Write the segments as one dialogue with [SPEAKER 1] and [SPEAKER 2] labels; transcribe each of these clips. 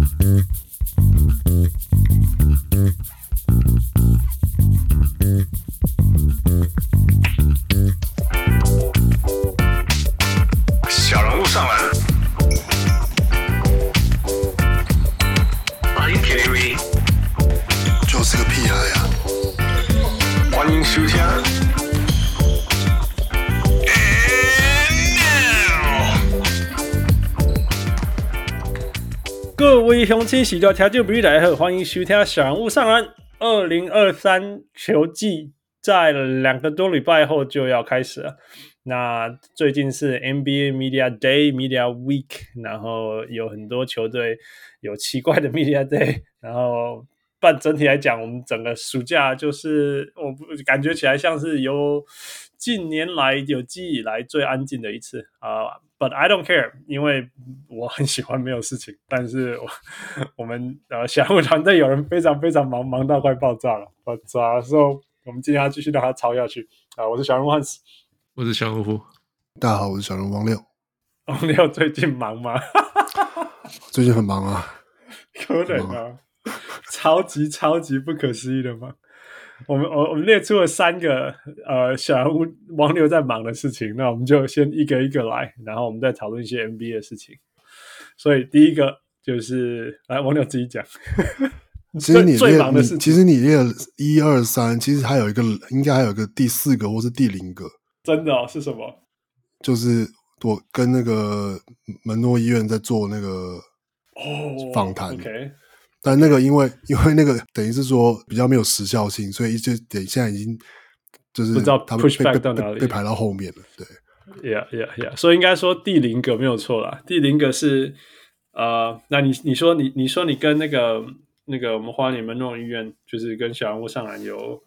[SPEAKER 1] 小人物上篮。Are you kidding me？
[SPEAKER 2] 就是个屁孩呀！
[SPEAKER 1] 欢迎收聽。
[SPEAKER 3] 各位鄉親喜多聽眾朋友大家好，歡迎收聽小人物上籃。2023球季在2個多禮拜後就要開始了。那最近是 NBA Media Day、Media Week， 然後有很多球隊有奇怪的 Media Day， 然後整體來講，我們整個暑假就是我感覺起來像是有近年來有記憶以來最安靜的一次But I don't care， 因為我很喜歡沒有事情。但是我們小人物團隊有人非常非常忙，忙到快爆炸了。So 我們今天要繼續讓他吵下去我是小人物漢斯，
[SPEAKER 4] 我是小人物。
[SPEAKER 2] 大家好，我是小人物王六。
[SPEAKER 3] 王六最近忙嗎？
[SPEAKER 2] 最近很忙啊，
[SPEAKER 3] 可能啊，超級不可思議的忙。我們列出了3個小人物王六在忙的事情，那我們就先一個一個來，然後我們再討論一些 NBA 的事情。所以第一個就是來王六自己講。
[SPEAKER 2] 其實
[SPEAKER 3] 最忙的事情，
[SPEAKER 2] 其實你列了1、2、3，其實還有一個，應該還有一個第4個或是第0個。真的
[SPEAKER 3] 是什麼？
[SPEAKER 2] 就是我跟那個門諾醫院在做那個訪談。
[SPEAKER 3] OK。
[SPEAKER 2] 但那個因為那個等於是說比較沒有時效性，所以就現在已經就是
[SPEAKER 3] 不知道
[SPEAKER 2] 他們
[SPEAKER 3] push back 到哪裡，
[SPEAKER 2] 被排到後面了。對
[SPEAKER 3] ，Yeah， 所以應該說第0個沒有錯啦。第0個是那你說你跟那個我們花蓮門諾醫院，就是跟小人物上籃有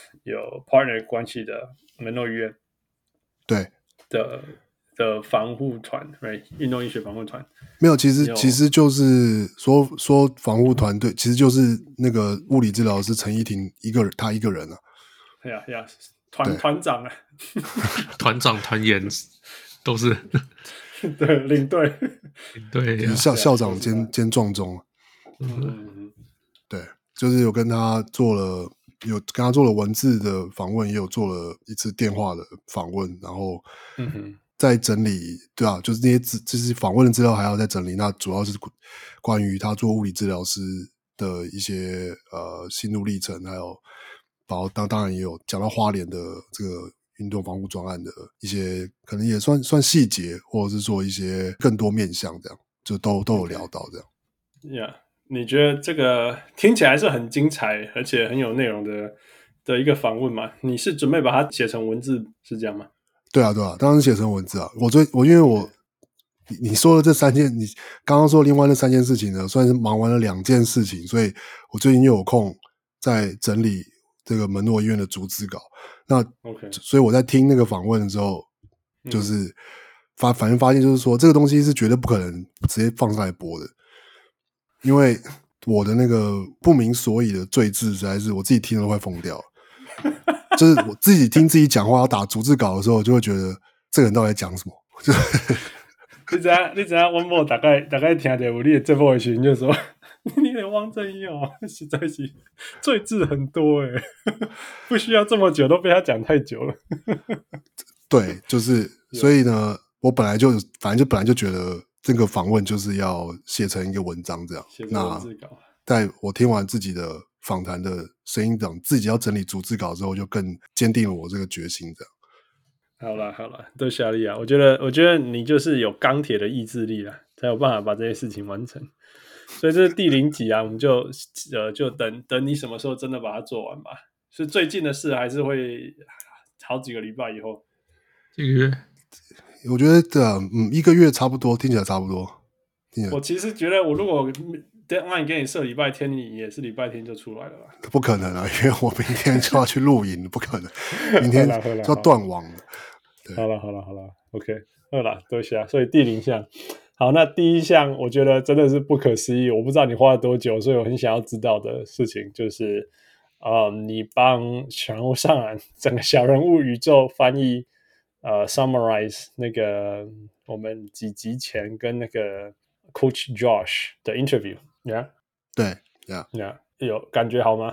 [SPEAKER 3] partner 關係的門諾醫院，
[SPEAKER 2] 對
[SPEAKER 3] 的防護團 ，right？ 運動醫學防護團
[SPEAKER 2] 沒有，其實就是說防護團隊，其實就是那個物理治療師陳依婷他一個人啊。
[SPEAKER 3] Yeah， 團長啊，
[SPEAKER 4] 團長團員都是
[SPEAKER 3] 對領隊，
[SPEAKER 4] 對
[SPEAKER 2] 校長兼撞鐘。對，就是有跟他做了文字的訪問，也有做了一次電話的訪問，然後在整理，對啊，就是那些就是訪問的資料還要再整理。那主要是關於他做物理治療師的一些心路歷程，還有然後當然也有講到花蓮的這個運動防護專案的一些可能也算細節，或者是說一些更多面向，這樣就都有聊到這樣。
[SPEAKER 3] Yeah， 你覺得這個聽起來是很精彩而且很有內容的一個訪問嗎？你是準備把它寫成文字是這樣嗎？
[SPEAKER 2] 對啊，當然是寫成文字啊。因為你說的這3件，你剛剛說另外那3件事情呢，算是忙完了2件事情，所以我最近又有空在整理這個門諾醫院的逐字稿。那
[SPEAKER 3] OK，
[SPEAKER 2] 所以我在聽那個訪問的時候，就是反正發現就是說，這個東西是絕對不可能直接放上來播的，因為我的那個不明所以的贅字實在是我自己聽了都快瘋掉了。就是我自己聽自己講話要打逐字稿的時候，就會覺得這個人到底在講什麼。
[SPEAKER 3] 你知道我某大概聽到有你的這部的時候，就說你的汪正義實在是贅字很多不需要這麼久，都被他講太久了。
[SPEAKER 2] 對，就是所以呢，我本來就覺得這個訪問就是要寫成一個文章這樣。寫成文字稿。在我聽完自己的訪談的聲音檔，自己要整理逐字稿之後，就更堅定了我這個決心。這樣。
[SPEAKER 3] 好了，多謝你啊！我覺得你就是有鋼鐵的意志力啦，才有辦法把這些事情完成。所以這是第0集啊，我們就等你什麼時候真的把它做完吧。是最近的事，還是會好幾個禮拜以後？
[SPEAKER 4] 這個月，
[SPEAKER 2] 我覺得1個月差不多，聽起來差不多。
[SPEAKER 3] 我其實覺得，我如果deadline給你設禮拜天，你也是禮拜天就出來了吧？
[SPEAKER 2] 不可能啊，因為我明天就要去露營，不可能，明天就要斷網了。
[SPEAKER 3] 好了 ，OK， 好了，多謝。所以第0項，好，那第1項我覺得真的是不可思議，我不知道你花了多久，所以我很想要知道的事情就是你幫小人物上籃整個小人物宇宙翻譯summarize 那個我們幾集前跟那個 Coach Josh 的 interview。 Yeah，
[SPEAKER 2] 對 ，Yeah，
[SPEAKER 3] 有感覺好嗎？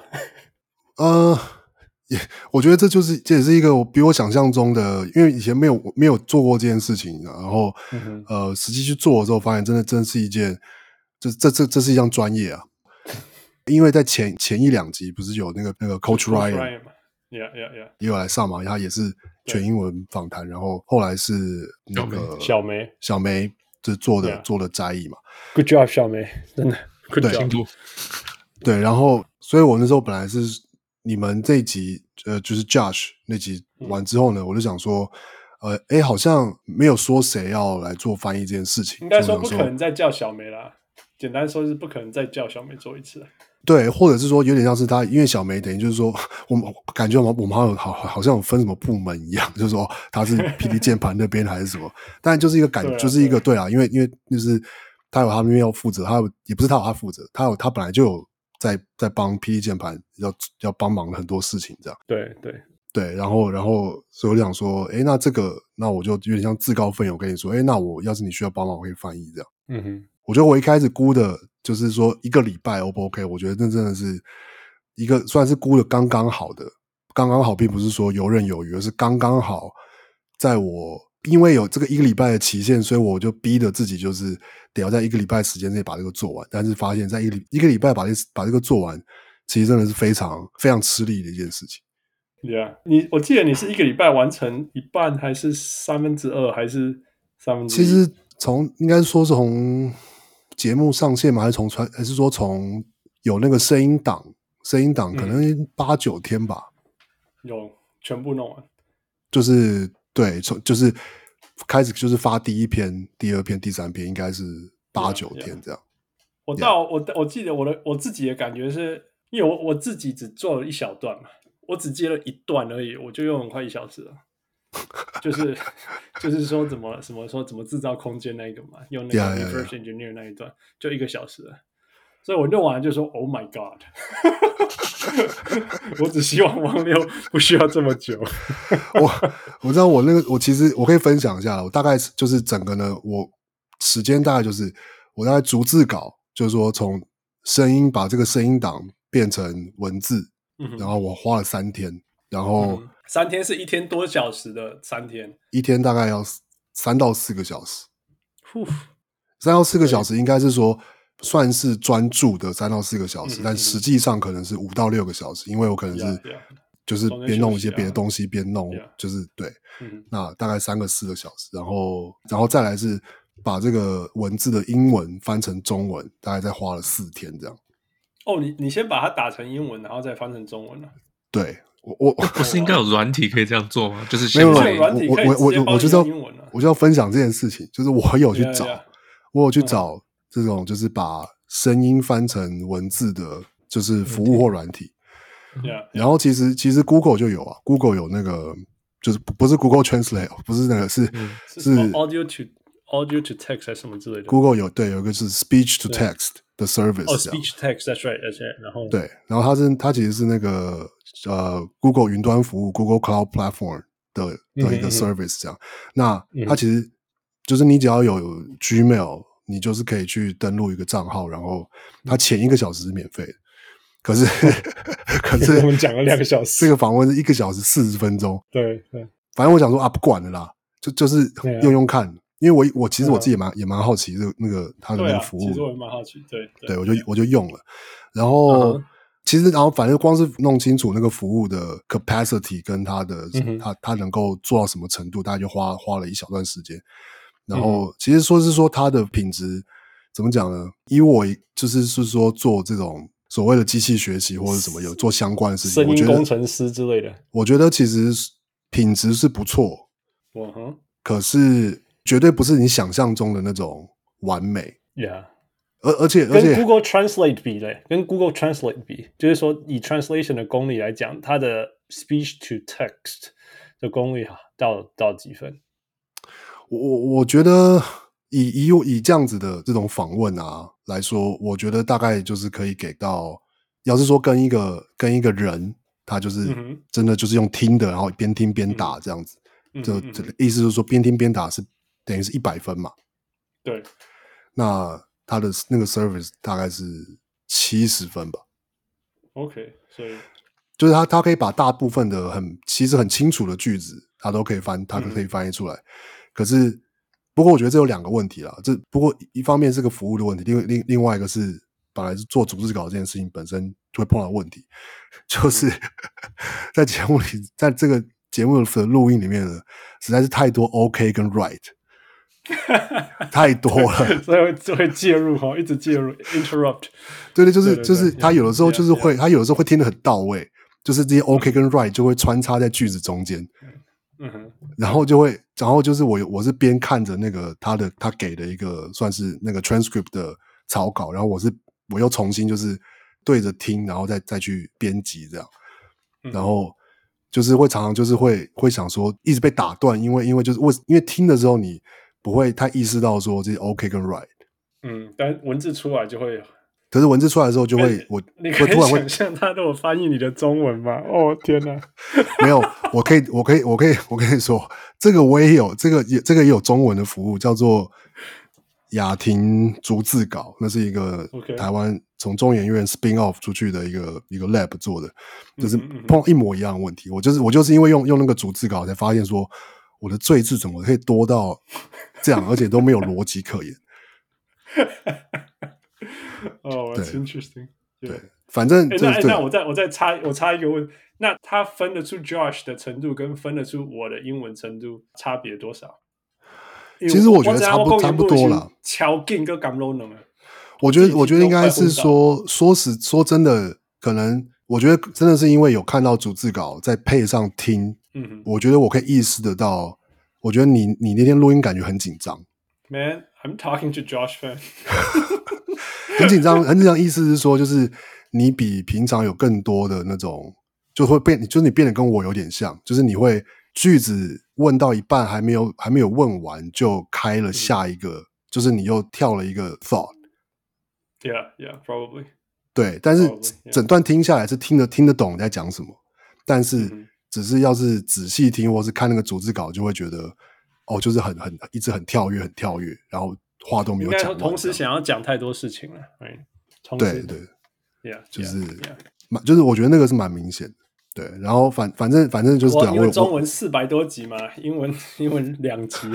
[SPEAKER 2] 我覺得這也是一個比我想象中的，因為以前沒有做過這件事情，然後實際去做的時候，發現真是一件，這是一項專業啊。因為在前一兩集不是有那個 Coach Ryan 嘛
[SPEAKER 3] ，Yeah，
[SPEAKER 2] 也有來上嘛，他也是全英文訪談，然後後來是那個小梅就做的摘譯嘛。
[SPEAKER 3] Good job， 小梅，真的 Good
[SPEAKER 2] job。對，然後所以我那時候本來是你們這一集就是 Josh 那集完之後呢，我就想說好像沒有說誰要來做翻譯這件事情，
[SPEAKER 3] 應該說不可能再叫小梅啦。簡單說是不可能再叫小梅做一次了。
[SPEAKER 2] 對，或者是說有點像是他，因為小梅等於就是說，我們感覺我們好像有分什麼部門一樣，就是說他是 PD 鍵盤那邊還是什麼，但就是一個感覺，就是一個對啊，因為就是他有他那邊要負責，也不是他有他負責，他本来就有在幫 PD 鍵盤要幫忙很多事情這樣。对，然后所以我就想說，那这个那我就有點像自告奮勇跟你說，那我要是你需要幫忙，我可以翻譯這樣。嗯哼，我覺得我一開始估的就是說一個禮拜 O 不 OK？ 我覺得那真的是一個算是估的剛剛好的，剛剛好並不是說游刃有餘，而是剛剛好，在我因為有這個一個禮拜的期限，所以我就逼着自己就是得要在一個禮拜時間內把這個做完，但是發現在一個禮拜把這個做完，其實真的是非常非常吃力的一件事情。
[SPEAKER 3] Yeah， 我記得你是一個禮拜完成一半，還是2/3，還是1/3？
[SPEAKER 2] 其實應該說是從節目上線嘛，還是說從有那個聲音檔可能8-9天吧。
[SPEAKER 3] 有全部弄完，
[SPEAKER 2] 就是對，就是開始就是發第一篇、第二篇、第三篇，應該是8-9天這樣。
[SPEAKER 3] 我記得我自己的感覺是，因為我自己只做了一小段嘛。我只接了一段而已，我就用很快1小時了。就是說怎麼製造空間那一個嘛，用那個 reverse engineer 那一段就1個小時了。所以我弄完就說 Oh my God， 我只希望王六不需要這麼久。
[SPEAKER 2] 我知道我其實我可以分享一下了，我大概就是整個呢，我時間大概就是我大概逐字稿，就是說從聲音把這個聲音檔變成文字。然後我花了3天，然後
[SPEAKER 3] 3天是1天多小時的3天，
[SPEAKER 2] 一天大概要3到4個小時。3到4個小時應該是說算是專注的3到4個小時，但實際上可能是5到6個小時，因為我可能是就是邊弄一些別的東西邊弄，就是對，那大概3個4個小時，然後再來是把這個文字的英文翻成中文，大概再花了4天這樣。
[SPEAKER 3] 哦，你先把它打成英文，然後再翻成中文了。
[SPEAKER 2] 對，我
[SPEAKER 4] 不是應該有軟體可以這樣做嗎？就是
[SPEAKER 3] 沒有軟體可以直接幫你用英文了。
[SPEAKER 2] 我就要分享這件事情，就是我有去找這種就是把聲音翻成文字的，就是服務或軟體。然後其實 Google 就有啊 ，Google 有那個就是不是 Google Translate， 不是那個是
[SPEAKER 3] Audio to text 還是什麼之類的。
[SPEAKER 2] Google 有一個是 speech to text 的 service。哦
[SPEAKER 3] ，speech to text，that's right。然後
[SPEAKER 2] 對，然後它其實是那個Google 雲端服務 Google Cloud Platform 的一個 service 這樣。那它其實就是你只要有 Gmail， 你就是可以去登錄一個賬號，然後它前1個小時是免費的。可是
[SPEAKER 3] 我們講了2個小時，
[SPEAKER 2] 這個訪問是1個小時40分鐘。
[SPEAKER 3] 對，
[SPEAKER 2] 反正我想說不管了啦，就是用看。因為我其實我自己也蠻好奇那個他的那個服務，
[SPEAKER 3] 其實我也蠻好奇，對，
[SPEAKER 2] 我就用了，然後其實然後反正光是弄清楚那個服務的 capacity 跟它的它能夠做到什麼程度，大概就花了一小段時間。然後其實說它的品質怎麼講呢？以我就是說做這種所謂的機器學習或者什麼有做相關的事情，
[SPEAKER 3] 聲音工程師之類的，
[SPEAKER 2] 我覺得其實品質是不錯，可是絕對不是你想象中的那種完美。
[SPEAKER 3] Yeah，
[SPEAKER 2] 而且
[SPEAKER 3] 跟 Google Translate 比嘞，跟 Google Translate 比，就是說以 translation 的功力來講，它的 speech to text 的功力到幾分？
[SPEAKER 2] 我覺得以這樣子的這種訪問啊來說，我覺得大概就是可以給到，要是說跟一個人，他就是真的就是用聽的，然後邊聽邊打這樣子，這意思就是說邊聽邊打是等於是100分嘛。
[SPEAKER 3] 對，
[SPEAKER 2] 那它的那個 service 大概是70分吧。
[SPEAKER 3] OK， 所以
[SPEAKER 2] 就是它可以把大部分的其實很清楚的句子，它都可以翻譯出來。可是，不過我覺得這有2個問題啦。不過一方面是個服務的問題，另外一個是本來是做逐字稿這件事情本身就會碰到問題，就是在節目裡，在這個節目的錄音裡面呢，實在是太多 OK 跟 right。太多了，
[SPEAKER 3] 所以就會介入哈，一直介入 interrupt。
[SPEAKER 2] 对，就是他有的时候就是會，他有的時候會聽得很到位，就是這些 OK 跟 right 就會穿插在句子中間。然後就是我是邊看着那個他給的一個算是那個 transcript 的草稿，然後我又重新就是對着聽，然後再去編輯這樣，然後就是會常常就是會想說一直被打斷，因為聽的時候你不會太意識到說這些 OK 跟 right，
[SPEAKER 3] 但文字出來就會，
[SPEAKER 2] 可是文字出來的時候就會，
[SPEAKER 3] 你可以想象他如果翻譯你的中文嗎？哦天哪，
[SPEAKER 2] 沒有，我可以說，這個我也有，這個也有中文的服務，叫做雅婷逐字稿，那是一個台灣從中研院 spin off 出去的一個 lab 做的，就是碰到一模一樣的問題，我就是因為用那個逐字稿才發現說，我的贅字怎麼可以多到這樣，而且都沒有邏輯可言。
[SPEAKER 3] 哦， that's interesting。
[SPEAKER 2] 對，反正
[SPEAKER 3] 那我再插一個問，那他分得出 Josh 的程度跟分得出我的英文程度差別多少？
[SPEAKER 2] 其實我覺得差不多啦。
[SPEAKER 3] 超勁跟感動能。
[SPEAKER 2] 我覺得應該是說真的，可能我覺得真的是因為有看到逐字稿，再配上聽，我覺得我可以意識得到，我覺得你那天錄音感覺很緊張。
[SPEAKER 3] Man, I'm talking to Josh fan 。
[SPEAKER 2] 很緊張，意思是說，就是你比平常有更多的那種，就是你變得跟我有點像，就是你會句子問到一半還沒有問完就開了下一個，就是你又跳了一個 thought。Yeah,
[SPEAKER 3] probably。
[SPEAKER 2] 對，但是整段聽下來是聽得懂你在講什麼，但是只是要是仔細聽或是看那個逐字稿，就會覺得就是一直很跳躍，然後話都沒有講完。應該
[SPEAKER 3] 同時想要講太多事情了，
[SPEAKER 2] 對，就是我覺得那個是蠻明顯的。對，然後反正就是
[SPEAKER 3] 因為中文400多集嘛，英文2集。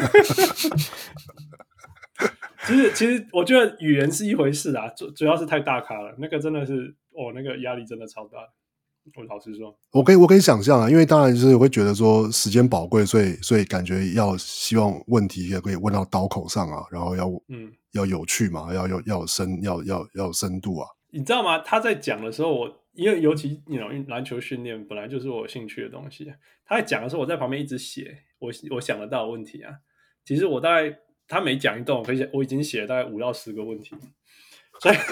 [SPEAKER 3] 其實我覺得語言是一回事啊，主要是太大咖了，那個真的是那個壓力真的超大。我老實說，
[SPEAKER 2] 我可以想象啊，因為當然就是我會覺得說時間寶貴，所以感覺希望問題也可以問到刀口上啊，然後要有趣嘛，要有深度啊。
[SPEAKER 3] 你知道嗎？他在講的時候，因為尤其籃球訓練本來就是我有興趣的東西，他在講的時候，我在旁邊一直寫我想得到的問題啊。其實我大概他每講一段，我已經寫了大概5到10個問題，所以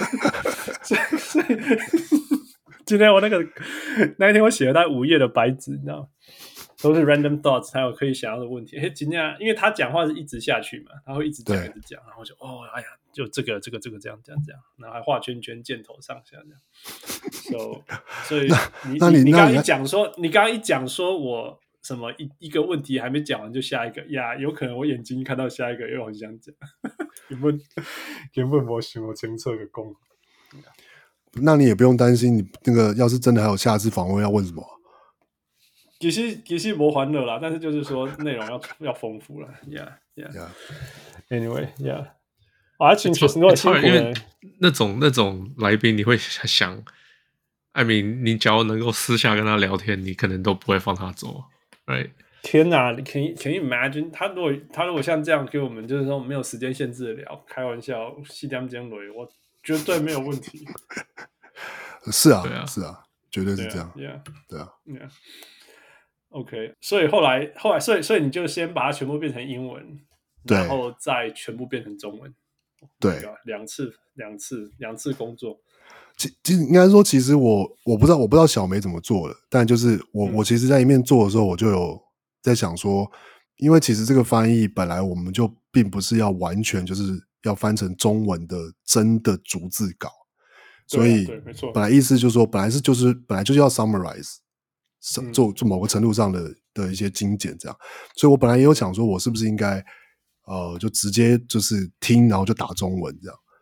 [SPEAKER 3] 今天那一天我寫了大概5頁的白紙，你知道嗎？都是 random thoughts， 還有可以想要的問題。今天因為他講話是一直下去嘛，他會一直講，然後就哎呀，就這個這樣，然後還畫圈圈，箭頭上下這樣。所以你剛剛一講說我什麼一個問題還沒講完就下一個呀，有可能我眼睛一看到下一個又很想講，根本沒想我清楚的講。
[SPEAKER 2] 那你也不用擔心，你那個要是真的還有下次訪問要問什麼？
[SPEAKER 3] 其實沒歡樂啦，但是就是說內容要豐富了。Anyway, 挺辛苦的。
[SPEAKER 4] 因為那種來賓，你會想，I mean， 你只要能夠私下跟他聊天，你可能都不會放他走，right？
[SPEAKER 3] 天哪，Can you imagine？ 他如果像這樣給我們，就是說沒有時間限制的聊，開玩笑，4點鐘來，我絕對沒有問題。
[SPEAKER 2] 是啊，絕對是這樣。對啊。
[SPEAKER 3] OK， 所以後來，所以你就先把它全部變成英文，然後再全部变成中文。
[SPEAKER 2] 對，
[SPEAKER 3] 两次工作。
[SPEAKER 2] 其實應該說，其實我不知道小梅怎麼做的，但就是我其實在一面做的時候，我就有在想說，因為其實這個翻譯本來我們就並不是要完全就是要翻成中文的真的逐字稿，所以本來意思就是說，本来就是要 summarize。做某個程度上的一些精簡這樣，所以我本來也有想說，我是不是應該就直接就是聽，然後就打中文這樣，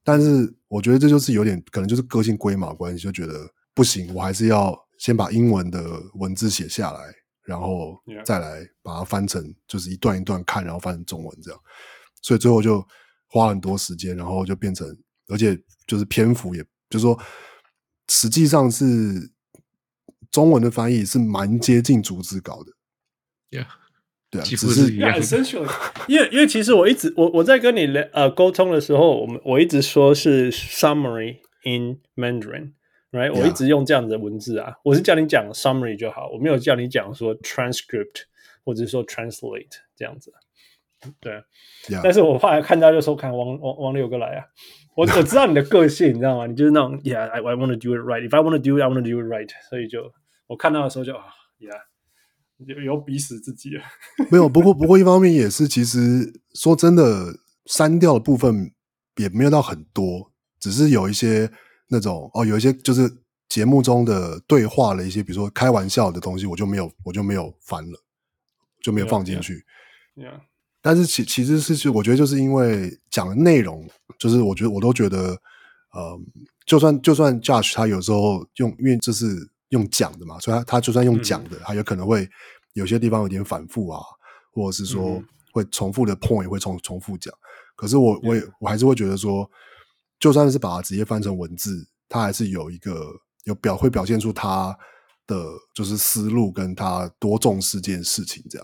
[SPEAKER 2] 但是我覺得這就是有點可能就是個性龜毛關係，就覺得不行，我還是要先把英文的文字寫下來，然後再來把它翻成就是一段一段看，然後翻成中文這樣。所以最後就花了很多時間，然後就變成，而且就是篇幅也就是說，實際上是中文的翻譯是蠻接近逐字稿的。
[SPEAKER 4] Yeah.
[SPEAKER 2] 对啊，
[SPEAKER 4] 幾乎是一樣。
[SPEAKER 3] 因為其實我在跟你溝通的時候，我一直說是 summary in Mandarin，right？ 我一直用這樣的文字啊，我是叫你講 summary 就好，我沒有叫你講說 transcript 或者說 translate 這樣子。對，但是我後來看到就說看王六哥來啊，我知道你的個性，你知道嗎？你就是那種 I want to do it right. If I want to do it, I want to do it right. 所以就我看到的時候就yeah。有逼死自己了
[SPEAKER 2] 没有，不過一方面也是，其實說真的，刪掉的部分也沒有到很多，只是有一些那種有一些就是節目中的對話的一些，比如說開玩笑的東西，我就沒有翻了，就沒有放進去。
[SPEAKER 3] Yeah.
[SPEAKER 2] 但是其實是我覺得就是因為講的內容，就是我都覺得，就算 Josh 他有時候因為這是用講的嘛，所以他就算用講的，他有可能會有些地方有點反覆啊，或者是說會重複的 point 會重複講。可是我還是會覺得說，就算是把它直接翻成文字，他還是有一個會表現出他的就是思路跟他多重視這件事情這樣。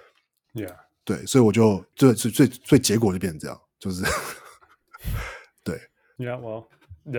[SPEAKER 3] Yeah.
[SPEAKER 2] 對，所以我就所以結果就變成這樣，就是对。
[SPEAKER 3] Yeah, well,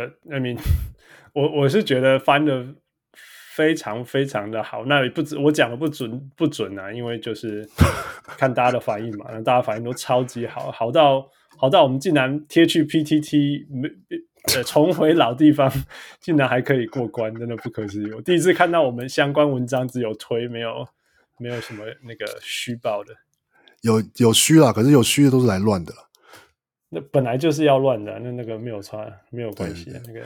[SPEAKER 3] I mean, 我是覺得翻的非常非常的好，那也不止我講的不準啊，因為就是看大家的反應嘛，大家反應都超級好，好到我們竟然貼去 PTT， 重回老地方，竟然還可以過關，真的不可思議。我第一次看到我們相關文章只有推，沒有什麼那個虛報的。有
[SPEAKER 2] 虛啦，可是有虛的都是來亂的啦。
[SPEAKER 3] 那本來就是要亂的，那個沒有差，沒有關係。那個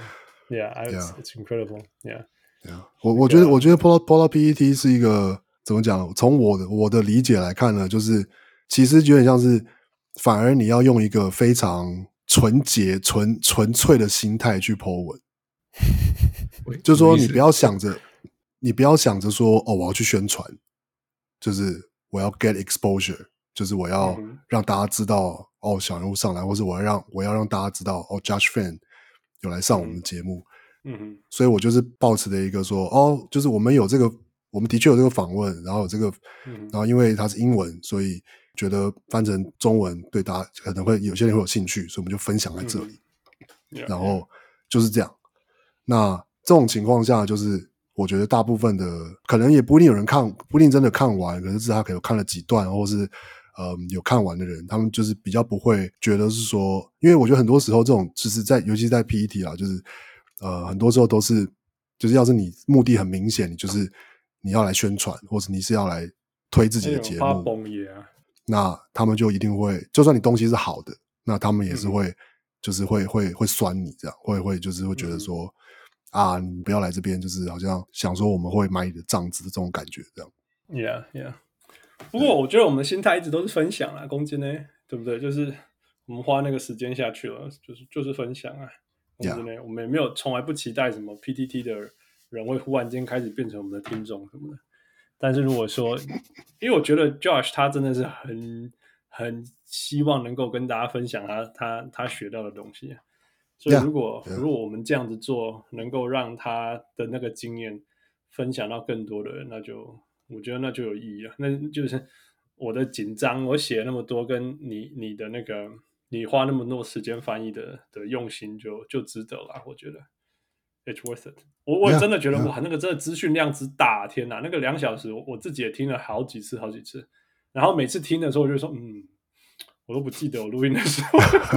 [SPEAKER 3] ，it's incredible， yeah。
[SPEAKER 2] 我覺得 Polar PTT 是一個怎麼講？從我的理解來看呢，就是其實有點像是，反而你要用一個非常純潔、純粹的心態去 po 文，就是說你不要想着說我要去宣傳，就是我要 get exposure， 就是我要讓大家知道小人物上來，或是我要讓大家知道Josh Fan 有來上我們的節目。所以我就是抱持的一個說，就是我們的確有這個訪問，然後有這個，然後因為它是英文，所以覺得翻成中文對大家可能會有些人會有興趣，所以我們就分享在這裡。然後就是這樣。那這種情況下，就是我覺得大部分的可能也不一定有人看，不一定真的看完，可是他可能看了幾段，或是有看完的人，他们就是比較不會覺得是說，因為我覺得很多時候這種就是尤其在 PTT 啦，就是很多時候都是，就是要是你目的很明顯，你就是你要來宣傳，或者你是要來推自己的節目，那他們就一定會，就算你東西是好的，那他們也是會，就是會酸你這樣，會就是會覺得說，你不要來這邊，就是好像想說我們會買你的賬子的這種感覺這樣。
[SPEAKER 3] Yeah。不過我覺得我們的心態一直都是分享啦，公斤呢，對不对？就是我們花那個時間下去了，就是分享啊。我們也沒有從來不期待什麼 PTT 的人會忽然間開始變成我們的聽眾什麼的。但是如果說，因為我覺得 Josh 他真的是很希望能夠跟大家分享他學到的東西，所以如果我們這樣子做，能夠讓他的那個經驗分享到更多的人，我覺得那就有意義了。那就是我的緊張，我寫那麼多，跟你的那個。你花那麼多時間翻譯的用心就值得了，我覺得 it's worth it。我真的覺得哇，那個真的資訊量之大，天哪！那個2小時，我自己也聽了好幾次，然後每次聽的時候，我就說，我都不記得我錄音的時候，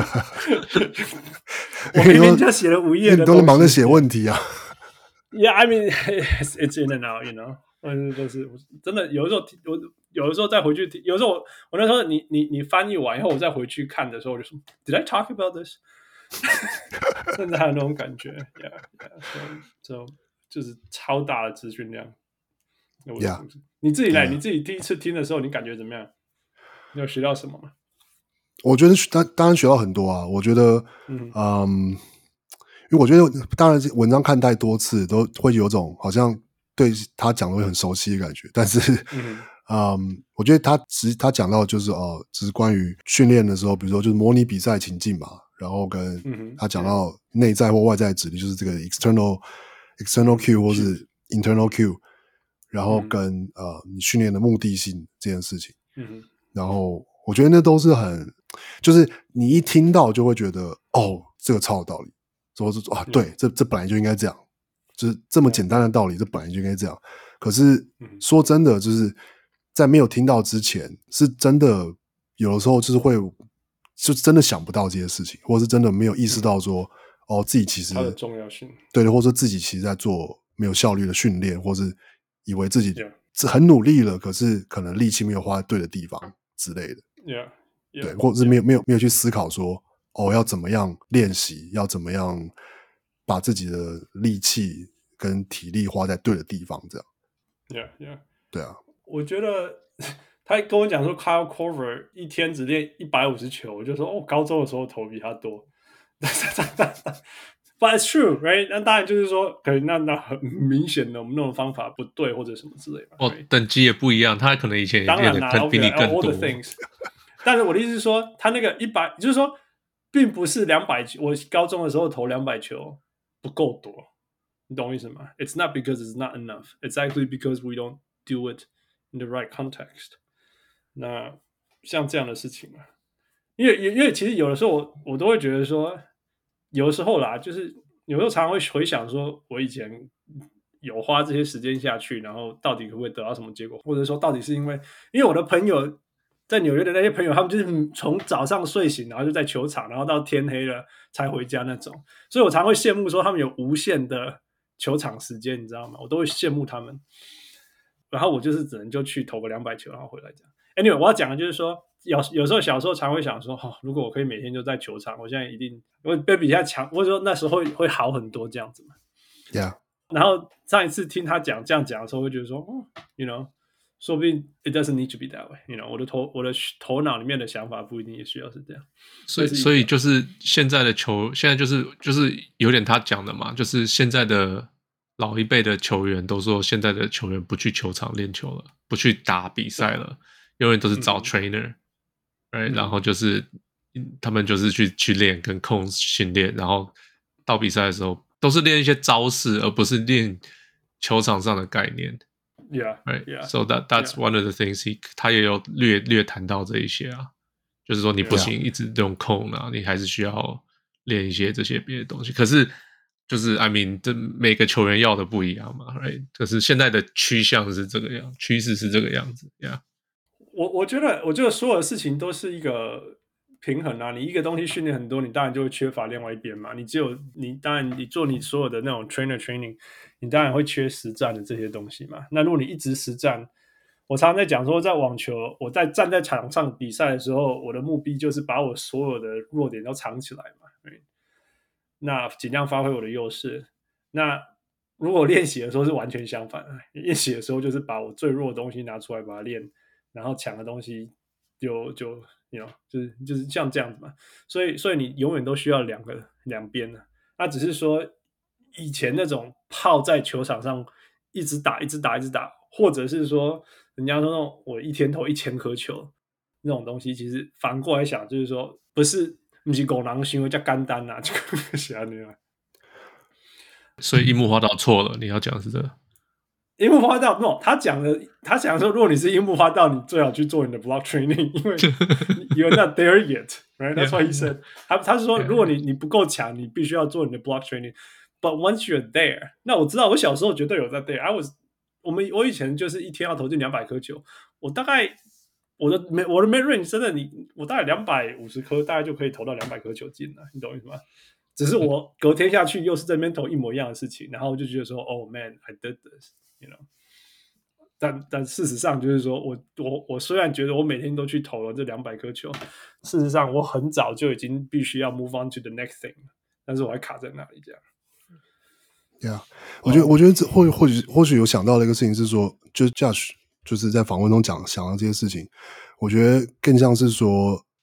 [SPEAKER 3] 我明明就寫了5頁的東西，
[SPEAKER 2] 你都是忙着寫問題啊。
[SPEAKER 3] Yeah, I mean, it's in and out, you know. 就是真的，有的時候再回去听，有時候我那時候你翻譯完以後，我再回去看的時候，我就說 Did I talk about this？ 甚至還有那種感覺 ，so 就是超大的資訊量。你自己第一次聽的時候，你感覺怎麼樣？你有學到什麼嗎？
[SPEAKER 2] 我覺得當然學到很多啊。我覺得，因為我覺得當然文章看太多次，都會有種好像對他講的會很熟悉的感覺。但是，我覺得他講到就是只是關於訓練的時候，比如說就是模擬比賽情境嘛，然後跟他講到內在或外在的指令，就是這個 external cue 或是 internal cue， 然後跟你訓練的目的性這件事情。然後我覺得那都是就是你一聽到就會覺得這個超有道理。說是對，這本來就應該這樣，就是這麼簡單的道理，這本來就應該這樣。可是說真的，就是在沒有聽到之前，是真的有的時候就是就真的想不到這些事情，或是真的沒有意識到說，自己其實
[SPEAKER 3] 它的重要性，
[SPEAKER 2] 對，或者說自己其實在做沒有效率的訓練，或是以為自己很努力了，可是可能力氣沒有花在對的地方之類的。對，或者是沒有去思考說。要怎麼樣練習？要怎麼樣把自己的力氣跟體力花在對的地方？這樣，對啊。我覺
[SPEAKER 3] 得他跟我講說 ，Kyle Korver 一天只練150球，我就說高中的時候投比他多。But it's true, right？ 那當然就是說，可能那很明顯的我们那種方法不對，或者什麼之類的。
[SPEAKER 2] right?
[SPEAKER 4] 等級也不一樣，他可能以前也練的比你更多。
[SPEAKER 3] 但是我的意思是說，他那個100，就是說。並不是200球，我高中的時候投200球不夠多，你懂我意思嗎？ It's not because it's not enough. It's actually because we don't do it in the right context. 那像這樣的事情嘛，因為其實有的時候我都會覺得說，有的時候啦，就是有時候常常會回想說，我以前有花這些時間下去，然後到底可不可以得到什麼結果，或者說到底是因為我的朋友。在紐約的那些朋友，他們就是從早上睡醒，然後就在球場，然後到天黑了才回家那種。所以我常會羨慕說他們有無限的球場時間，你知道嗎？我都會羨慕他們。然後我就是只能就去投個200球，然後回來這樣。Anyway， 我要講的就是說，有時候小時候常會想說，如果我可以每天就在球場，我現在一定會比現在強，或者說那時候會好很多這樣子嘛。
[SPEAKER 2] Yeah。
[SPEAKER 3] 然後上一次聽他這樣講的時候，會覺得說，you know。說不定 it doesn't need to be that way， 我的頭腦裡面的想法不一定也需要是這樣。
[SPEAKER 4] 所以就是現在的現在就是有點他講的嘛，就是現在的老一輩的球員都說，現在的球員不去球場練球了，不去打比賽了，永遠都是找 trainer，然後就是他們就是去練跟控訓練，然後到比賽的時候都是練一些招式，而不是練球場上的概念。
[SPEAKER 3] Yeah,
[SPEAKER 4] right.
[SPEAKER 3] Yeah.
[SPEAKER 4] So that's one of the things 他也有略談到這一些啊，就是說你不行一直用控啊，你還是需要練一些這些別的東西。可是就是 I mean， 這每個球員要的不一樣嘛 ，right？ 可是現在的趨勢是這個樣子 ，Yeah。我
[SPEAKER 3] 覺得所有的事情都是一個平衡啊。你一個東西訓練很多，你當然就會缺乏另外一邊嘛。當然你做你所有的那種 training。你當然會缺實戰的這些東西嘛。那如果你一直實戰，我常常在講說，在網球，我站在場上比賽的時候，我的目標就是把我所有的弱點都藏起來嘛。那盡量發揮我的優勢。那如果練習的時候是完全相反，練習的時候就是把我最弱的東西拿出來把它練，然後強的東西就是像這樣子嘛。所以你永遠都需要兩邊的。那只是說。以前那種泡在球場上一直打，或者是說人家說那種我一天投1000顆球那種東西，其實反過來想就是說，不是狗狼行為叫簡單啊，就是這樣。
[SPEAKER 4] 所以櫻木花道錯了，你要講的是這個。
[SPEAKER 3] 櫻木花道 no， 他講說，如果你是櫻木花道，你最好去做你的 block training， 因為 you're not there yet， right？ That's what he said。他是說，如果你不夠強，你必須要做你的 block training。But once you're there， 那我知道我小時候絕對有在 there。我以前就是一天要投進200顆球，我大概我的 mid range 真的我大概250顆，大概就可以投到200顆球進了，你懂我意思嗎？只是我隔天下去又是這邊投一模一樣的事情，然後我就覺得說 ，Oh man, I did this， you know。但事實上就是說我雖然覺得我每天都去投了這200顆球，事實上我很早就已經必須要 move on to the next thing， 但是我還卡在那裡這樣。
[SPEAKER 2] Yeah， 我覺得這或許有想到的一個事情是說，就是 Josh 就是在訪問中想到這些事情，我覺得更像是說，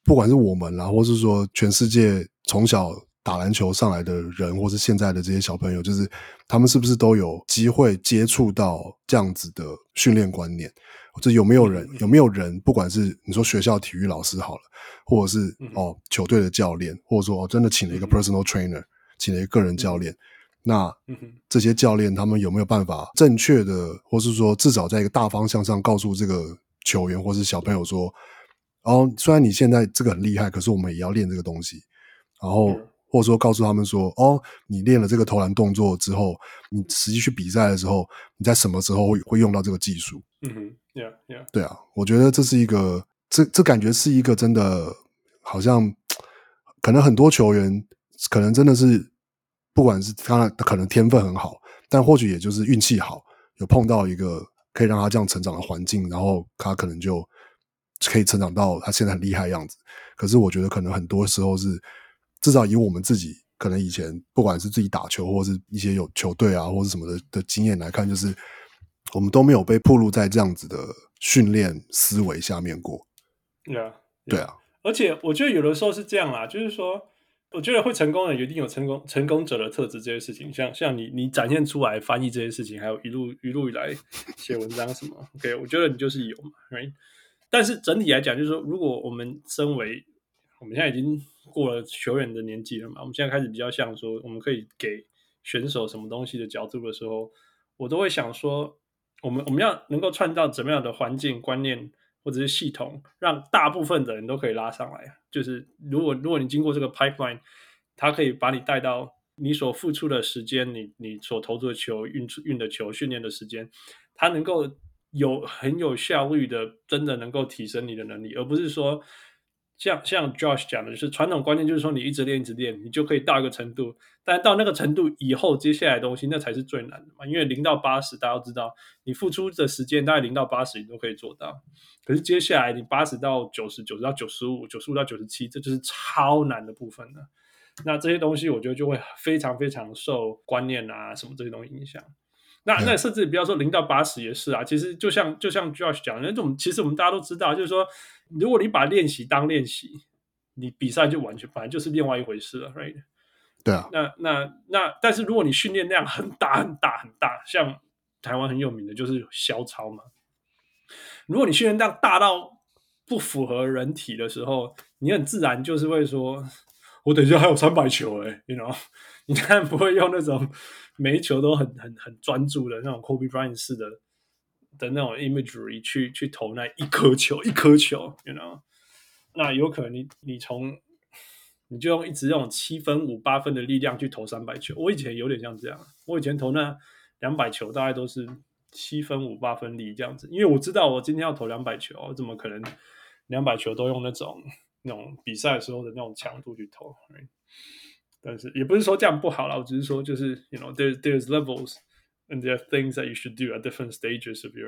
[SPEAKER 2] 不管是我們啦，或是說全世界從小打籃球上來的人，或是現在的這些小朋友，就是他們是不是都有機會接觸到這樣子的訓練觀念？就有沒有人，不管是你說學校體育老師好了，或者是球隊的教練，或者說真的請了一個 personal trainer， 請了一個個人教練，那這些教練他們有沒有辦法正確的，或是說至少在一個大方向上告訴這個球員或是小朋友說，雖然你現在這個很厲害，可是我們也要練這個東西，然後或者說告訴他們說，你練了這個投籃動作之後，你實際去比賽的時候，你在什麼時候會用到這個技術
[SPEAKER 3] ？Yeah.
[SPEAKER 2] 对啊，我覺得這是一個，這感覺是一個真的，好像可能很多球員可能真的是，不管是他可能天分很好，但或許也就是運氣好，有碰到一個可以讓他這樣成長的環境，然後他可能就可以成長到他現在很厲害的樣子。可是我覺得可能很多時候是，至少以我們自己可能以前不管是自己打球或是一些有球隊啊或是什麼的經驗來看，就是我們都沒有被暴露在這樣子的訓練思維下面過。
[SPEAKER 3] Yeah.
[SPEAKER 2] 對啊，
[SPEAKER 3] 而且我覺得有的时候是這樣啦，就是說我觉得会成功的人一定有成功者的特質，這些事情像你展現出來翻譯這些事情，還有一路以來寫文章什麼OK， 我覺得你就是有嘛 right？ 但是整體來講就是說，如果我們身為我们现在已经過了球員的年紀了嘛，我們現在開始比較像說我們可以給選手什麼東西的角度的時候，我都會想說我們要能夠創造怎麼樣的環境觀念或者是系統，讓大部分的人都可以拉上來。就是如果你經過這個 pipeline， 它可以把你帶到你所付出的時間，你所投注的球運的球訓練的時間，它能夠很有效率的真的能夠提升你的能力，而不是說像 Josh 講的，就是傳統觀念就是說你一直練你就可以到一個程度，但到那個程度以後接下來的東西那才是最難的嘛。因為0到80大家都知道你付出的時間大概0到80你都可以做到，可是接下來你80到90 90到95 95到97，这就是超難的部分了。那這些東西我覺得就會非常非常受觀念啊什麼這些東西影響。那甚至不要說0到80也是啊，其實就像 Josh 講的那種，其實我們大家都知道，就是說如果你把練習當練習，你比賽就完全本來就是另外一回事了 right？
[SPEAKER 2] 對啊。
[SPEAKER 3] 那但是如果你訓練量很大，像台灣很有名的就是蕭超嘛，如果你訓練量大到不符合人體的時候，你很自然就是會說我等一下還有300球you know？ 你當然不會用那種每一球都很專注的那種 Kobe Bryant 式的那種 imagery 去投那一顆球 you know？ 那有可能你就用一直用7分5 8分的力量去投300球。我以前有點像這樣，我以前投那200球大概都是7分5 8分力這樣子，因為我知道我今天要投200球，我怎麼可能200球都用那種比賽的時候的那種強度去投 right？ 但是也不是說這樣不好啦，我只是說就是 you know there's levels and there are things that you should do at different stages of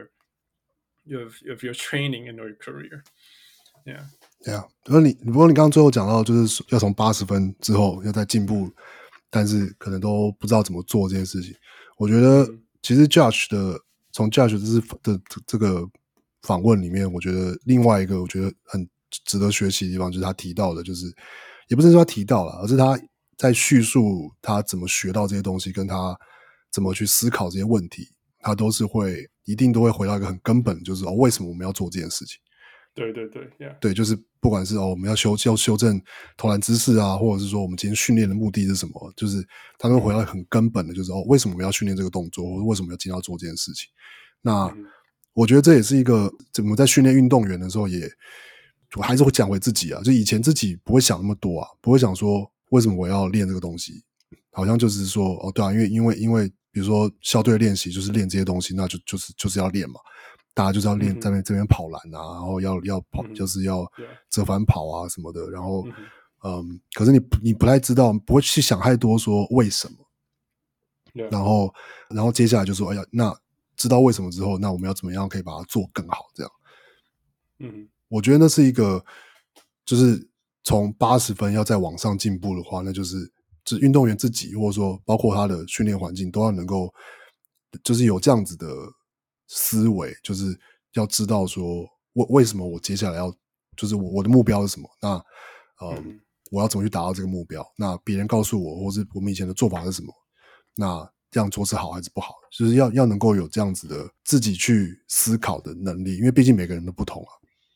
[SPEAKER 3] your training and your career.
[SPEAKER 2] Yeah. 不過你剛剛最後講到就是要從80分之後要再進步，但是可能都不知道怎麼做這件事情。我覺得其實 從 Josh 的這個訪問裡面，我覺得另外一個我覺得很值得學習的地方就是他提到的，就是也不是說他提到了，而是他在敘述他怎麼學到這些東西，跟他怎麼去思考這些問題，他都是一定都會回到一個很根本，就是為什麼我們要做這件事情。
[SPEAKER 3] 對 yeah.
[SPEAKER 2] 對，就是不管是我們要修正投籃姿勢啊，或者是說我们今天訓練的目的是什麼，就是他們回到很根本的，就是為什麼我們要訓練這個動作，或者為什麼要今天要做這件事情。那我覺得這也是一個我們在訓練運動員的時候我還是會講回自己啊，就以前自己不會想那麼多啊，不會想說為什麼我要練這個東西，好像就是說對啊，因為比如說校隊練習就是練這些東西，那就是要練嘛。大家就是要練在這邊跑籃啊，然後要跑，就是要折返跑啊什麼的。然後，可是你不太知道，不會去想太多說為什麼。然後接下來就說，哎呀，那知道為什麼之後，那我們要怎麼樣可以把它做更好？這樣，我覺得那是一個，就是從80分要再往上進步的話，那就是運動員自己，或者說包括他的訓練環境，都要能夠，就是有這樣子的思維，就是要知道說為什麼我接下來要就是我的目標是什麼？那我要怎麼去達到這個目標？那別人告訴我，或是我們以前的做法是什麼？那這樣做是好還是不好？就是要能夠有這樣子的自己去思考的能力，因為畢竟每個人都不同啊。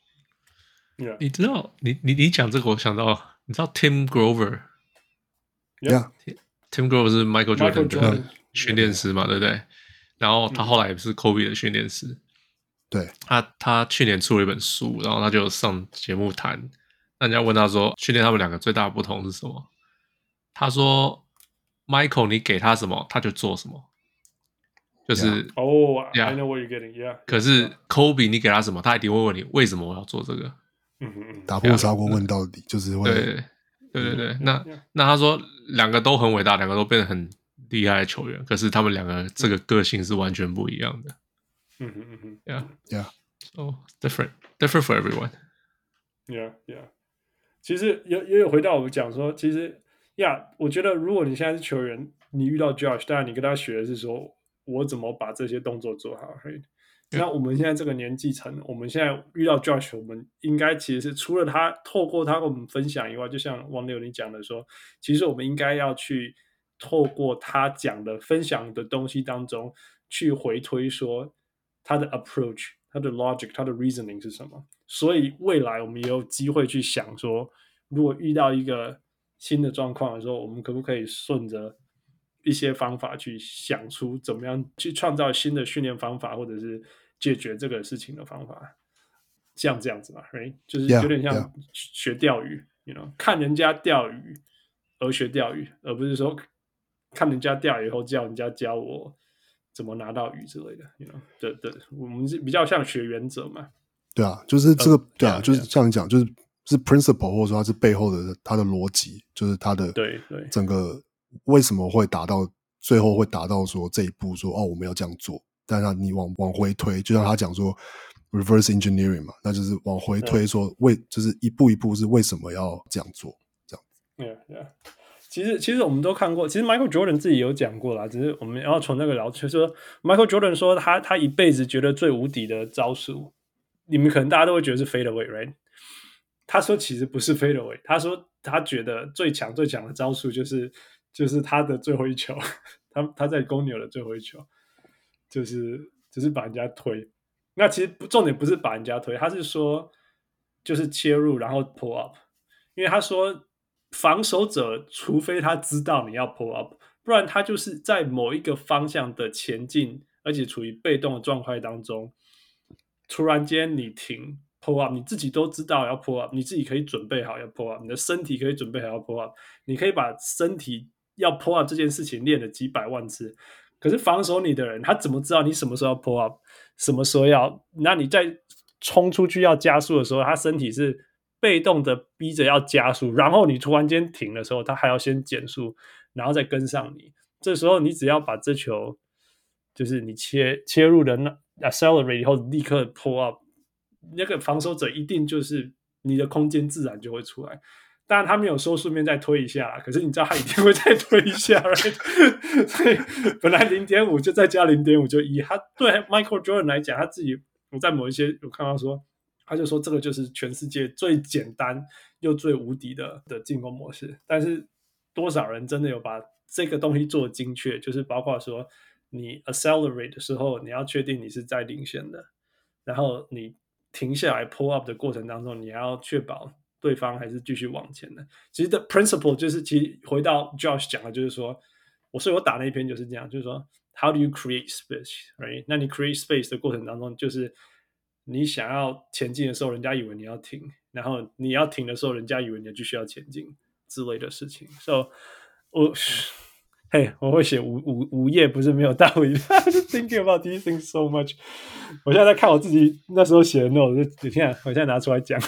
[SPEAKER 3] Yeah.
[SPEAKER 4] 你知道，你講這個，我想到，你知道 Tim Grover？Yeah，Tim Grover 是 Michael Jordan 的訓練師嘛，對不對？然後他後來也是 Kobe 的訓練師。
[SPEAKER 2] 對，
[SPEAKER 4] 他去年出了一本書，然後他就上節目談，那人家問他說，訓練他們兩個最大的不同是什麼？他說 ，Michael 你給他什麼，他就做什麼，就是
[SPEAKER 3] I know what you're getting. Yeah.
[SPEAKER 4] 可是 Kobe 你給他什麼，他一定會問你為什麼我要做這個。
[SPEAKER 2] 打破砂鍋問到底，就是會。
[SPEAKER 4] 對。那他說兩個都很偉大，兩個都变得很厲害的球員，可是他們两個這個個性是完全不一樣的。Yeah. So different for everyone.
[SPEAKER 3] Yeah. 其實也有回到我們講說，其實我覺得如果你現在是球員，你遇到 Josh， 當然你跟他學的是說我怎麼把这些動作做好。Right? 那我們現在這個年紀層，我們現在遇到 Josh， 我們應該其實是除了他透過他跟我們分享以外，就像王六你講的說，其實我們應該要去透過他講的分享的東西當中去回推說他的 approach、他的 logic、他的 reasoning 是什麼。所以未來我們也有機會去想說，如果遇到一個新的狀況的時候，我們可不可以順着一些方法去想出怎麼樣去創造新的訓練方法，或者是解決這個事情的方法，像這樣子嘛 ，right? 就是有點像學釣魚 you know? 看人家釣魚而學釣魚，而不是說看人家釣魚以後叫人家教我怎麼拿到魚之類的 you know? 對，我們是比較像學原則嘛。
[SPEAKER 2] 对啊，就是這個对啊，就是像你講，就是 principle 或者說它是背後的它的邏輯，就是它的
[SPEAKER 3] 對
[SPEAKER 2] 整個為什麼會達到最後會達到說這一步說我們要這樣做，但是你往回推，就像他講說 reverse engineering 嘛，那就是往回推說就是一步一步是為什麼要這樣做這樣。
[SPEAKER 3] Yeah. 其實我們都看過，其實 Michael Jordan 自己有講過啦，只是我們要從那個聊，就是說 Michael Jordan 說他一輩子覺得最無敵的招數，你們可能大家都會覺得是 fade away，right？ 他說其實不是 fade away， 他說他覺得最強的招數就是他的最後一球，他在公牛的最後一球，就是把人家推。那其實重點不是把人家推，他是說就是切入然後 pull up， 因為他說防守者除非他知道你要 pull up， 不然他就是在某一個方向的前進，而且處於被動的狀態當中，突然間你停 pull up， 你自己都知道要 pull up， 你自己可以準備好要 pull up， 你的身體可以準備好要 pull up， 你可以把身體要 pull up 這件事情練了幾百萬次，可是防守你的人他怎麼知道你什麼時候要 pull up， 什麼時候要，那你在衝出去要加速的時候，他身體是被動的逼着要加速，然後你突然間停的時候他還要先減速然後再跟上你，這時候你只要把這球就是你切入的 accelerate 以後立刻 pull up， 那個防守者一定就是你的空間自然就會出來，當然他沒有說順便再推一下，可是你知道他一定會再推一下right？ 所以本來 0.5 就再加 0.5 就1，他对 Michael Jordan 來講，他自己我在某一些有看到說，他就說這個就是全世界最簡單又最無敵的進攻模式，但是多少人真的有把這個東西做精確，就是包括說你 accelerate 的時候你要確定你是在領先的，然後你停下來 pull up 的過程當中你要確保對方還是繼續往前的。其實的 principle 就是其實回到 Josh 講的就是說，所以我打那一篇就是這樣，就是說 how do you create space right？ 那你 create space 的過程當中，就是你想要前進的時候人家以為你要停，然後你要停的時候人家以為你繼續要前進之類的事情。 So 我會寫五頁不是沒有道理I'm just thinking about these things so much。 我現在在看我自己那時候寫的 note， 我现在拿出來講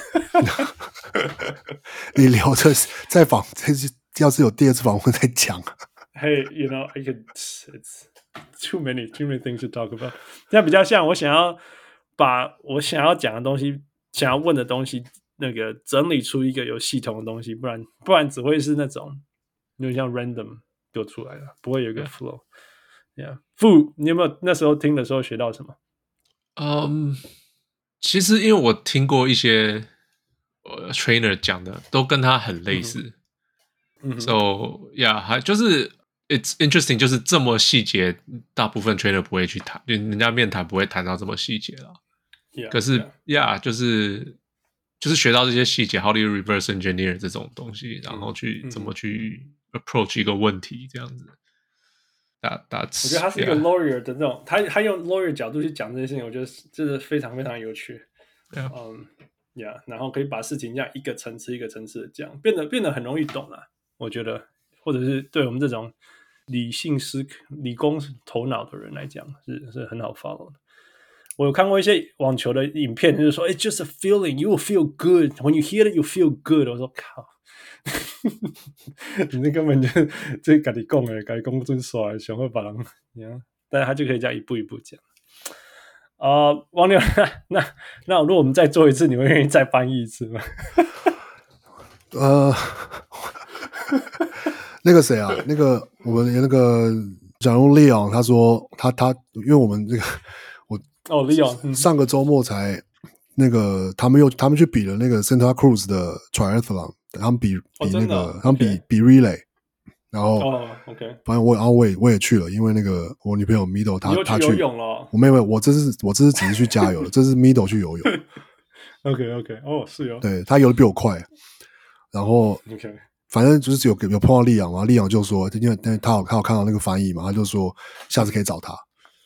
[SPEAKER 2] 你留着再訪，要是有第二次訪問再講。
[SPEAKER 3] Hey, you know, it's too many things to talk about。 現在比較像我想要把我想要講的東西想要問的東西那個整理出一個有系統的東西，不然只會是那種有點像 random 就出來了，不會有一個 flow。Yeah， Fu， 你有沒有那時候聽的時候學到什麼？
[SPEAKER 4] 其實因為我聽過一些 trainer 講的都跟他很類似。So yeah， 還就是 it's interesting， 就是這麼細節，大部分 trainer 不會去談，人家面談不會談到這麼細節啦。可是 yeah， 就是學到這些細節 ，how do you reverse engineer 這種東西，然後去怎麼去 approach 一個問題這樣子。
[SPEAKER 3] 我覺得他是一個 lawyer 的那種，他用 lawyer 角度去講這些事情，我覺得真的非常非常有趣。然後可以把事情這樣一個層次一個層次的講，變得很容易懂啦。我覺得，或者是對我們這種理工頭腦的人來講，是很好 follow 的。我有看過一些網球的影片，就是說 "It's just a feeling, you will feel good. When you hear it, you feel good." 我說靠，你那根本就這跟你講的，跟你講真帥，想會把人，但是他就可以這樣一步一步講。王牛，那如果我們再做一次，你會願意再翻譯一次嗎？
[SPEAKER 2] 那個誰啊，那個我們那個假如 Leon 他說他，因為我們這個
[SPEAKER 3] Leon
[SPEAKER 2] 上個周末才那個他們去比了那個 Santa Cruz 的 Triathlon， 他們比那個他们比 Relay， 然後
[SPEAKER 3] OK，
[SPEAKER 2] 反正我也去了，因為那個我女朋友 Mido 她去
[SPEAKER 3] 游泳了，
[SPEAKER 2] 我没有，我这是只是去加油了，這是 Mido 去游泳。
[SPEAKER 3] OK， 是哦，
[SPEAKER 2] 对，他游的比我快，然後
[SPEAKER 3] OK。反
[SPEAKER 2] 正就是有碰到利昂嘛，利昂就說，因為他有看到那個翻譯嘛，他就說下次可以找他。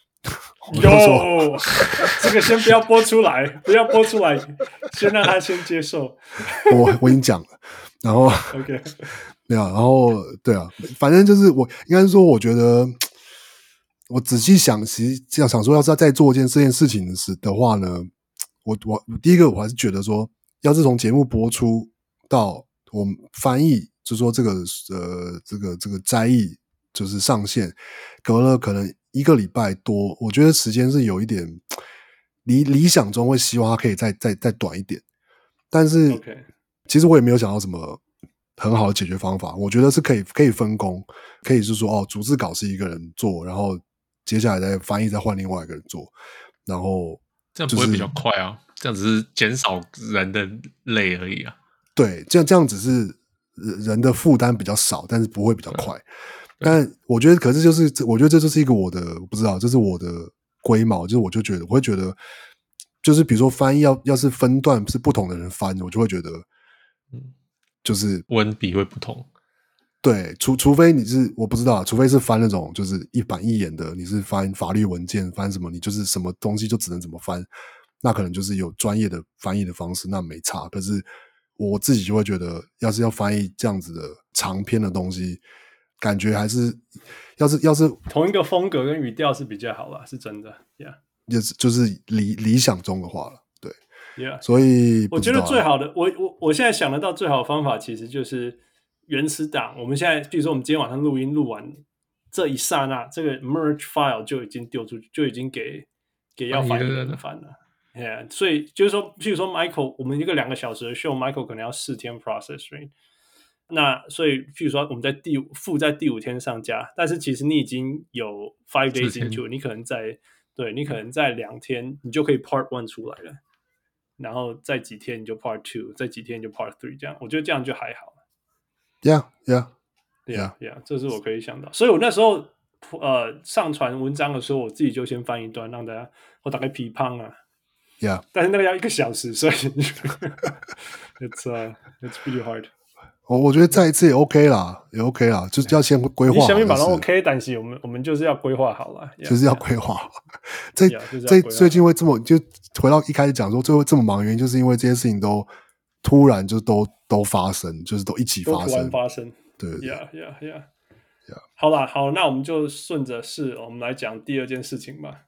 [SPEAKER 3] 這個先不要播出來，先讓他先接受。
[SPEAKER 2] 我已經講了，然後
[SPEAKER 3] OK，
[SPEAKER 2] 對啊，然後對啊，反正就是我應該是說，我覺得我仔細想，其實這樣想說，要是要再做這件事情的話呢，我第一個我還是覺得說，要是從節目播出到我們翻譯。就是說這個摘譯就是上線，隔了可能1個禮拜多，我覺得時間是有一點理想中會希望它可以再短一點，但是其實我也沒有想到什麼很好的解決方法。我覺得是可以分工，可以是說逐字稿是一個人做，然後接下來再翻譯再換另外一個人做，然後
[SPEAKER 4] 這樣不會比較快啊？這樣只是減少人的累而已啊。
[SPEAKER 2] 對，這樣只是。人的負擔比較少，但是不會比較快。但我覺得，可是我覺得這就是一個我不知道，這是我的龜毛，就是我會覺得，就是比如說翻譯要是分段是不同的人翻，我就會覺得，就是
[SPEAKER 4] 文筆會不同。
[SPEAKER 2] 對，除非你是我不知道，除非是翻那種就是一板一眼的，你是翻法律文件，翻什麼，你就是什麼東西就只能怎麼翻，那可能就是有專業的翻譯的方式，那沒差。可是。我自己就會覺得，要是要翻譯這樣子的長篇的東西，感覺還是要是
[SPEAKER 3] 同一個風格跟語調是比較好啦，是真的 ，Yeah，
[SPEAKER 2] 就是理想中的話了，對
[SPEAKER 3] ，Yeah，
[SPEAKER 2] 所以
[SPEAKER 3] 我覺得最好的，我現在想得到最好的方法，其實就是原始檔。我們現在，比如說我們今天晚上錄完這一剎那，這個 merge file 就已經丟出去，就已經給要翻譯的人翻了。Yeah， 所以就是說，譬如說 Michael， 我們一個2個小時的 show，Michael 可能要4天 process，right？ 那所以譬如說我們在第5天上架，但是其實你已經有5 days into， 你可能在2天你就可以 part 1出來了，然後再幾天你就 part 2，再幾天你就 part 3，這樣我覺得這樣就還好。
[SPEAKER 2] Yeah，
[SPEAKER 3] 這是我可以想到。所以我那時候上傳文章的時候，我自己就先翻一段，讓我大概批判啊。
[SPEAKER 2] Yeah，
[SPEAKER 3] 但是那個要1個小時，所以it's pretty hard。
[SPEAKER 2] 我覺得再一次也 OK 啦，就是要先規劃好。
[SPEAKER 3] 你想辦法 OK， 但是我們就是要規劃好了，
[SPEAKER 2] 就是要規劃好。最近會這麼就回到一開始講說，最後這麼忙的原因，就是因為這些事情都突然就都發生，就是都一起發生，
[SPEAKER 3] 都突然發生。對 ，Yeah。好啦，那我們就順着我們來講第2件事情吧。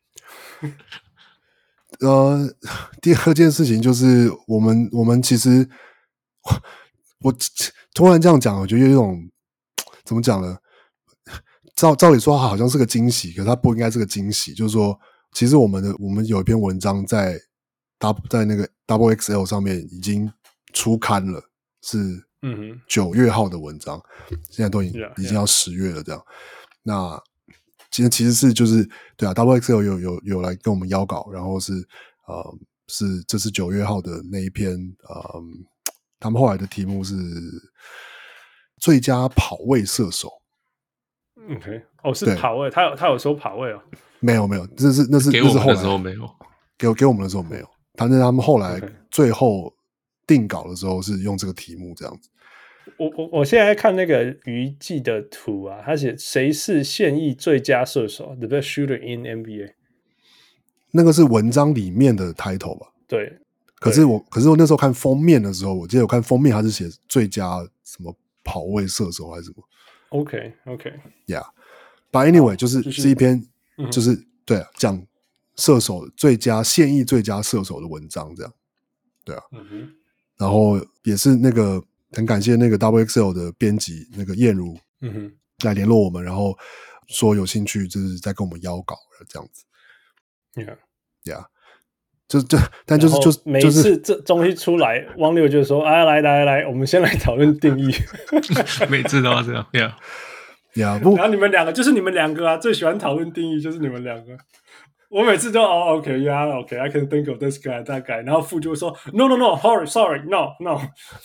[SPEAKER 2] 第2件事情就是我們其實我突然這樣講，我覺得有一種怎麼講呢？照理說它好像是個驚喜，可是它不應該是個驚喜。就是說，其實我們有一篇文章在那個 XXL 上面已經出刊了，是9月號的文章，現在都已經要10月了這樣。那其實是就是對啊 ，XXL 有來跟我們邀稿，然後是是這是9月號的那一篇，他們後來的題目是最佳跑位射手。
[SPEAKER 3] OK， 是跑位，他有说跑位哦？
[SPEAKER 2] 没有，那是
[SPEAKER 4] 给我们
[SPEAKER 2] 后来
[SPEAKER 4] 的时候没有，
[SPEAKER 2] 給我們的時候沒有。反正他們後來最後定稿的時候是用這個題目這樣子。
[SPEAKER 3] 我現在看那個魚季的圖啊，他寫誰是現役最佳射手 ，The best shooter in NBA。那
[SPEAKER 2] 個是文章裡面的 title 吧？
[SPEAKER 3] 對。
[SPEAKER 2] 可是我那時候看封面的時候，我記得我看封面他是寫最佳什麼跑位射手還是什麼。OK，Yeah，But anyway，是一篇就是对啊，講射手現役最佳射手的文章這樣，對啊。然後也是那個很感謝那個 WXL 的編輯那個燕如，來聯絡我們，然後說有興趣就是在跟我們邀稿這樣子。Yeah，但就是
[SPEAKER 3] 每一次這東西出來，汪六就說啊，來，我們先來討論定義。
[SPEAKER 4] 每次都要這樣 ，Yeah，
[SPEAKER 2] 然
[SPEAKER 3] 後你們兩個就是你們兩個啊，最喜歡討論定義就是你們兩個。我每次都OK，I can think of this guy that guy， 然後副就會說 No，sorry，no。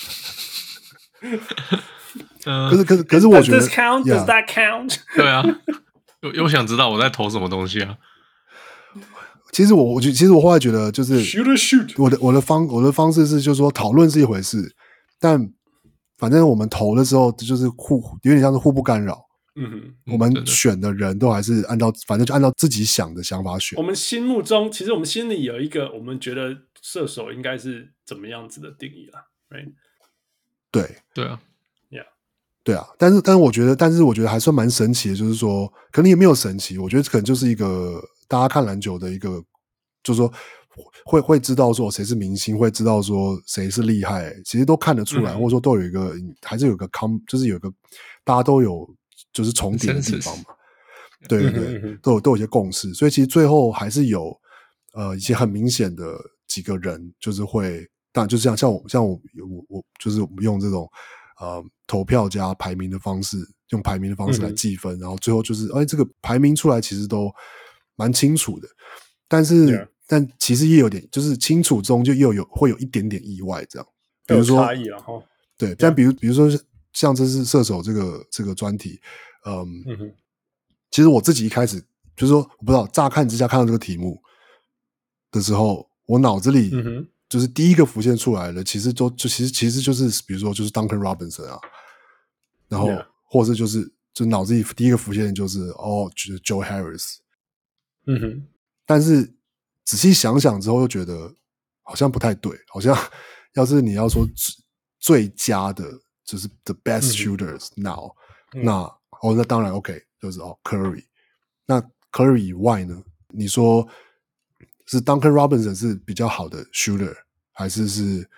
[SPEAKER 2] 可是我覺得
[SPEAKER 3] Does this count? Does that count?
[SPEAKER 4] 對啊，又想知道我在投什麼東西啊。
[SPEAKER 2] 其實我後來覺得就是
[SPEAKER 3] shoot，
[SPEAKER 2] 我的方式是就是說討論是一回事，但反正我們投的時候就是有點像是互不干擾。我們選的人都還是反正就按照自己想的想法選。
[SPEAKER 3] 我們心目中其實我們心裡有一個我們覺得射手應該是怎麼樣子的定義啦 ，right？
[SPEAKER 2] 對
[SPEAKER 4] 啊
[SPEAKER 3] ，Yeah，
[SPEAKER 2] 對啊，但是我覺得還算蠻神奇的，就是說可能也沒有神奇，我覺得可能就是一個大家看籃球的一個，就是說會知道說誰是明星，會知道說誰是厲害，其實都看得出來，或者說都有一個還是有個就是有一個大家都有就是重疊的地方嘛，對，都有一些共識，所以其實最後還是有一些很明顯的幾個人就是會，當然就像我就是我們用這種投票加排名的方式，用排名的方式來計分，然後最後就是這個排名出來其實都蠻清楚的，但其實也有點就是清楚中就會有一點點意外這樣，比如說
[SPEAKER 3] 有差異了齁，
[SPEAKER 2] 對，但比如說像這是射手這個專題，其實我自己一開始就是說我不知道，乍看之下看到這個題目的時候，我腦子裡就是第一個浮現出來的，其實就是比如說就是 Duncan Robinson 啊，然後或者就腦子裡第一個浮現的就是Joe Harris，但是仔細想想之後又覺得好像不太對，好像要是你要說最佳的就是 the best shooters now，那當然 OK， 就是Curry， 那 Curry 以外呢，你說是 Duncan Robinson 是比較好的 shooter， 還是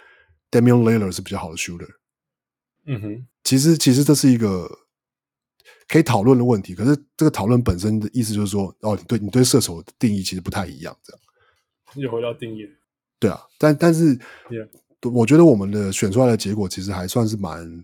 [SPEAKER 2] Damian Lillard 是比較好的 shooter？ 其實這是一個可以討論的問題，可是這個討論本身的意思就是說，你對射手的定義其實不太一樣，這樣。
[SPEAKER 3] 又回到定義。
[SPEAKER 2] 對啊，但是我覺得我們的選出來的結果其實還算是蠻，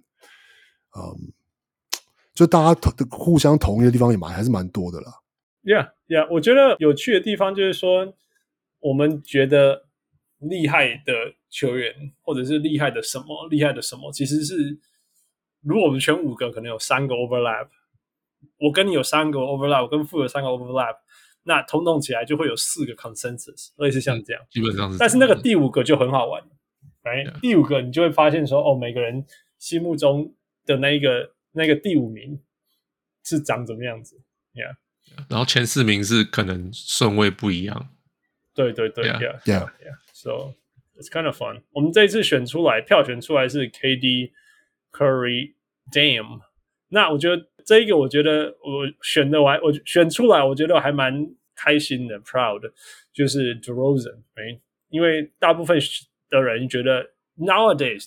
[SPEAKER 2] 就大家互相同意的地方也還是蠻多的啦。
[SPEAKER 3] Yeah， 我覺得有趣的地方就是說，我們覺得厲害的球員，或者是厲害的什麼，其實是如果我們選5個，可能有3個 overlap。我跟你有3個 overlap， 我跟富有3個 overlap， 那統統起來就會有4個 consensus， 類似像這樣。
[SPEAKER 4] 基本上是。
[SPEAKER 3] 但是那個第5個就很好玩，right？ 第5個你就會發現說，每個人心目中的那個第5名是長怎麼樣子 ，Yeah。
[SPEAKER 4] 然後前4名是可能順位不一樣。
[SPEAKER 3] 對 ，Yeah。So it's kind of fun。我們這一次票選出來是 KD、Curry、Dame。那我覺得這一個，我覺得我選出來，我覺得我還蠻開心的 ，proud， 就是 DeRozan， 因為大部分的人覺得 nowadays，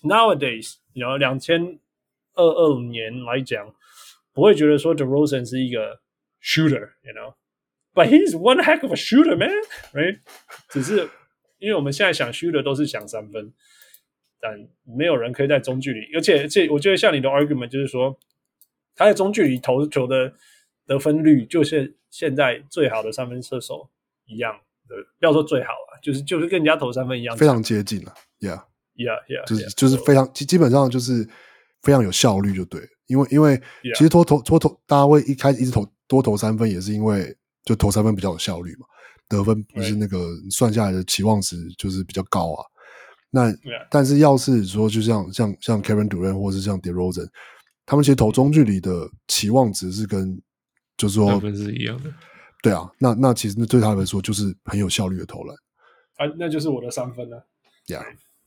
[SPEAKER 3] 2022年來講，不會覺得說 DeRozan 是一個 shooter，but he's one heck of a shooter, man， right？ 只是因為我們現在想 shooter 都是想3分，但沒有人可以在中距離，而且我覺得像你的 argument 就是說，他在中距離投球的得分率就是現在最好的3分射手一樣， 不要說最好了，就是跟人家投三分一樣，
[SPEAKER 2] 非常接近了
[SPEAKER 3] ，Yeah，
[SPEAKER 2] 就是非常基本上就是非常有效率就对了，因为其實大家会一開始一直多投三分，也是因為就投三分比較有效率嘛，得分不是那個算下來的期望值就是比較高啊。那但是要是說就像 Kevin Durant 或是像 DeRozan， 他們其實投中距離的期望值是跟就是說
[SPEAKER 4] 三分是一樣的。
[SPEAKER 2] 對啊，那其實對他來說就是很有效率的投籃
[SPEAKER 3] 啊，那就是我的三分了。
[SPEAKER 2] Yeah，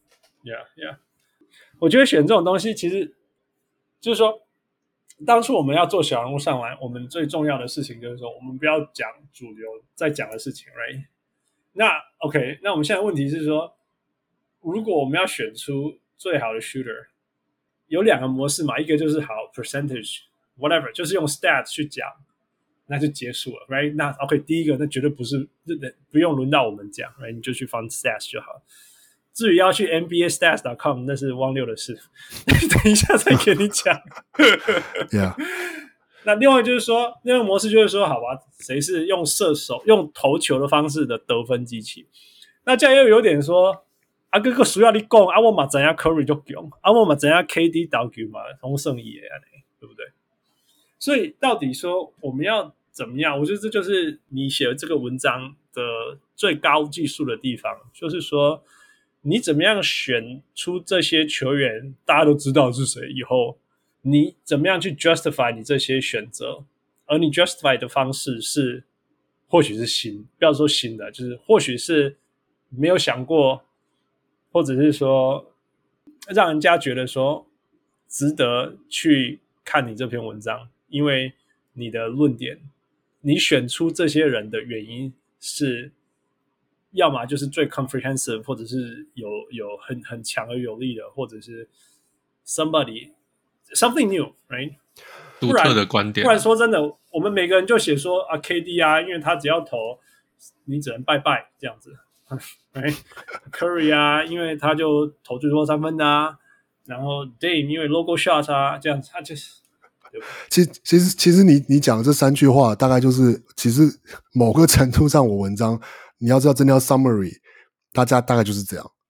[SPEAKER 3] 我覺得選這種東西其實就是說，當初我們要做小人物上籃，我們最重要的事情就是說，我們不要講主流在講的事情 ，right？ 那 OK， 那我們現在問題是說，如果我們要選出最好的 shooter， 有兩個模式嘛，一個就是好 percentage whatever， 就是用 stats 去講。那就結束了 ，right？ 那 OK， 第一個那絕对不用輪到我們講 ，right？ 你就去放 stats 就好。至於要去 NBAstats.com， 那是汪六的事，等一下再給你講。
[SPEAKER 2] Yeah。
[SPEAKER 3] 那另外就是說，那個模式就是說，好吧，誰是用射手、用投球的方式的得分機器？那這樣又有點說，啊，這個需要你講，啊，我嘛怎樣 Curry 就強，啊，我嘛怎樣 KD 投球嘛，同勝也對不对？所以到底說我們要怎麼樣？我覺得這就是你寫的這個文章的最高技術的地方，就是說你怎麼樣選出這些球員，大家都知道是誰以後，你怎麼樣去 justify 你這些選擇，而你 justify 的方式是或許是新，不要說新的，就是或許是沒有想過，或者是說讓人家覺得說值得去看你這篇文章，因為你的論點，你選出這些人的原因是，要麼就是最 comprehensive， 或者是有很強而有力的，或者是 something new，right？
[SPEAKER 4] 獨特的觀點。
[SPEAKER 3] 不然說真的，我們每個人就寫說啊 KD 啊，因為他只要投，你只能拜拜這樣子。Curry 啊，因為他就投最多三分的啊，然後 Dame 因為 logo shot 啊，這樣子他就是。
[SPEAKER 2] 其實你講的這三句話，大概就是其實某個程度上，我文章你要知道，真的要 summary， 大家大概就是這樣。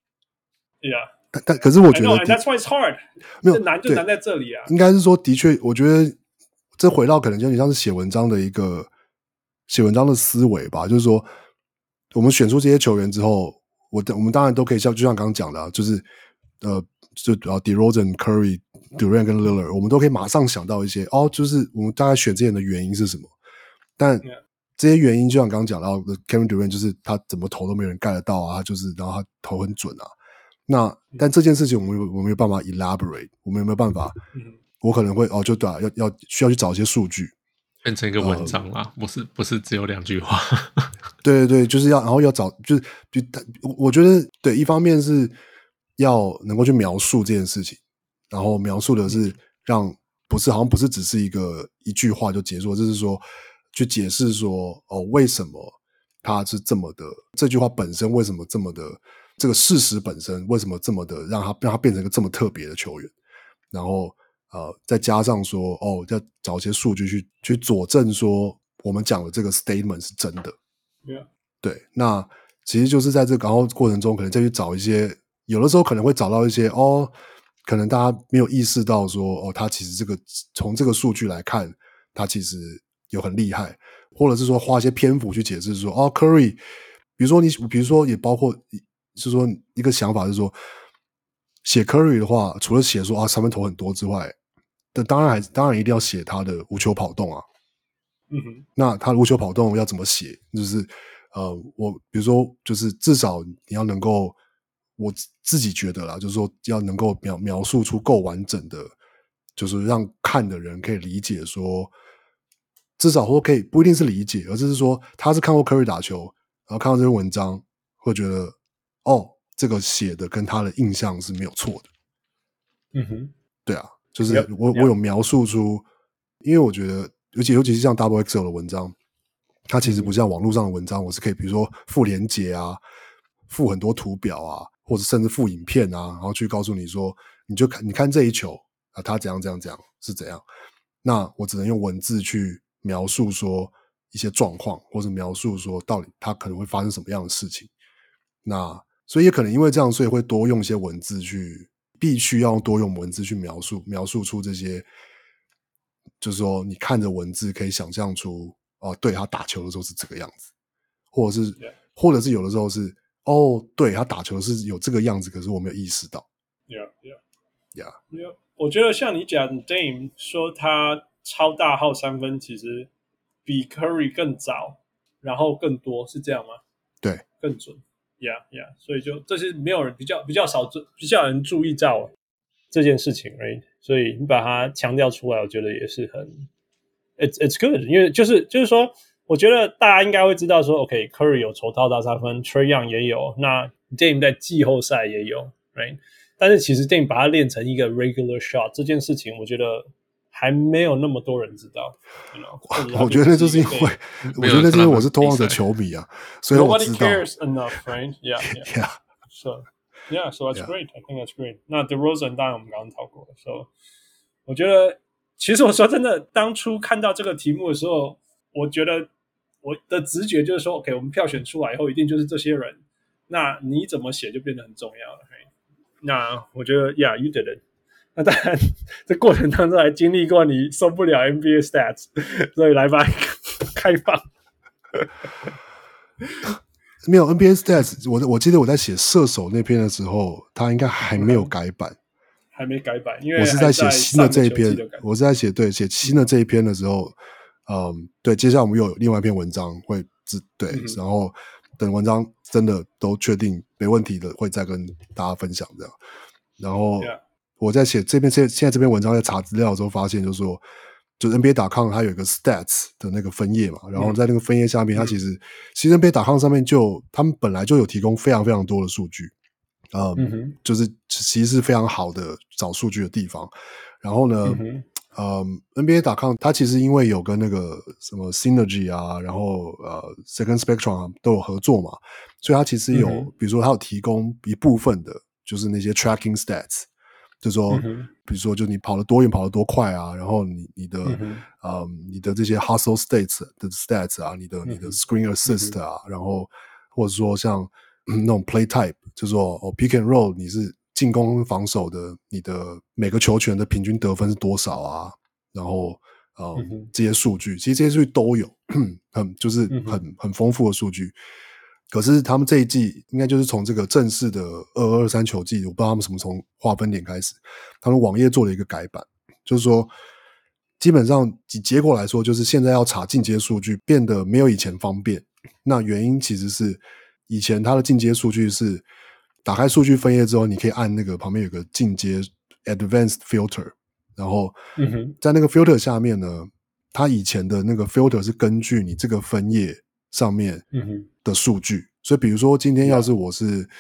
[SPEAKER 3] Yeah，
[SPEAKER 2] 但可是我覺得
[SPEAKER 3] that's why it's hard，
[SPEAKER 2] 沒有
[SPEAKER 3] 難就難在這裡啊。
[SPEAKER 2] 應該是說，的確，我覺得這回到可能就有點像是寫文章的思維吧，就是說，我們選出這些球員之後，我們當然都可以就像剛剛講的，就是就DeRozan、Curry、Durant 跟 Lillard， 我們都可以馬上想到一些就是我們大概選這些人的原因是什麼。但這些原因就像剛剛講到的 Kevin Durant， 就是他怎麼投都沒有人蓋得到啊，然後他投很準啊。但這件事情我們沒有辦法 elaborate， 我們有沒有辦法？我可能會就對啊，需要去找一些數據，
[SPEAKER 4] 變成一個文章啦，不是只有2句話。
[SPEAKER 2] 對，就是然後要找，我覺得對，一方面是要能夠去描述這件事情，然後描述的是好像不是只是一句話就結束，就是說去解釋說為什麼他是這麼的，這句話本身為什麼這麼的，這個事實本身為什麼這麼的讓他變成一個這麼特別的球員，然後再加上說要找一些數據去佐證說我們講的這個 statement 是真的。
[SPEAKER 3] Yeah.
[SPEAKER 2] 對，那其實就是在這個然後過程中，可能再去找一些，有的時候可能會找到一些可能大家沒有意識到說他其實從這個數據來看，他其實有很厲害，或者是說花一些篇幅去解釋說Curry， 比如說也包括就是說一個想法是說，寫 Curry 的話，除了寫說三分投很多之外，但當然一定要寫他的無球跑動啊。那他的無球跑動要怎麼寫？就是我比如說，就是至少你要能夠，我自己覺得啦，就是說要能夠描述出夠完整的，就是讓看的人可以理解說，至少說可以不一定是理解，而是說他是看過 Curry 打球，然後看到這篇文章，會覺得這個寫的跟他的印象是沒有錯的。對啊，就是我有描述出，因為我覺得。尤其是像 XXL 的文章，它其實不像網絡上的文章，我是可以比如說附連結啊，附很多圖表啊，或者甚至附影片啊，然後去告訴你說，你看這一球啊，它怎樣是怎樣。那我只能用文字去描述說， 一些狀況，或者描述說到底它可能會發生什麼樣的事情。那所以也可能因為這樣，所以會多用一些文字去，必須要多用文字去描述出這些，就是說你看着文字可以想象出對，他打球的時候是這個樣子，或者是有的時候是對，他打球是有這個樣子，可是我沒有意識到。
[SPEAKER 3] Yeah. 我覺得像你講 Dame 說他超大號三分，其實比 Curry 更早，然後更多，是這樣嗎？
[SPEAKER 2] 對，
[SPEAKER 3] 更準。Yeah. 所以就这是没有人比較少人注意到這件事情 ，right？ 所以你把它強調出來，我覺得也是很 it's good， 因為就是說，我覺得大家應該會知道說 ，OK，Curry 有投大三分 ，Trae Young 也有，那 Dame 在季後賽也有 ，right？ 但是其實 Dame 把它練成一個 regular shot 這件事情，我覺得還沒有那麼多人知道。
[SPEAKER 2] 我覺得就是因為，我覺得那是因為我是拓荒者球迷啊，所以我知道。
[SPEAKER 3] Nobody cares enough, right? Yeah. So that's great. I think that's great. 那 DeRozan 當然我們剛剛討過了 ，So 我覺得，其實我說真的，當初看到這個題目的時候，我覺得我的直覺就是說 ，OK， 我們票選出來以後，一定就是這些人。那你怎麼寫就變得很重要了。Right? 那我覺得 ，Yeah, you did it. 那當然，這過程當中還經歷過你受不了 NBA stats， 所以來吧，開放。
[SPEAKER 2] 沒有 NBA stats， 我記得我在寫射手那篇的時候，他應該還沒有改版，
[SPEAKER 3] 還沒改版，因為
[SPEAKER 2] 我是在寫新的這一篇，我是在寫新的這一篇的時候，對，接下來我們又有另外一篇文章會對，然後等文章真的都確定沒問題的，會再跟大家分享這樣。然後我在寫這篇現在這篇文章在查資料的時候發現，就是說，就是 NBA.com 它有一個 stats 的那個分頁嘛，然後在那個分頁下面，它其實 NBA.com 上面他們本來就有提供非常非常多的數據，就是其實是非常好的找數據的地方。然後呢，NBA.com 它其實因為有跟那個什麼 Synergy 啊，然後Second Spectrum 啊都有合作嘛，所以它其實有，比如說它有提供一部分的，就是那些 tracking stats。就是說，比如說，就你跑得多遠，跑得多快啊，然後你的這些 hustle states 的 stats 啊，你的 screen assist 啊，然後或者說像那種 play type，就是說pick and roll， 你是進攻防守的，你的每個球權的平均得分是多少啊？然後這些數據，其實這些數據都有，就是很豐富的數據。可是他們這一季應該就是從這個正式的22-23球季，我不知道他們什麼從劃分點開始，他們網頁做了一個改版，就是說基本上以結果來說，就是現在要查進階數據變得沒有以前方便。那原因其實是以前它的進階數据是打開數據分頁之後，你可以按那個旁邊有個進階 Advanced Filter， 然後在那個 filter 下面呢，它以前的那個 filter 是根據你這個分頁上面的數據，所以比如說今天要是我是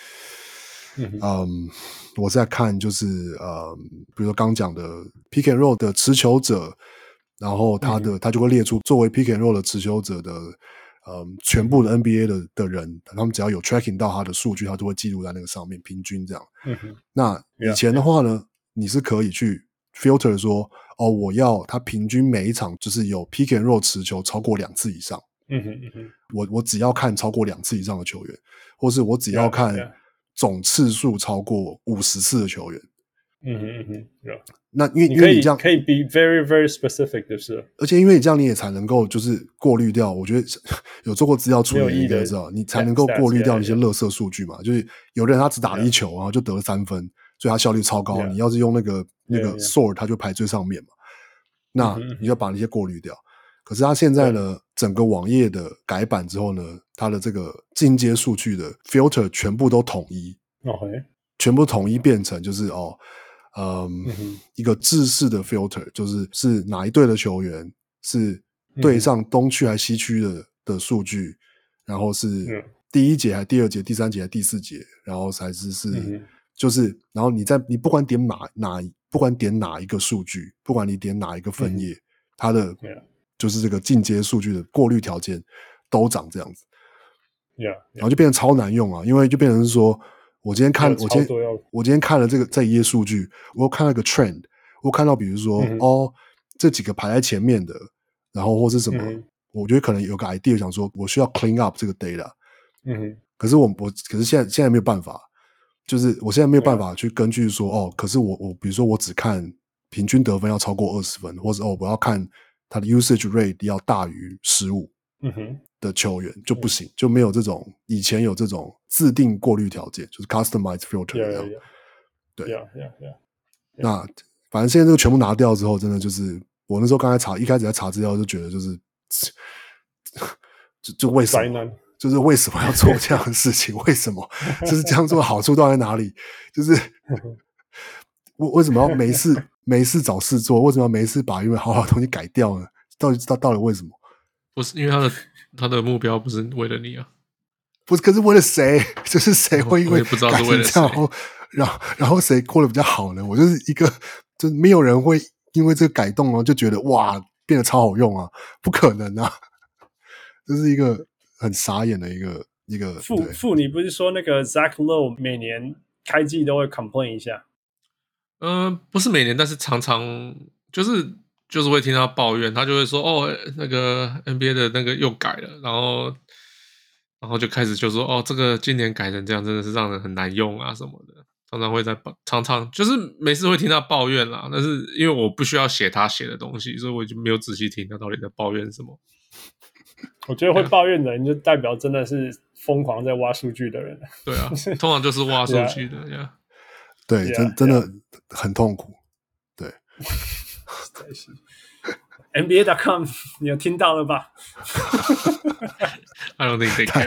[SPEAKER 2] 我在看就是比如說剛講的 pick and roll 的持球者，然後他就会列出作為 pick and roll 的持球者的全部的 NBA 的人，他們只要有 tracking 到他的數據，他都會記錄在那個上面，平均這樣。那以前的話呢，你是可以去 filter 說我要他平均每一場就是有 pick and roll 持球超過2次以上。我只要看超過2次以上的球員，或是我只要看總次數超過50次的球員。那因为你這樣
[SPEAKER 3] 可以 be very very specific 就是了，
[SPEAKER 2] 而且因为你這樣你也才能夠就是過濾掉，我覺得有做過資料處理你應該知道，你才能夠過濾掉那些垃圾數據嘛。就是有的人他只打了1球，然後就得了3分，所以他效率超高。你要是用那個 sort， 他就排最上面嘛。那你就把那些過濾掉。可是他現在呢，整個網頁的改版之後呢，他的這個進階數據的 filter 全部都統一，全部統一變成就是一個制式的 filter， 就是哪一隊的球員是對上東區還西區的數據，然後是第1節還第2節、第3節還第4節，然後才是就是然後你不管點不管點哪一個數據，不管你點哪一個分頁，它的就是這個進階數據的過濾條件都長這樣子，然後就變成超難用啊，因為就變成是說，我今天看了這一頁數據，我又看到一個 trend， 我看到比如說這幾個排在前面的，然後或是什麼我覺得可能有個 idea 想說，我需要 clean up 這個 data。可是可是現在沒有辦法，就是我現在沒有办法去根據說可是我比如說我只看平均得分要超過20分，或者我要看他的 usage rate 要大於15的球員就不行，就沒有這種以前有這種自定過濾條件，就是 customized filter 這樣。對，那反正現在這個全部拿掉之後，真的就是我那時候一開始在查資料就覺得就是就為什麼？就是為什麼要做這樣的事情？為什麼？就是這樣做的好處到底在哪裡？就是為什麼要沒事找事做？為什麼要沒事把因為好的東西改掉呢？到底為什麼？
[SPEAKER 4] 不是因为他的目標不是為了你啊？
[SPEAKER 2] 不是，可是為了誰？就是誰會因為
[SPEAKER 4] 不知道是為了誰，
[SPEAKER 2] 然後誰過得比較好呢？我就是就是沒有人會因為這個改動就覺得哇變得超好用啊，不可能啊！這是一個很傻眼的一個
[SPEAKER 3] 你不是說那個 Zach Lowe 每年開季都會 complain 一下？
[SPEAKER 4] 不是每年，但是常常就是會聽他抱怨，他就會說那個 NBA 的那個又改了，然後就開始就說這個今年改成這樣真的是讓人很難用啊什麼的，常常就是每次會聽他抱怨啦，但是因為我不需要寫他寫的東西，所以我就沒有仔細聽他到底在抱怨什麼。
[SPEAKER 3] 我覺得會抱怨的人就代表真的是瘋狂在挖數據的人。
[SPEAKER 4] 對啊，通常就是挖数據的呀。
[SPEAKER 2] 对，真的很痛苦。对
[SPEAKER 3] ，NBA.com 你有聽到了吧
[SPEAKER 4] ？I don't think they care 。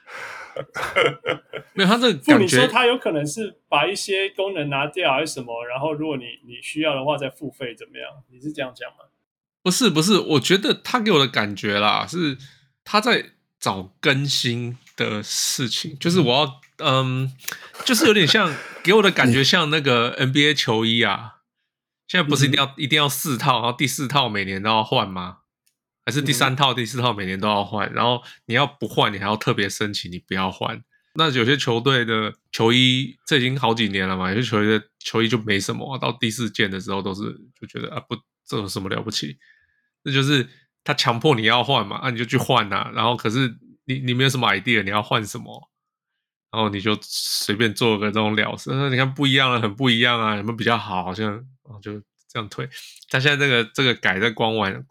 [SPEAKER 4] 沒有，他這個感覺，
[SPEAKER 3] 你說他有可能是把一些功能拿掉還是什麼，然後如果你需要的話再付費怎麼樣？你是這樣講嗎？
[SPEAKER 4] 不是，我覺得他給我的感覺啦，是他在找更新的事情，就是我要就是有點像給我的感覺像那個 NBA 球衣啊，現在不是一定要4套，然後第4套每年都要換嗎？還是第3套、第4套每年都要換？然後你要不換，你還要特別申請你不要換。那有些球隊的球衣，這已經好幾年了嘛，有些球隊的球衣就沒什麼，到第4件的時候都是就覺得不，這有什麼了不起？這就是他強迫你要換嘛，你就去換啊。然後可是你沒有什麼 idea，你要換什麼？然後你就隨便做個這種了事。你看不一樣了，很不一樣啊，有沒有比較好？好像就這樣推。他現在這個改在官網，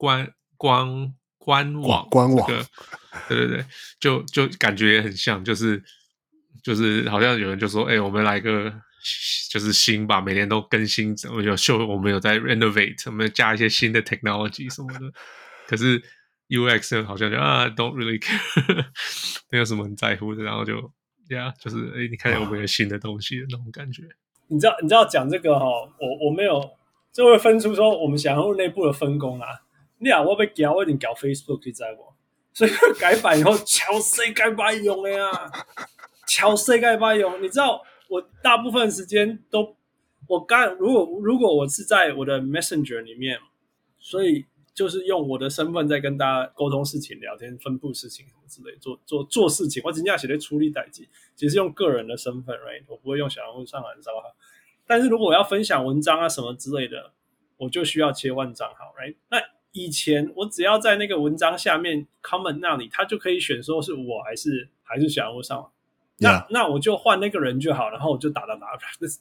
[SPEAKER 4] 對，就感覺也很像，就是好像有人就說，我們來個就是新吧，每年都更新，我們有在 renovate， 我們加一些新的 technology 什麼的。可是 UX 好像就don't really care， 沒有什麼很在乎的，然後就是你看有沒有新的東西的那種感覺。
[SPEAKER 3] 你知道講這個我沒有，就會分出說我們想要內部的分工啊。我被搞，我一定搞 Facebook， 你知道不？所以改版以後，超誰該把用的呀？超誰該把用？你知道，我大部分時間都，如果我是在我的 Messenger 裡面，所以就是用我的身份在跟大家溝通事情、聊天、分布事情什麼之類，做事情。我真正寫在處理代誌，其實用個人的身份 ，right？ 我不會用小人物上來賬號。但是如果我要分享文章啊什麼之類的，我就需要切換賬號 ，right？ 那以前我只要在那個文章下面 comment 那裡，他就可以選說是我還是小人物上網。那我就換那個人就好，然後我就打 ，it's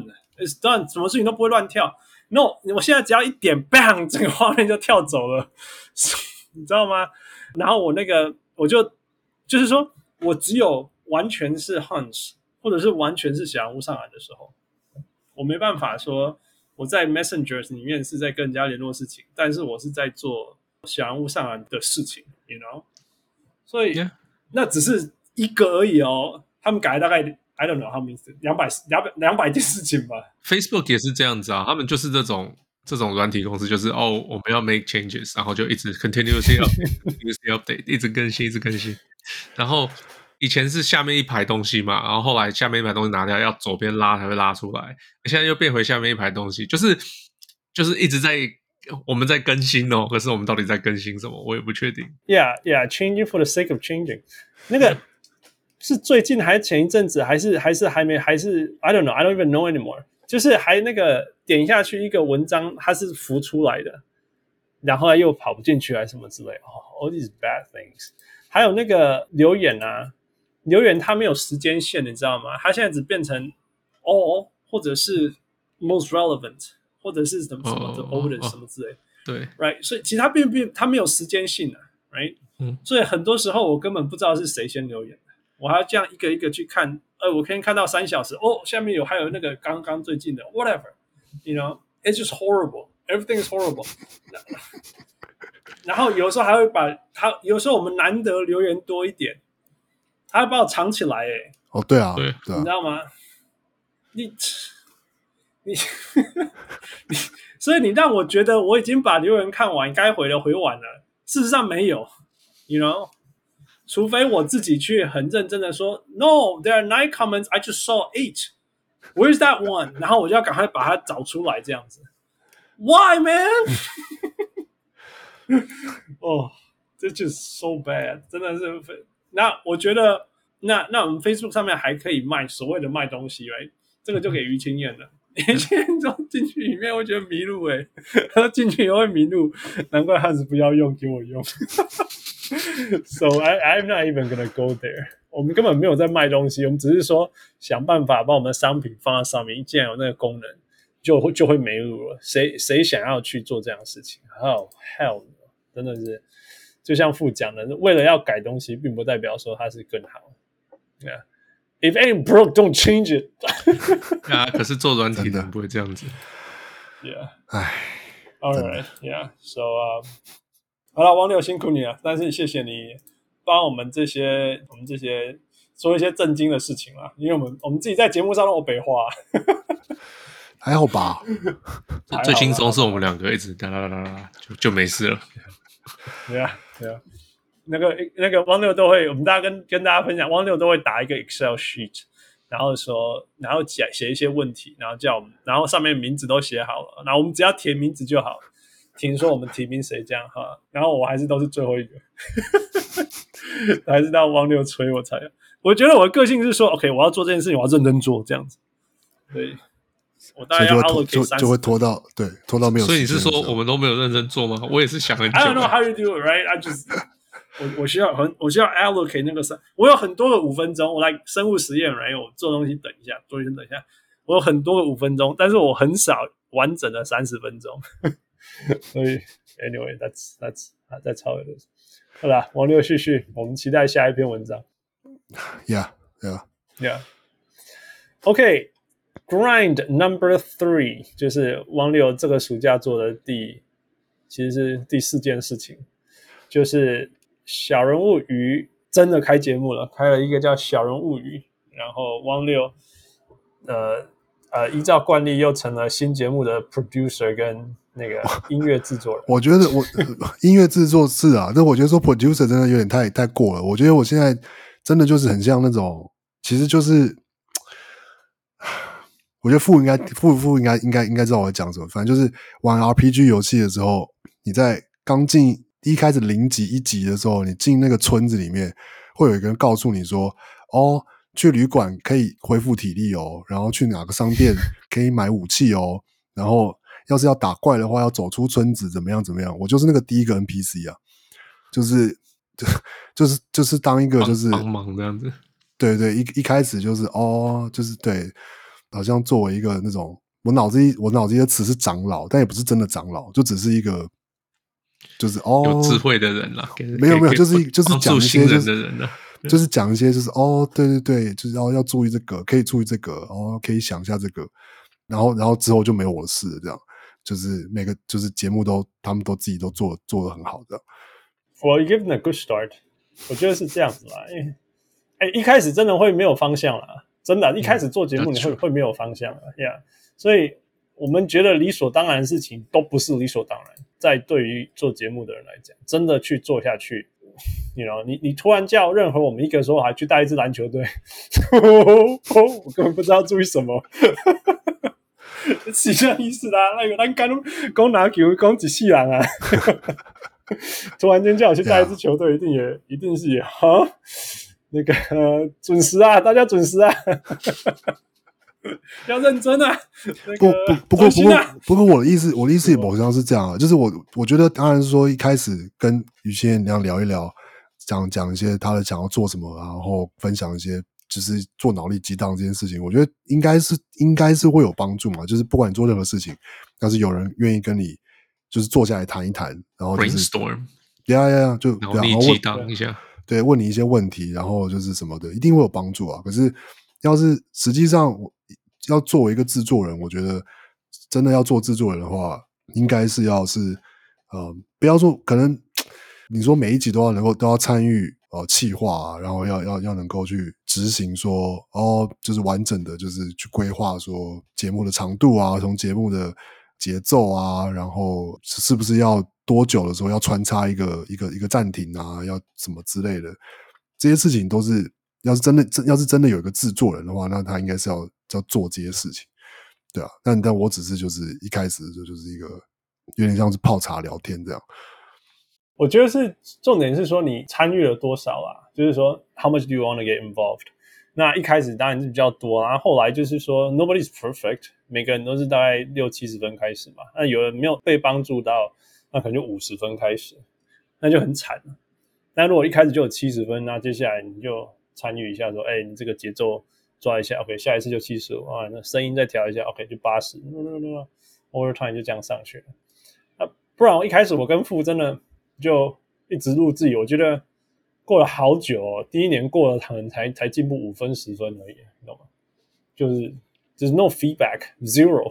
[SPEAKER 3] done，什麼事情都不會亂跳。No， 我現在只要一點 bang， 整個畫面就跳走了，你知道嗎？然後我就是說我只有完全是 hunch， 或者是完全是小人物上來的時候，我沒辦法說。我在 Messenger 裡面是在跟人家聯絡事情，但是我是在做小人物上來的事情 ，you know， 所以那只是一個而已哦。他們改大概 I don't know how many 200件事情吧。
[SPEAKER 4] Facebook 也是這樣子啊，他們就是這種軟體公司，就是我們要 make changes， 然後就一直 continuously update， 一直更新，然後。以前是下面一排東西嘛，然後後來下面一排東西拿掉，要左邊拉才會拉出來。現在又變回下面一排東西，就是一直我們在更新哦。可是我們到底在更新什麼，我也不確定。
[SPEAKER 3] Yeah, changing for the sake of changing。那個是最近還是前一陣子，還是還沒，還是 I don't know, I don't even know anymore。就是還那個點下去一個文章，它是浮出來的， 然後又跑不進去還是什麼之類，all these bad things。還有那個留言啊，留言它沒有時間線，你知道嗎？它現在只變成 all 或者是 most relevant 或者是什麼什麼的 oldest 什麼之類的，
[SPEAKER 4] 對
[SPEAKER 3] ，right， 所以其實它沒有時間性啊 ，right，所以很多時候我根本不知道是誰先留言的，我還要這樣一個一個去看，我可以看到3小時，下面還有那個剛剛最近的 whatever，you know，it's just horrible，everything is horrible 。然後有時候還會有時候我們難得留言多一點，他會把我藏起來，
[SPEAKER 2] 對啊，
[SPEAKER 4] 对，
[SPEAKER 3] 你知道嗎？你所以你讓我覺得我已經把留言看完，該回的回完了，事實上沒有 ，you know， 除非我自己去很認真的說 ，No, there are 9 comments, I just saw 8. Where's that one？ 然後我就要趕快把它找出來，這樣子。Why, man？ 這就是 so bad， 真的是。那我覺得，那我們 Facebook 上面還可以賣所謂的賣東西， right？ 這個就給於清燕了。於清燕就進去裡面會覺得迷路，他進去也會迷路，難怪漢斯不要用，給我用。So I'm not even gonna go there。我們根本沒有在賣東西，我們只是說想辦法把我們的商品放在上面，既然有那個功能，就會沒路了。誰想要去做這樣的事情 ？Oh hell！真的是，就像父講的，為了要改東西，並不代表說它是更好。Yeah. If ain't broke, don't change it.
[SPEAKER 4] 可是做軟體的人不會這樣子。
[SPEAKER 3] Yeah.
[SPEAKER 2] 唉
[SPEAKER 3] All right. Yeah. So, 好了，王六辛苦你了，但是謝謝你幫我們這些說一些正經的事情啦，因為我們自己在節目上都有北話。
[SPEAKER 2] 還好吧？
[SPEAKER 4] 最輕鬆是我們兩個一直噠啦啦啦就沒事了。
[SPEAKER 3] 對啊，那個汪六都會，我們大家跟大家分享，汪六都會打一個 Excel sheet， 然後寫一些問題，然後叫我們，然後上面名字都寫好了，然後我們只要填名字就好，聽說我們提名誰這樣哈，然後我還是都是最後一個，還是到汪六催我才，我覺得我的個性是說 ，OK， 我要做這件事情，我要認真做這樣子，對。我大概要 allocate
[SPEAKER 2] 就會拖到沒有時間。
[SPEAKER 4] 所以你是說我們都沒有認真做嗎？我也是想很久。
[SPEAKER 3] I don't know how you do it, right? I just 我需要 allocate 那個我有很多個5分鐘，我來生物實驗 right？ 我做東西等一下，做东西等一下，我有很多個5分鐘，但是我很少完整的30分鐘。所以 anyway, that's how it is. 好啦，王六繼續，我們期待下一篇文章。
[SPEAKER 2] Yeah.
[SPEAKER 3] Okay.Grind number 3就是汪六這個暑假做的其實是第4件事情，就是小人物魚真的開節目了，開了一個叫小人物魚，然後汪六依照慣例又成了新節目的 producer 跟那個音樂製作人。
[SPEAKER 2] 我覺得音樂製作是啊，但我覺得說 producer 真的有點太過了。我覺得我現在真的就是很像那種，其實就是。我覺得父應該知道我在講什麼。反正就是玩 RPG 遊戲的時候，你在剛進一開始0級1級的時候，你進那個村子裡面，會有一個人告訴你說：“去旅館可以恢復體力哦，然後去哪個商店可以買武器哦，然後要是要打怪的話，要走出村子，怎麼樣。”我就是那個第一個 NPC 啊，就是當一個就是
[SPEAKER 4] 幫忙這樣子。
[SPEAKER 2] 對，一開始就是就是對。好像作為一個那種，我腦子裡的詞是長老，但也不是真的長老，就只是一個，就是
[SPEAKER 4] 有智慧的人啦。
[SPEAKER 2] 沒有，就是講一些
[SPEAKER 4] 人的人啦，
[SPEAKER 2] 就是講一些就是對，就是要注意這個，可以注意這個，可以想一下這個，然後之後就沒有我的事了，這樣就是每個就是節目他們都自己都做得很好的。
[SPEAKER 3] Well, you give them a good start， 我覺得是這樣子啦，一開始真的會沒有方向啦。真的，一開始做節目你會沒有方向的 ，Yeah， 所以我們覺得理所當然的事情都不是理所當然。在對於做節目的人來講，真的去做下去 ，you know， 你突然叫任何我們一個說還去帶一支籃球隊，我根本不知道注意什麼，是這樣意思啦。那個咱講籃球講一世人啊，突然間叫我去帶一支球隊，一定是哈。那個準時啊，大家準時啊！ 要認真啊！
[SPEAKER 2] 不過我的意思也某程度上是這樣啊，就是我覺得當然是說一開始跟於先生那樣聊一聊，講一些他的想要做什麼，然後分享一些就是做腦力激盪這件事情，我覺得應該是會有幫助嘛。就是不管你做任何事情，要是有人願意跟你就是坐下來談一談，然後就是
[SPEAKER 4] brainstorm，
[SPEAKER 2] 就
[SPEAKER 4] 腦力激盪一下，
[SPEAKER 2] 對，問你一些問題，然後就是什麼的，一定会有幫助啊。可是要是實際上要作為一個制作人，我覺得真的要做制作人的話，應該是要是不要說可能你說每一集都要參與企劃啊，然後要能夠去執行說就是完整的就是去規劃說節目的長度啊，從節目的節奏啊，然後是不是要多久的時候要穿插一個暫停啊，要什麼之類的，這些事情都是要是真的有一個制作人的話，那他應該是要做這些事情，对啊。但我只是就是一開始就是一个有點像是泡茶聊天這樣。
[SPEAKER 3] 我覺得是重點是說你參與了多少啊，就是說 how much do you want to get involved？ 那一開始當然是比較多，然後後來就是說 nobody's perfect， 每個人都是大概60-70分開始嘛，那有人沒有被幫助到，那可能就50分開始，那就很慘了。那如果一開始就有70分，那接下來你就參與一下說你這個節奏抓一下 OK， 下一次就75啊，那聲音再調一下 OK 就80 over time 就這樣上去了。不然我一開始我跟父真的就一直錄自己，我覺得過了好久第一年過了可能才進步5分10分而已，你懂嗎？就是 no feedback zero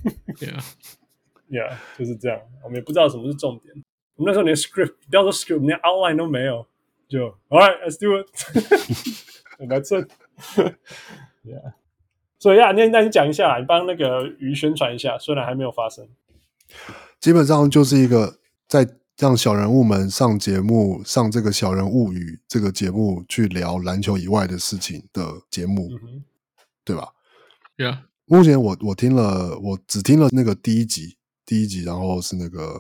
[SPEAKER 3] yeah 就是這樣，我們也不知道什麼是重點，我們那時候連 script 不要說 script 連 outline 都沒有，就 alright let's do it that's it yeah 所以那你講一下，你幫那個魚宣傳一下，雖然還沒有發生，
[SPEAKER 2] 基本上就是一個在讓小人物們上節目，上這個小人物語這個節目去聊籃球以外的事情的節目，對吧？
[SPEAKER 4] Yeah。
[SPEAKER 2] 目前我只聽了那個第一集，然後是那個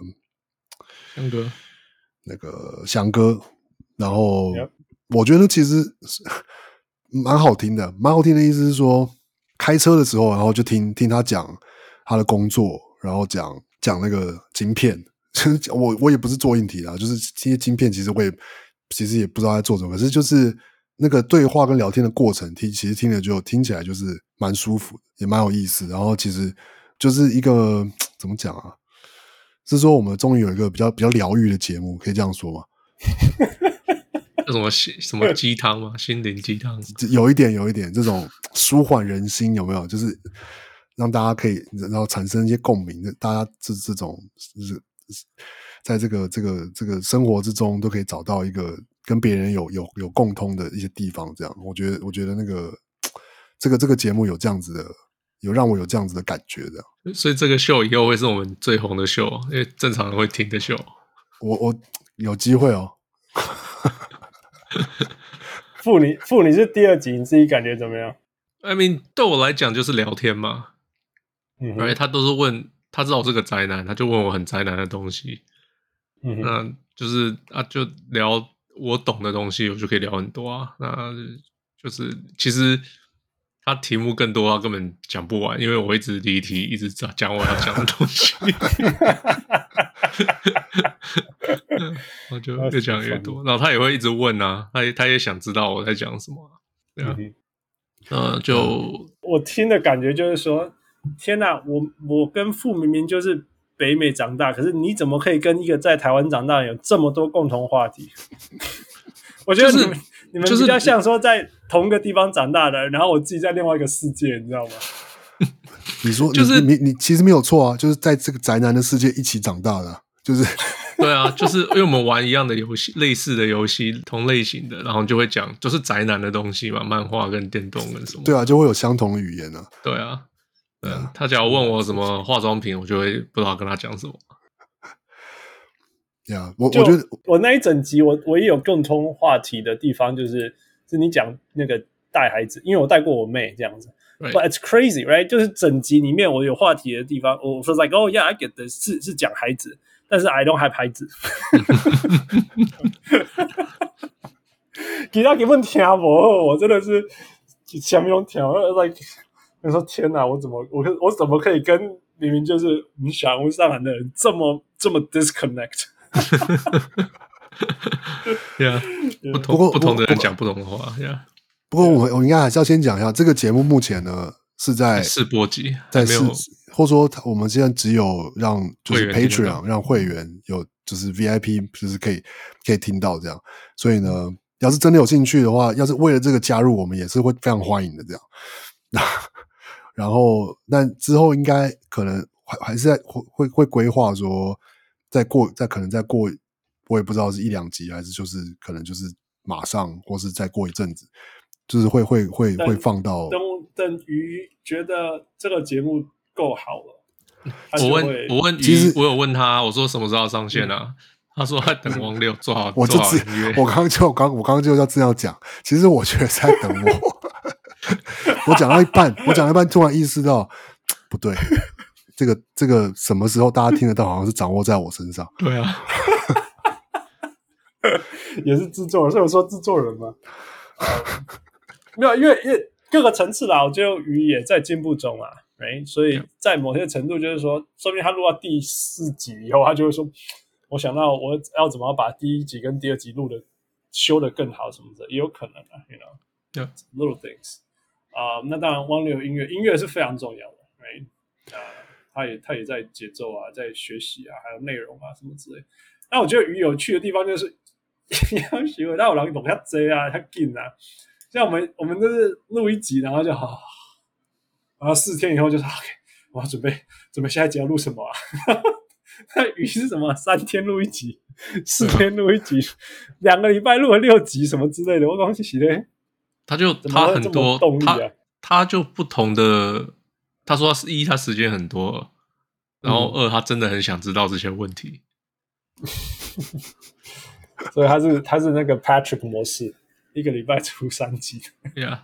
[SPEAKER 2] 翔哥，然後我覺得其實蠻好聽的，意思是說開車的時候，然後就聽他講他的工作，然後講那個晶片。我也不是做硬體啦，就是這些晶片其實也不知道在做什麼，可是就是那個對話跟聊天的過程，其實聽起來就是蠻舒服的，也蠻有意思。然後其實就是一個怎麼講啊？是說我們終於有一個比較療癒的節目，可以這樣說嗎？
[SPEAKER 4] 什麼雞湯嗎？心靈雞湯？有
[SPEAKER 2] 一點這種舒緩人心，有沒有？就是讓大家可以然後產生一些共鳴，大家這種就是在這個生活之中都可以找到一個跟別人有共通的一些地方，這樣我覺得那個這個節目有這樣子的，有讓我有這樣子的感覺，這樣。所
[SPEAKER 4] 以這個秀以後會是我們最紅的秀，因為正常人會聽的秀。
[SPEAKER 2] 我有機會哦。
[SPEAKER 3] 父你是第2集，你自己感覺怎麼樣
[SPEAKER 4] ？I mean， 對我來講就是聊天嘛，而且他都是問。他知道我是個宅男，他就問我很宅男的東西，那就是就聊我懂的東西，我就可以聊很多啊。那就是其實他題目更多，他根本講不完，因為我一直離題，一直講我要講的東西，我就越講越多。然後他也會一直問啊，他也想知道我在講什麼，對啊，
[SPEAKER 3] 我聽的感覺就是說。天哪，我跟父明明就是北美長大，可是你怎麼可以跟一個在台灣長大的人有這麼多共同話題？我覺得你們比較像說在同一個地方長大的人，然後我自己在另外一個世界，你知道嗎？
[SPEAKER 2] 你說就是你其實沒有錯啊，就是在這個宅男的世界一起長大的，就是
[SPEAKER 4] 對啊，就是因為我們玩一樣的遊戲，類似的遊戲，同類型的，然後就會講就是宅男的東西嘛，漫畫跟電動跟什麼，
[SPEAKER 2] 對啊，就會有相同的語言啊，
[SPEAKER 4] 對啊。他假如問我什麼化妝品，我就會不知道跟他講什麼。
[SPEAKER 2] 我覺得
[SPEAKER 3] 我那一整集我也有共同話題的地方，就是你講那個帶孩子，因為我帶過我妹這樣子。Right. But it's crazy, right? 就是整集裡面我有話題的地方，我說 like oh yeah I get this 是講孩子，但是 I don't have 孩子。其他根本聽不，我真的是什麼都聽 like。 我說天哪，我怎麼可以跟明明就是我們小人物上籃的人這麼 disconnect？
[SPEAKER 4] 不同的人講不同的話。
[SPEAKER 2] 不過我應該還是要先講一下，這個節目目前呢是在
[SPEAKER 4] 試播集，
[SPEAKER 2] 在試，或者說我們現在只有讓就是 Patreon 讓會員有就是 VIP 就是可以聽到這樣，所以呢，要是真的有興趣的話，要是為了這個加入，我們也是會非常歡迎的這樣。然後，但之後應該可能還是會規劃說，可能再過，我也不知道是一兩集，還是就是可能就是馬上，或是再過一陣子，就是會放到。
[SPEAKER 3] 等於覺得這個節目夠好了，
[SPEAKER 4] 我問魚，我有問他，我說什麼時候要上線啊？他說他等汪六做好音樂。我剛剛就要這樣講，其實我覺得是在等我。我講到一半，突然意識到不對，這個什麼時候大家聽得到，好像是掌握在我身上。 對啊，
[SPEAKER 3] 也是製作人，所以我說製作人嘛，沒有，因為各個層次啦，我覺得魚也在進步中啊，所以在某些程度就是說，說明他錄到第4集以後，他就會說，我想到我要怎麼把第1集跟第2集修得更好什麼的，也有可能啊 ，you know，little things。那當然，汪六音樂是非常重要的 ，right？ 他也在節奏啊，在學習啊，還有內容啊什麼之類。那我覺得魚有趣的地方就是，要學會，他有人懂他追啊，他緊啊。像我們就是錄1集，然後就好，然後4天以後就是 OK， 我要準備下一集要錄什麼啊？那魚是什麼？3天錄1集，4天錄1集，2個禮拜錄了6集什麼之類的，我剛剛洗嘞。他
[SPEAKER 4] 很多動力啊，他就不同的。他說他時間很多，然後2他真的很想知道這些問題，
[SPEAKER 3] 所以他是那個 Patrick 模式，1個禮拜出3集。
[SPEAKER 4] Yeah.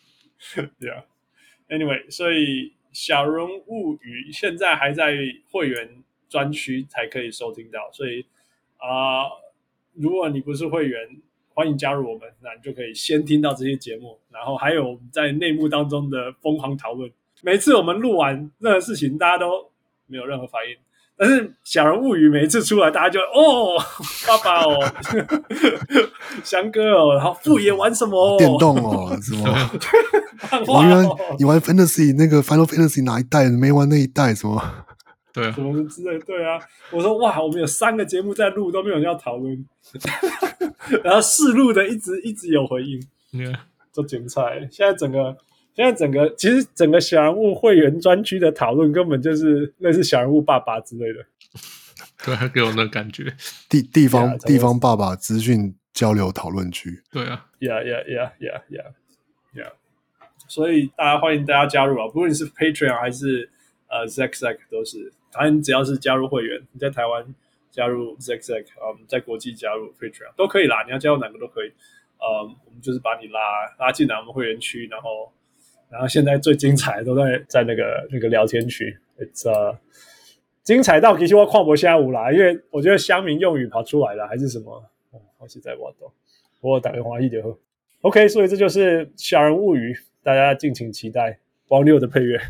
[SPEAKER 3] Anyway， 所以小人物語現在還在會員專區才可以收聽到，所以如果你不是會員，歡迎加入我們，那你就可以先聽到這些節目，然後還有我們在內幕當中的瘋狂討論。每次我們錄完任何事情，大家都沒有任何反應，但是小人物語每一次出來，大家就爸爸哦，翔哥哦，然後父爺玩什麼
[SPEAKER 2] 電動哦，什麼？你玩 Fantasy 那個 Final Fantasy 哪一代？沒玩那一代什麼？
[SPEAKER 4] 對啊，
[SPEAKER 3] 什麼之類，對啊。我說哇，我們有3個節目在錄，都沒有人要討論，然後試錄的一直有回應，都精彩。現在整個其實整個小人物會員專區的討論根本就是類似小人物爸爸之類的，
[SPEAKER 4] 對，給我那感覺。
[SPEAKER 2] 地方爸爸資訊交流討論區，
[SPEAKER 4] 對啊
[SPEAKER 3] ，Yeah， 所以歡迎大家加入啊，不論你是 Patreon 還是Zack 都是，反正只要是加入會員，你在台灣加入 Zack， 在國際加入 Patreon 都可以啦，你要加入哪個都可以，我們就是把你拉進來我们會員區，然後現在最精彩的都在那個聊天區 ，It's 精彩到其實我看不下午啦，因為我覺得鄉民用語跑出來了，還是什麼，我實在不懂，我打電話一點喝 ，OK， 所以這就是小人物語，大家敬請期待汪六的配樂，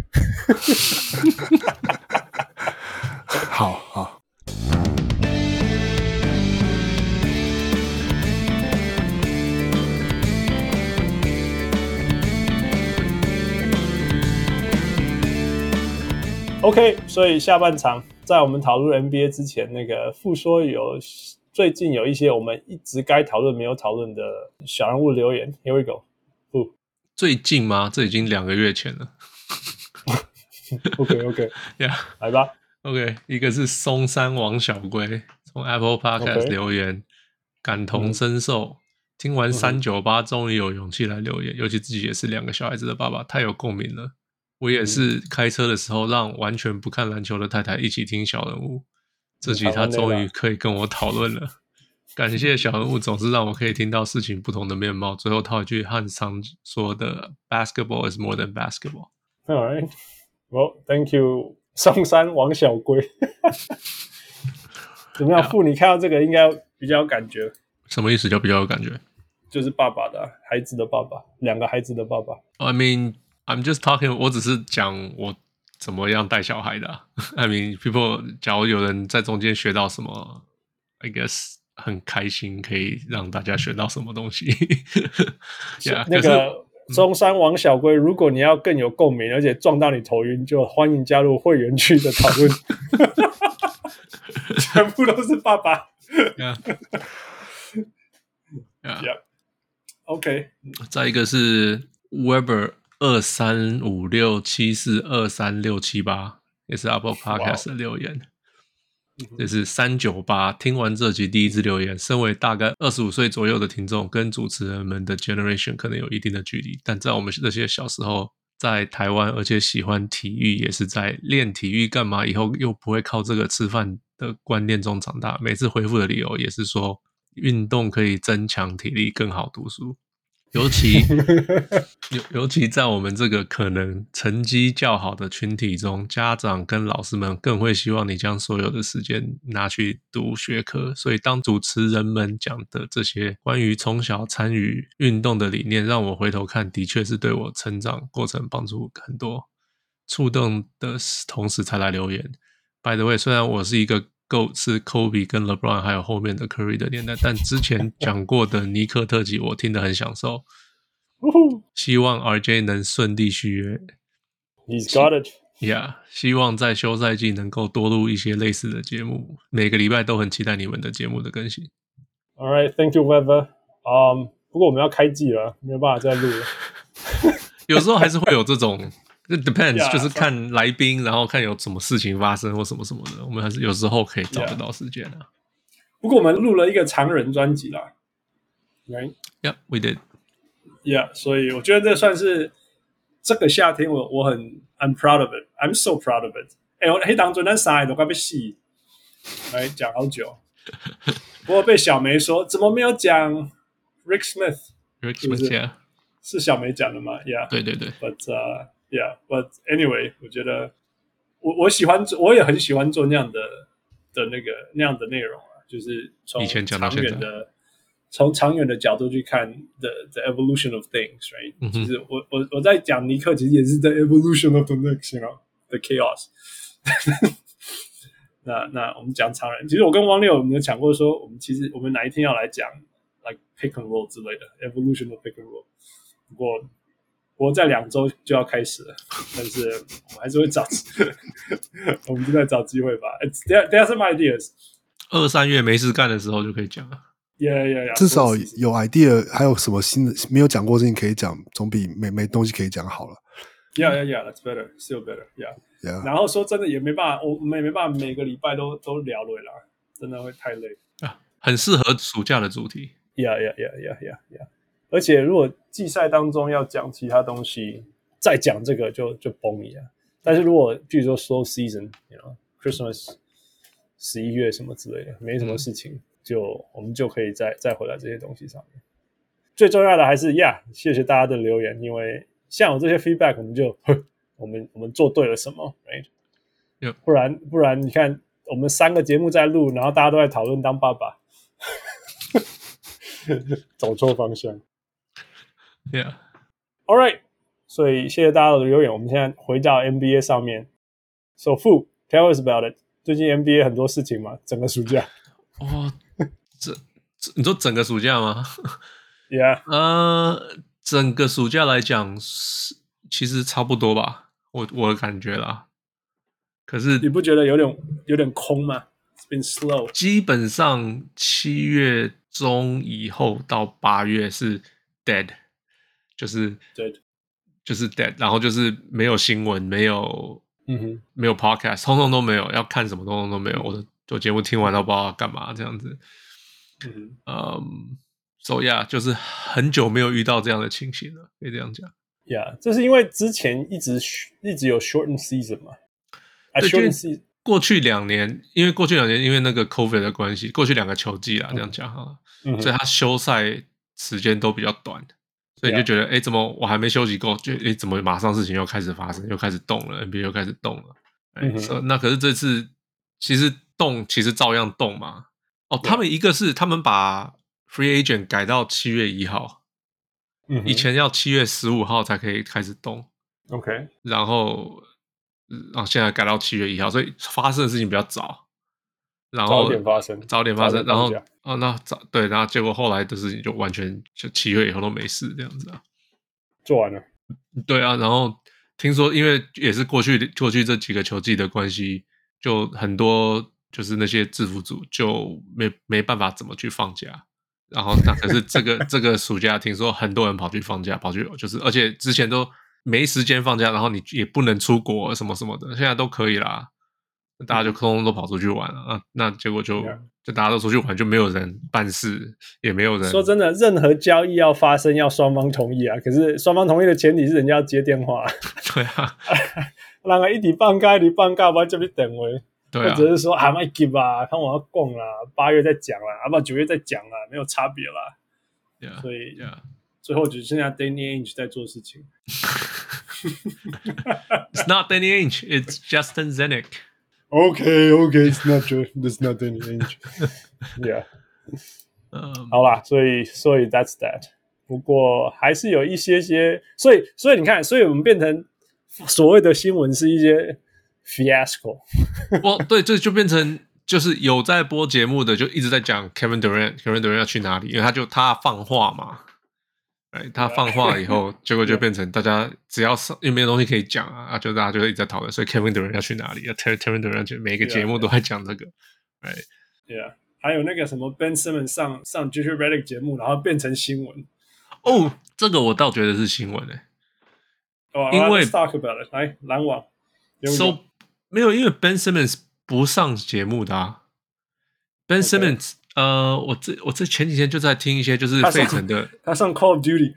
[SPEAKER 2] 好。
[SPEAKER 3] OK， 所以下半場在我們討論 NBA 之前，那個傅說最近有一些我們一直該討論沒有討論的小人物留言 ，Here we go。
[SPEAKER 4] 最近嗎？這已經2個月前了。
[SPEAKER 3] OK，
[SPEAKER 4] yeah，
[SPEAKER 3] 來吧。
[SPEAKER 4] OK， 一個是松山王小龜從 Apple Podcast 留言，感同身受。聽完398，終於有勇氣來留言，尤其自己也是2個小孩子的爸爸，太有共鳴了。我也是開車的時候讓完全不看籃球的太太一起聽小人物，這集她終於可以跟我討論了。感謝小人物總是讓我可以聽到事情不同的面貌。最後套一句漢常說的 Basketball is more than basketball。
[SPEAKER 3] Alright， well thank you 松山王小龜。怎麼樣傅，你看到這個應該比較有感覺。
[SPEAKER 4] 什麼意思叫比較有感覺？
[SPEAKER 3] 就是爸爸的孩子的爸爸，2個孩子的爸爸。
[SPEAKER 4] I mean I'm just talking， 我只是講我怎麼樣帶小孩的、啊。I mean, people， 假如有人在中間學到什麼 ，I guess 很開心，可以讓大家學到什麼東西。yeah,
[SPEAKER 3] 那個中山王小龜，如果你要更有共鳴，而且撞到你頭暈，就歡迎加入會員區的討論。全部都是爸爸。
[SPEAKER 4] Yeah.
[SPEAKER 3] OK。
[SPEAKER 4] 再一個是 Weber 235674236778，也是 Apple Podcast 的留言。這是398，聽完這集第一次留言，身為大概25歲左右的聽眾，跟主持人們的 generation 可能有一定的距離，但在我們這些小時候在台灣，而且喜歡體育，也是在練體育幹嘛，以後又不會靠這個吃飯的觀念中長大。每次回復的理由也是說，運動可以增強體力，更好讀書。尤其在我們這個可能成績較好的群體中，家長跟老師們更會希望你將所有的時間拿去讀學科。所以當主持人們講的這些關於從小參與運動的理念，讓我回頭看，的確是對我成長過程幫助很多，觸動的同時才來留言。By the way， 雖然我是一個GOAT 是 Kobe 跟 LeBron 還有後面的 Curry 的年代，但之前講過的尼克特輯我聽得很享受。希望 RJ 能順利續約。
[SPEAKER 3] He's got it.
[SPEAKER 4] Yeah， 希望在休賽季能夠多錄一些類似的節目，每個禮拜都很期待你們的節目的更新。
[SPEAKER 3] All right, thank you, Weber. 不過我們要開季了，沒有辦法再錄了。
[SPEAKER 4] 有時候還是會有這種。It depends，
[SPEAKER 3] yeah,
[SPEAKER 4] 就是看來賓，然後看有什麼事情發生或什麼什麼的，我們還是有時候可以找得到時間啊。
[SPEAKER 3] 不過我們錄了一個長人專輯啦 ，Right?
[SPEAKER 4] Yeah, we did.
[SPEAKER 3] Yeah， 所以我覺得這算是這個夏天我很 I'm proud of it. I'm so proud of it. 我那當陣咱三個都快被死，來講好久。不過被小梅說怎麼沒有講 Rick Smith？Rick
[SPEAKER 4] Smith，
[SPEAKER 3] 是小梅講的嗎 ？Yeah，
[SPEAKER 4] 對對對。
[SPEAKER 3] Yeah, but anyway， 我覺得我喜歡，我也很喜歡做那樣的那樣的內容啊，就是從長遠的角度去看 the evolution of things, right？、其實我在講尼克，其實也是 the evolution of the Knicks, you know, the chaos 那我們講長人，其實我跟汪六我們有講過說，我們哪一天要來講 like pick and roll 之類的 evolution of pick and roll， 不過在2週就要開始了，但是我們還是會找我們就在找機會吧。There are some ideas。
[SPEAKER 4] 2-3月沒事幹的時候就可以講了。
[SPEAKER 3] Yeah，
[SPEAKER 2] 至少有 idea， 還有什麼新的沒有講過的事情可以講，總比沒東西可以講好了。
[SPEAKER 3] Yeah, that's better, still better. Yeah. 然後說真的也沒辦法，我們也沒辦法每個禮拜都聊了啦，真的會太累
[SPEAKER 4] 啊。很適合暑假的主題。
[SPEAKER 3] Yeah. 而且如果季賽當中要講其他東西，再講這個就崩一樣。但是如果比如說 slow season， you know, Christmas 11月什麼之類的，沒什麼事情，我們就可以再回來這些東西上面。最重要的還是謝謝大家的留言，因為像有這些 feedback， 我們做對了什麼 ，right？
[SPEAKER 4] Yep.
[SPEAKER 3] 不然你看我們3個節目在錄，然後大家都在討論當爸爸，走錯方向。
[SPEAKER 4] Yeah.
[SPEAKER 3] All right. 所以謝謝大家的留言。我們現在回到 NBA 上面。So Fu, tell us about it. 最近 NBA 很多事情嘛，整個暑假。
[SPEAKER 4] 你說整個暑假嗎
[SPEAKER 3] ？Yeah.
[SPEAKER 4] 整個暑假來講，其實差不多吧，我的感覺啦。可是
[SPEAKER 3] 你不覺得有點空嗎 ？It's been slow.
[SPEAKER 4] 基本上7月中以後到8月是 dead。就是 dead， 然後就是沒有新聞，沒有podcast， 通通都沒有，要看什麼通通都沒有。我節目聽完都不知道要幹嘛這樣子。So yeah， 就是很久沒有遇到這樣的情形了，可以這樣講。
[SPEAKER 3] Yeah， 這是因為之前一直有 shortened season 嘛。
[SPEAKER 4] shortened season。過去2年，因為那個 COVID 的關係，過去2個球季啦，這樣講好了，所以他休賽時間都比較短。所以你就覺得，怎麼我還沒休息夠？怎麼馬上事情又開始發生，又開始動了 ，NBA 又開始動了。那可是這次其實照樣動嘛。他們一個是他們把 Free Agent 改到7月1號，以前要7月15號才可以開始動。
[SPEAKER 3] OK，
[SPEAKER 4] 然後現在改到7月1號，所以發生的事情比較早，然後早點發生，然後对，然後結果後來的事情就完全就7月以後都沒事這樣子啊，
[SPEAKER 3] 做完了。
[SPEAKER 4] 對啊，然後聽說因為也是過去這幾個球季的關係，就很多就是那些制服組就沒辦法怎麼去放假。然後那可是這個暑假聽說很多人跑去放假，跑去就是而且之前都沒時間放假，然後你也不能出國什麼什麼的，現在都可以啦，大家就通通都跑出去玩了啊。那結果就大家都出去玩，就沒有人辦事，也沒有人。說
[SPEAKER 3] 真的，任何交易要發生要雙方同意啊，可是雙方同意的前提是人家要接電話。
[SPEAKER 4] 對啊，
[SPEAKER 3] 人家一直放假，不然就去等位。
[SPEAKER 4] 對啊，
[SPEAKER 3] 或者是說別急啊，看我要供啦，8月再講啦，不然9月再講啦，沒有差別啦。
[SPEAKER 4] Yeah,
[SPEAKER 3] 所以
[SPEAKER 4] yeah.
[SPEAKER 3] 最後只剩下 Danny Ainge 在做事情。
[SPEAKER 4] It's not Danny Ainge, it's Justin Zanuck.
[SPEAKER 3] Okay, it's not Danny Ainge. Yeah. 好啦，所以 that's that. 不過還是有一些，所以你看，所以我們變成所謂的新聞是一些 fiasco。
[SPEAKER 4] 对，这就變成就是有在播節目的就一直在講 Kevin Durant 要去哪裡，因為他放話嘛，他放話以後，結果就變成大家只要因為沒有東西可以講啊，就大家就一直在討論，所以 Kevin Durant 要去哪裡？Kevin Durant 就每個節目都在講這個，right？
[SPEAKER 3] Yeah， 還有那個什麼 Ben Simmons 上 JJ Redick 節目，然後變成新聞。
[SPEAKER 4] 這個我倒覺得是新聞
[SPEAKER 3] 因為
[SPEAKER 4] let's
[SPEAKER 3] talk about it， 來籃網。
[SPEAKER 4] 沒有，因為 Ben Simmons 不上節目的啊。Ben Simmons， 我這前幾天就在聽一些就是費城的，
[SPEAKER 3] 他上 Call of Duty，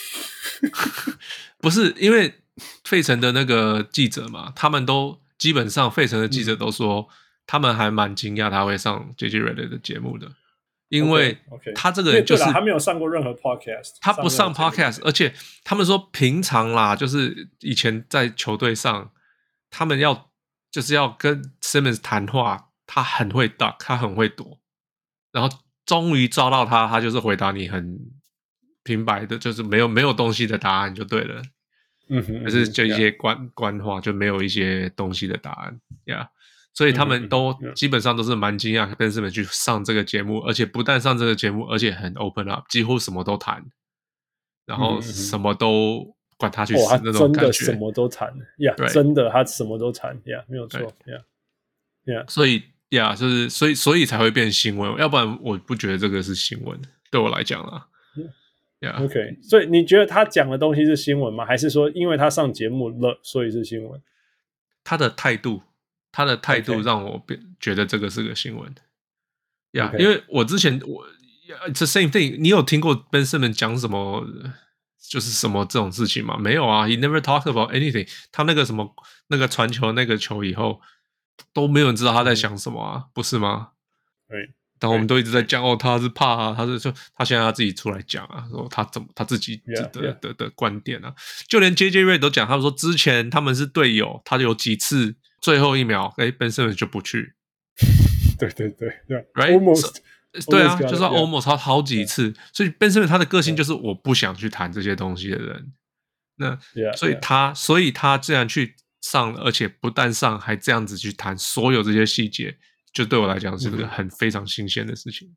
[SPEAKER 4] 不是因為費城的那個記者嘛，他們都基本上費城的記者都說，他們還蠻驚訝他會上 JJ Redick 的節目的，因為他這個人就是他
[SPEAKER 3] 沒有上過任何 podcast，
[SPEAKER 4] 他不上 podcast， 而且他們說平常啦，就是以前在球隊上，他們就是要跟 Simmons 談話，他很會 duck， 他很會躲，然後終於抓到他就是回答你很平白的，就是沒有東西的答案就對了，可是就一些官話，就沒有一些東西的答案，yeah， 所以他們都基本上都是蠻驚訝Ben Simmons 去上這個節目，而且不但上這個節目，而且很 open up， 幾乎什麼都談，然後什麼都管他去死那種感覺，
[SPEAKER 3] 真的什麼都談，yeah， 真的他什麼都談，yeah， 沒有錯 ，yeah，
[SPEAKER 4] 所以就是所以才會變新聞，要不然我不覺得這個是新聞，對我來講啦。
[SPEAKER 3] OK， 所以你覺得他講的東西是新聞嗎？還是說因為他上節目了，所以是新聞？
[SPEAKER 4] 他的態度讓我覺得這個是個新聞。因為我之前it's the same thing， 你有聽過 Ben Simmons 講什麼？就是什麼這種事情嗎？沒有啊 ，He never talked about anything。他那個什麼那個傳球那個球以後，都沒有人知道他在想什麼啊，不是嗎？
[SPEAKER 3] 對。
[SPEAKER 4] 但我們都一直在講他是怕啊，他現在他自己出來講啊，說他自己的觀點啊，就連 JJ Redick 都講，他們說之前他們是隊友，他有幾次最後一秒Ben Simmons 就不去，
[SPEAKER 3] 對
[SPEAKER 4] ，right，
[SPEAKER 3] almost。
[SPEAKER 4] 對啊，就是 almost 好幾次，所以 Ben Simmons 他的個性就是我不想去談這些東西的人。那所以他這樣去上，而且不但上，還這樣子去談所有這些細節，就對我來講是個非常新鮮的事情。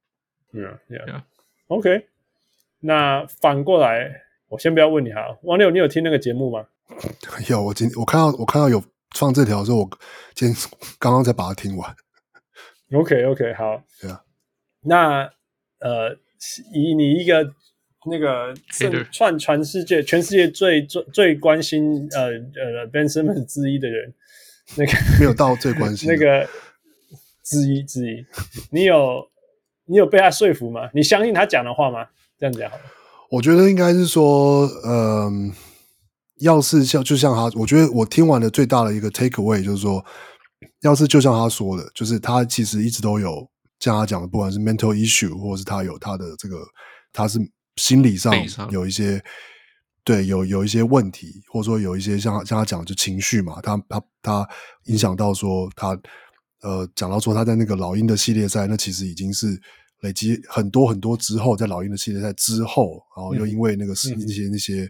[SPEAKER 3] OK， 那反過來，我先不要問你哈，王六，你有聽那個節目嗎？
[SPEAKER 2] 有，我看到有放這條的時候，我今天剛剛才把它聽完。
[SPEAKER 3] OK， 好。那以你一個那個全世界最關心Ben Simmons 之一的人，那個
[SPEAKER 2] 沒有到最關心
[SPEAKER 3] 那個之一，你有被他說服嗎？你相信他講的話嗎？這樣講好了。
[SPEAKER 2] 我覺得應該是說，要是就像他，我覺得我聽完的最大的一個 take away 就是說，要是就像他說的，就是他其實一直都有。像他講的，不管是 mental issue， 或者是他有他的這個，他是心理上有一些，對，有一些問題，或者說有一些像他講的就情緒嘛，他影響到說他講到說他在那個老鷹的系列賽，那其實已經是累積很多很多之後，在老鷹的系列賽之後，然後又因為那個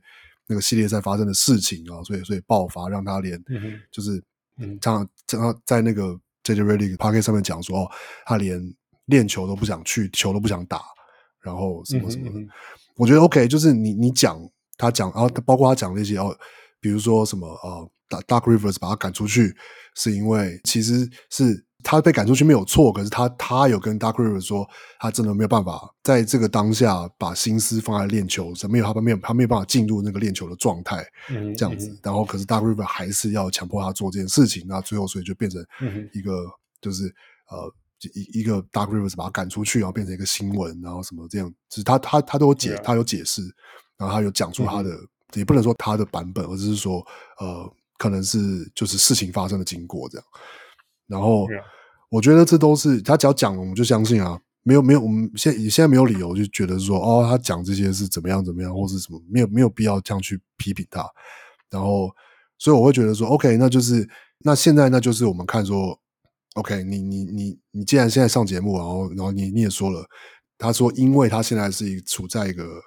[SPEAKER 2] 那個系列賽發生的事情啊，所以爆發，讓他連就是這樣在那個 JJ Redick podcast 上面講說，哦，他連練球都不想去，球都不想打，然後什麼什麼的。我覺得 OK， 就是你講他講，然後包括他講那些哦，比如說什麼Doc Rivers 把他趕出去，是因為其實是他被趕出去沒有錯，可是他有跟 Doc Rivers 說，他真的沒有辦法在這個當下把心思放在練球上，他沒有辦法進入那個練球的狀態，這樣子。然後可是 Doc Rivers 還是要強迫他做這件事情，那最後所以就變成一個就是一個 Doc Rivers 把他趕出去，然後變成一個新聞，然後什麼這樣，就是他都有他有解釋，然後他有講出他的。也不能說他的版本，而是說可能是就是事情發生的經過這樣。然後我覺得這都是他只要講了我們就相信啊，沒有我們現在沒有理由就覺得說哦他講這些是怎麼樣或是什麼，沒有必要這樣去批評他。然後所以我會覺得說 OK， 那現在那就是我們看說 OK， 你既然現在上節目，然後你也說了，他說因為他現在是處在一個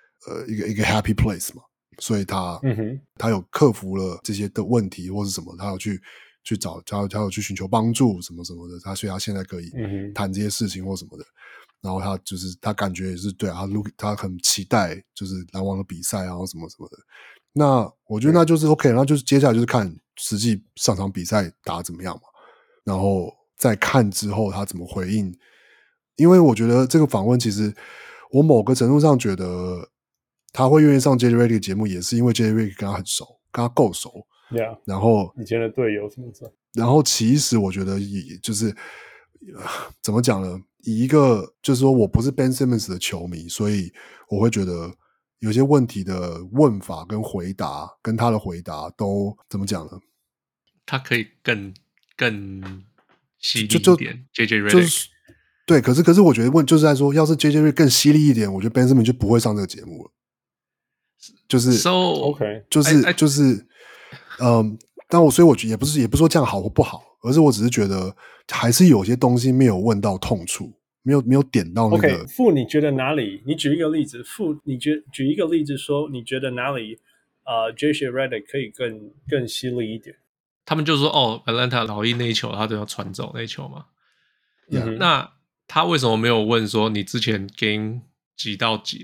[SPEAKER 2] happy place 嘛。所以他有克服了這些的問題或是什麼，他有去找他有去尋求幫助什麼什麼的，所以他現在可以談這些事情或什麼的。然後他感覺也是对啊，他很期待就是籃網的比賽然後什麼什麼的。那我覺得那就是 OK， 然後就是接下來就是看實際上場比賽打得怎麼樣嘛，然後再看之後他怎麼回應。因為我覺得這個訪問其實我某個程度上覺得。他會願意上 JJ Redick 節目，也是因為 JJ Redick 跟他很熟，跟他夠熟。
[SPEAKER 3] Yeah,
[SPEAKER 2] 然後
[SPEAKER 3] 以前的隊友什麼的。
[SPEAKER 2] 然後其實我覺得也就是怎麼講呢？以一個就是說我不是 Ben Simmons 的球迷，所以我會覺得有些問題的問法跟回答，跟他的回答都怎麼講呢？
[SPEAKER 4] 他可以更犀利一點。JJ Redick
[SPEAKER 2] 就是對，可是我覺得就是在說，要是 JJ Redick 更犀利一點，我覺得 Ben Simmons 就不會上這個節目了。就是
[SPEAKER 3] OK，
[SPEAKER 2] 就是但所以我也不是說這樣好或不好，而是我只是覺得還是有些東西沒有問到痛處，沒有點到那個。
[SPEAKER 3] OK， 傅，你覺得哪裡？你舉一個例子，傅，你舉一個例子說，你覺得哪裡JJ Redick 可以更犀利一點？
[SPEAKER 4] 他們就說哦 ，Atlanta 老鷹那一球他都要傳走那一球嘛。那他為什麼沒有問說你之前 game 幾到幾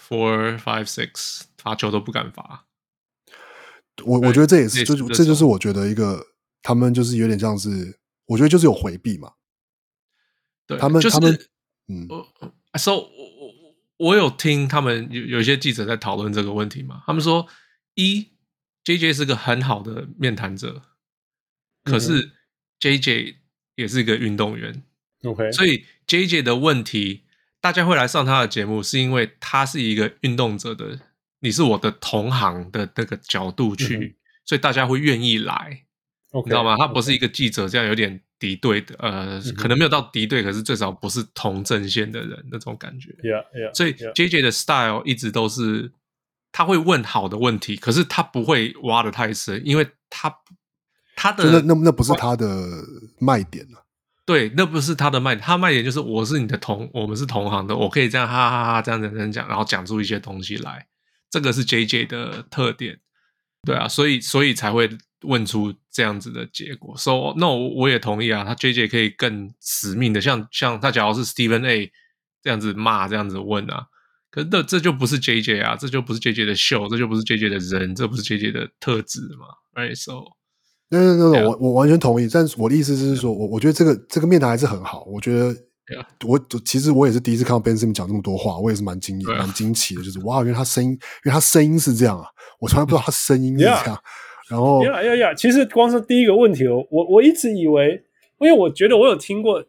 [SPEAKER 4] 4、5、6罰球都不敢罰？我
[SPEAKER 2] 覺得這也是，這就是我覺得一個他們就是有點像是，我覺得就是有回避嘛。
[SPEAKER 4] 對，
[SPEAKER 2] 他们
[SPEAKER 4] So 我有聽他們有一些記者在討論這個問題嘛。他們說JJ 是個很好的面談者，可是 JJ 也是一個運動員。
[SPEAKER 3] OK，
[SPEAKER 4] 所以 JJ 的問題，大家會來上他的節目，是因為他是一個運動者的，你是我的同行的那個角度去，所以大家會願意來，
[SPEAKER 3] okay,
[SPEAKER 4] 你知道嗎？他不是一個記者這樣有點敵對的，可能沒有到敵對，可是最少不是同陣線的人那種感覺。所以 JJ 的 style 一直都是他會問好的問題，可是他不會挖得太深，因為他的
[SPEAKER 2] 那不是他的賣點了。
[SPEAKER 4] 對，那不是他的賣點，他的賣點就是我是你的我們是同行的，我可以這樣哈哈哈這樣講，然後講出一些東西來，這個是 JJ 的特點，對啊，所以才會問出這樣子的結果。So 那我也同意啊，他 JJ 可以更死命的，像他假如是 Stephen A 這樣子罵這樣子問啊，可是這就不是 JJ 啊，這就不是 JJ 的秀，這就不是 JJ 的人，這不是 JJ 的特質嘛 ，right so。
[SPEAKER 2] 我完全同意，但是我的意思是說，我覺得這個面談還是很好。我覺得其實我也是第一次看到 Ben Simmons 講這麼多話，我也是蠻驚奇的，就是哇，因為他聲音是這樣啊，我從來不知道他聲音是這樣。然後
[SPEAKER 3] 其實光是第一個問題，我一直以為，因為我覺得我有聽過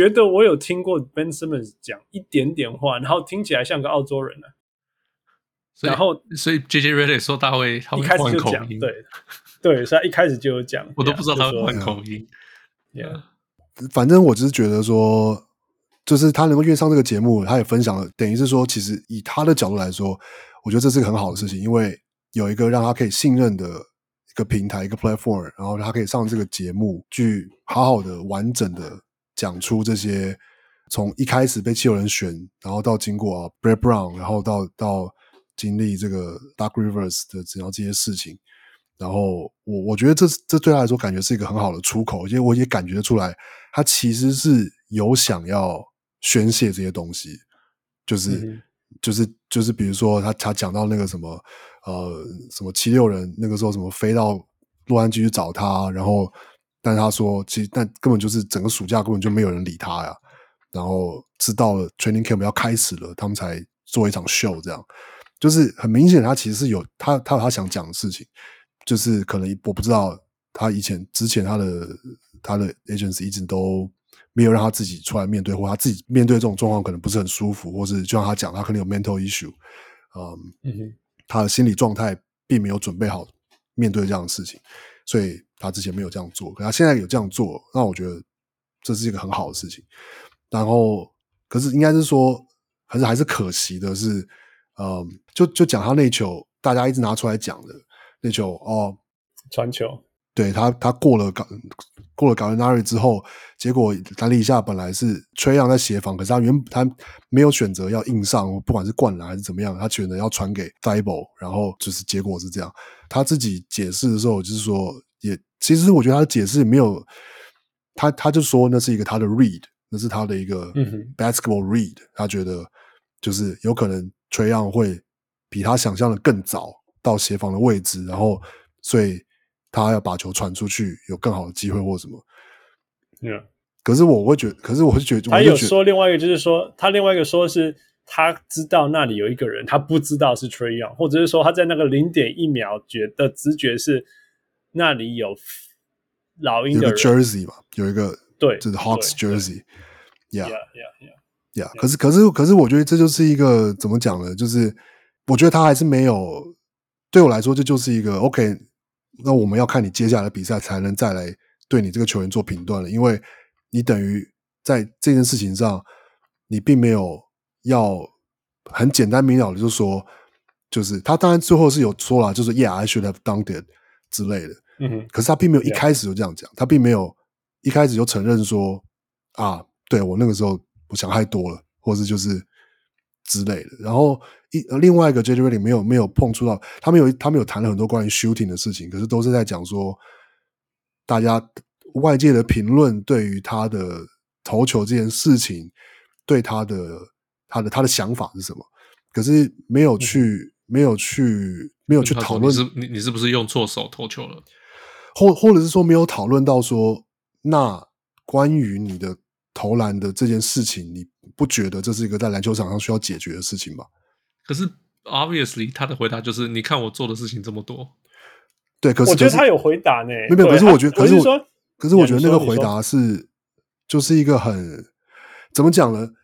[SPEAKER 3] Ben Simmons 講一點點話，然後聽起來像個澳洲人啊。然後
[SPEAKER 4] 所以 JJ Redick 說他會換口音，
[SPEAKER 3] 對，所以他一開始就有講，
[SPEAKER 4] 我都不知道他會換口音。
[SPEAKER 2] 反正我只是覺得說，就是他能夠願意上這個節目，他也分享了，等於是說，其實以他的角度來說，我覺得這是個很好的事情，因為有一個讓他可以信任的一個平台，一個 platform， 然後他可以上這個節目，去好好的、完整的講出這些從一開始被7六人選，然後到經過Brett Brown，然後到經歷這個 Doc Rivers 的這些事情，然後我覺得這對他來說感覺是一個很好的出口，因為我也感覺出來他其實是有想要宣泄這些東西，就是比如說他講到那個什麼76人那個時候什麼飛到洛杉磯去找他，然後但他說其實但根本就是整個暑假根本就沒有人理他呀，然後知道了 training camp 要開始了，他們才做一場秀，這樣就是很明顯他其實是有他有他想講的事情，就是可能我不知道他之前他的 agency 一直都沒有讓他自己出來面对，或他自己面对這種狀況可能不是很舒服，或是就像他講他可能有 mental issue，他的心理狀態並沒有準備好面對這樣的事情，所以他之前沒有這樣做，可他現在有這樣做，那我覺得這是一個很好的事情。然後可是應該是說還是可惜的是就講他那球大家一直拿出来講的那球
[SPEAKER 3] 傳球，对，
[SPEAKER 2] 他过了 Gallinari 之後，結果籃底下本來是Trae Young在協防，可是他沒有選擇要硬上，不管是灌籃還是怎麼樣，他選擇要傳給 Thibault， 然後就是結果是這樣。他自己解釋的時候就是說，其實我覺得他的解釋也沒有，他就說那是一個他的 read， 那是他的一個 basketball read，他覺得就是有可能 Trae Young 會比他想象的更早到協防的位置，然後所以他要把球傳出去，有更好的機會或什麼。可是我就覺得，他
[SPEAKER 3] 有說另外一個，就是說他另外一個說是他知道那裡有一個人，他不知道是 Trae Young， 或者是說他在那個 0.1 秒的直覺是那裡有老鷹的人，
[SPEAKER 2] 有個 jersey 嘛，有一個
[SPEAKER 3] 對，
[SPEAKER 2] 就是 Hawks jersey，
[SPEAKER 3] yeah。
[SPEAKER 2] 可是我覺得這就是一個怎麼講呢？就是我覺得他還是沒有，對我來說這就是一個 OK。那我們要看你接下來的比賽，才能再來對你這個球員做評斷了，因為你等於在這件事情上，你並沒有要很簡單明了的就說，就是他當然最後是有說了，就是 Yeah, I should have done it 之類的，可是他並沒有一開始就這樣講，他並沒有一開始就承認說啊，對我那個時候我想太多了，或是就是之類的。然後另外一個 JJ Redick 沒有碰觸到，他們有談了很多關於 shooting 的事情，可是都是在講說大家外界的評論對於他的投球這件事情，對他的想法是什麼，可是没有去討論
[SPEAKER 4] 你是不是用錯手投球了，
[SPEAKER 2] 或者是說沒有討論到說，那關於你的投籃的這件事情，你不覺得這是一個在籃球場上需要解決的事情嗎？
[SPEAKER 4] 可是 obviously 他的回答就是你看我做的事情這麼多，
[SPEAKER 2] 对，可是
[SPEAKER 3] 我觉得他有回答呢，
[SPEAKER 2] 没有，可是我觉得，可是我觉得那个回答
[SPEAKER 3] 是
[SPEAKER 2] 就是一个很怎麼講呢？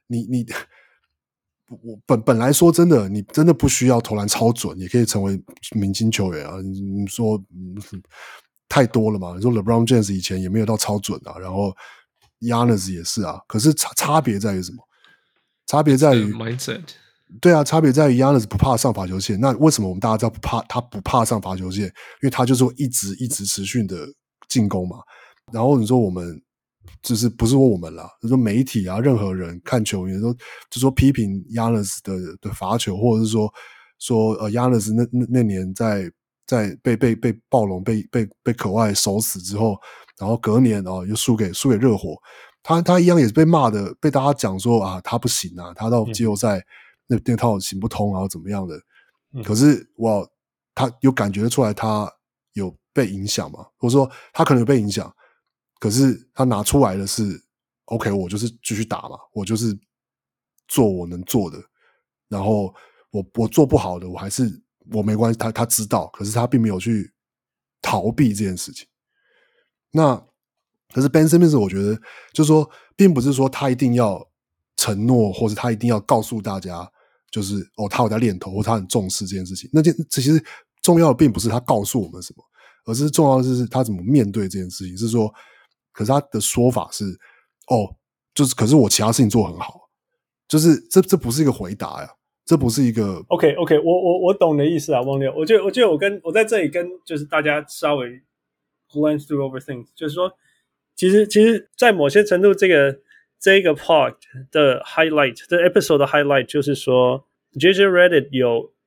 [SPEAKER 2] 我本來說真的，你真的不需要投籃超準，也可以成為明星球員啊！你說太多了嘛？你說 LeBron James 以前也沒有到超準啊，然後 Giannis 也是啊，可是差別在於什麼？差別在於
[SPEAKER 4] mindset。
[SPEAKER 2] 對啊，差別在於 Giannis 不怕上罰球線。那為什麼我們大家知道他不怕上罰球線？因為他就是會一直持續的進攻嘛。然後你說我們就是不是說我們啦，就是說媒體啊，任何人看球員就說批評 Giannis 的罰球，或者是說Giannis 那年在被暴龍被可外守死之後，然後隔年又輸給熱火，他一樣也是被罵的，被大家講說啊他不行啊，他到季後賽那套行不通啊怎麼樣的。可是他有感覺出來他有被影響嘛，或者說他可能有被影響，可是他拿出來的是 OK， 我就是繼續打嘛，我就是做我能做的，然後我做不好的我沒關係，他知道，可是他並沒有去逃避這件事情。那可是 Ben Simmons 我覺得就是說並不是說他一定要承諾，或者他一定要告訴大家就是他有在練投，或他很重視這件事情。其實重要的並不是他告訴我們什麼，而是重要的是他怎麼面對這件事情。是說可是他的說法是就是可是我其他事情做很好，就是這不是一個回答呀，這不是一個
[SPEAKER 3] OK， 我懂你的意思啊，汪六。我覺得我在這裡跟就是大家稍微 glance through over things， 就是說其實在某些程度這個 part 的 highlight， 這 episode 的 highlight 就是說 JJ Redick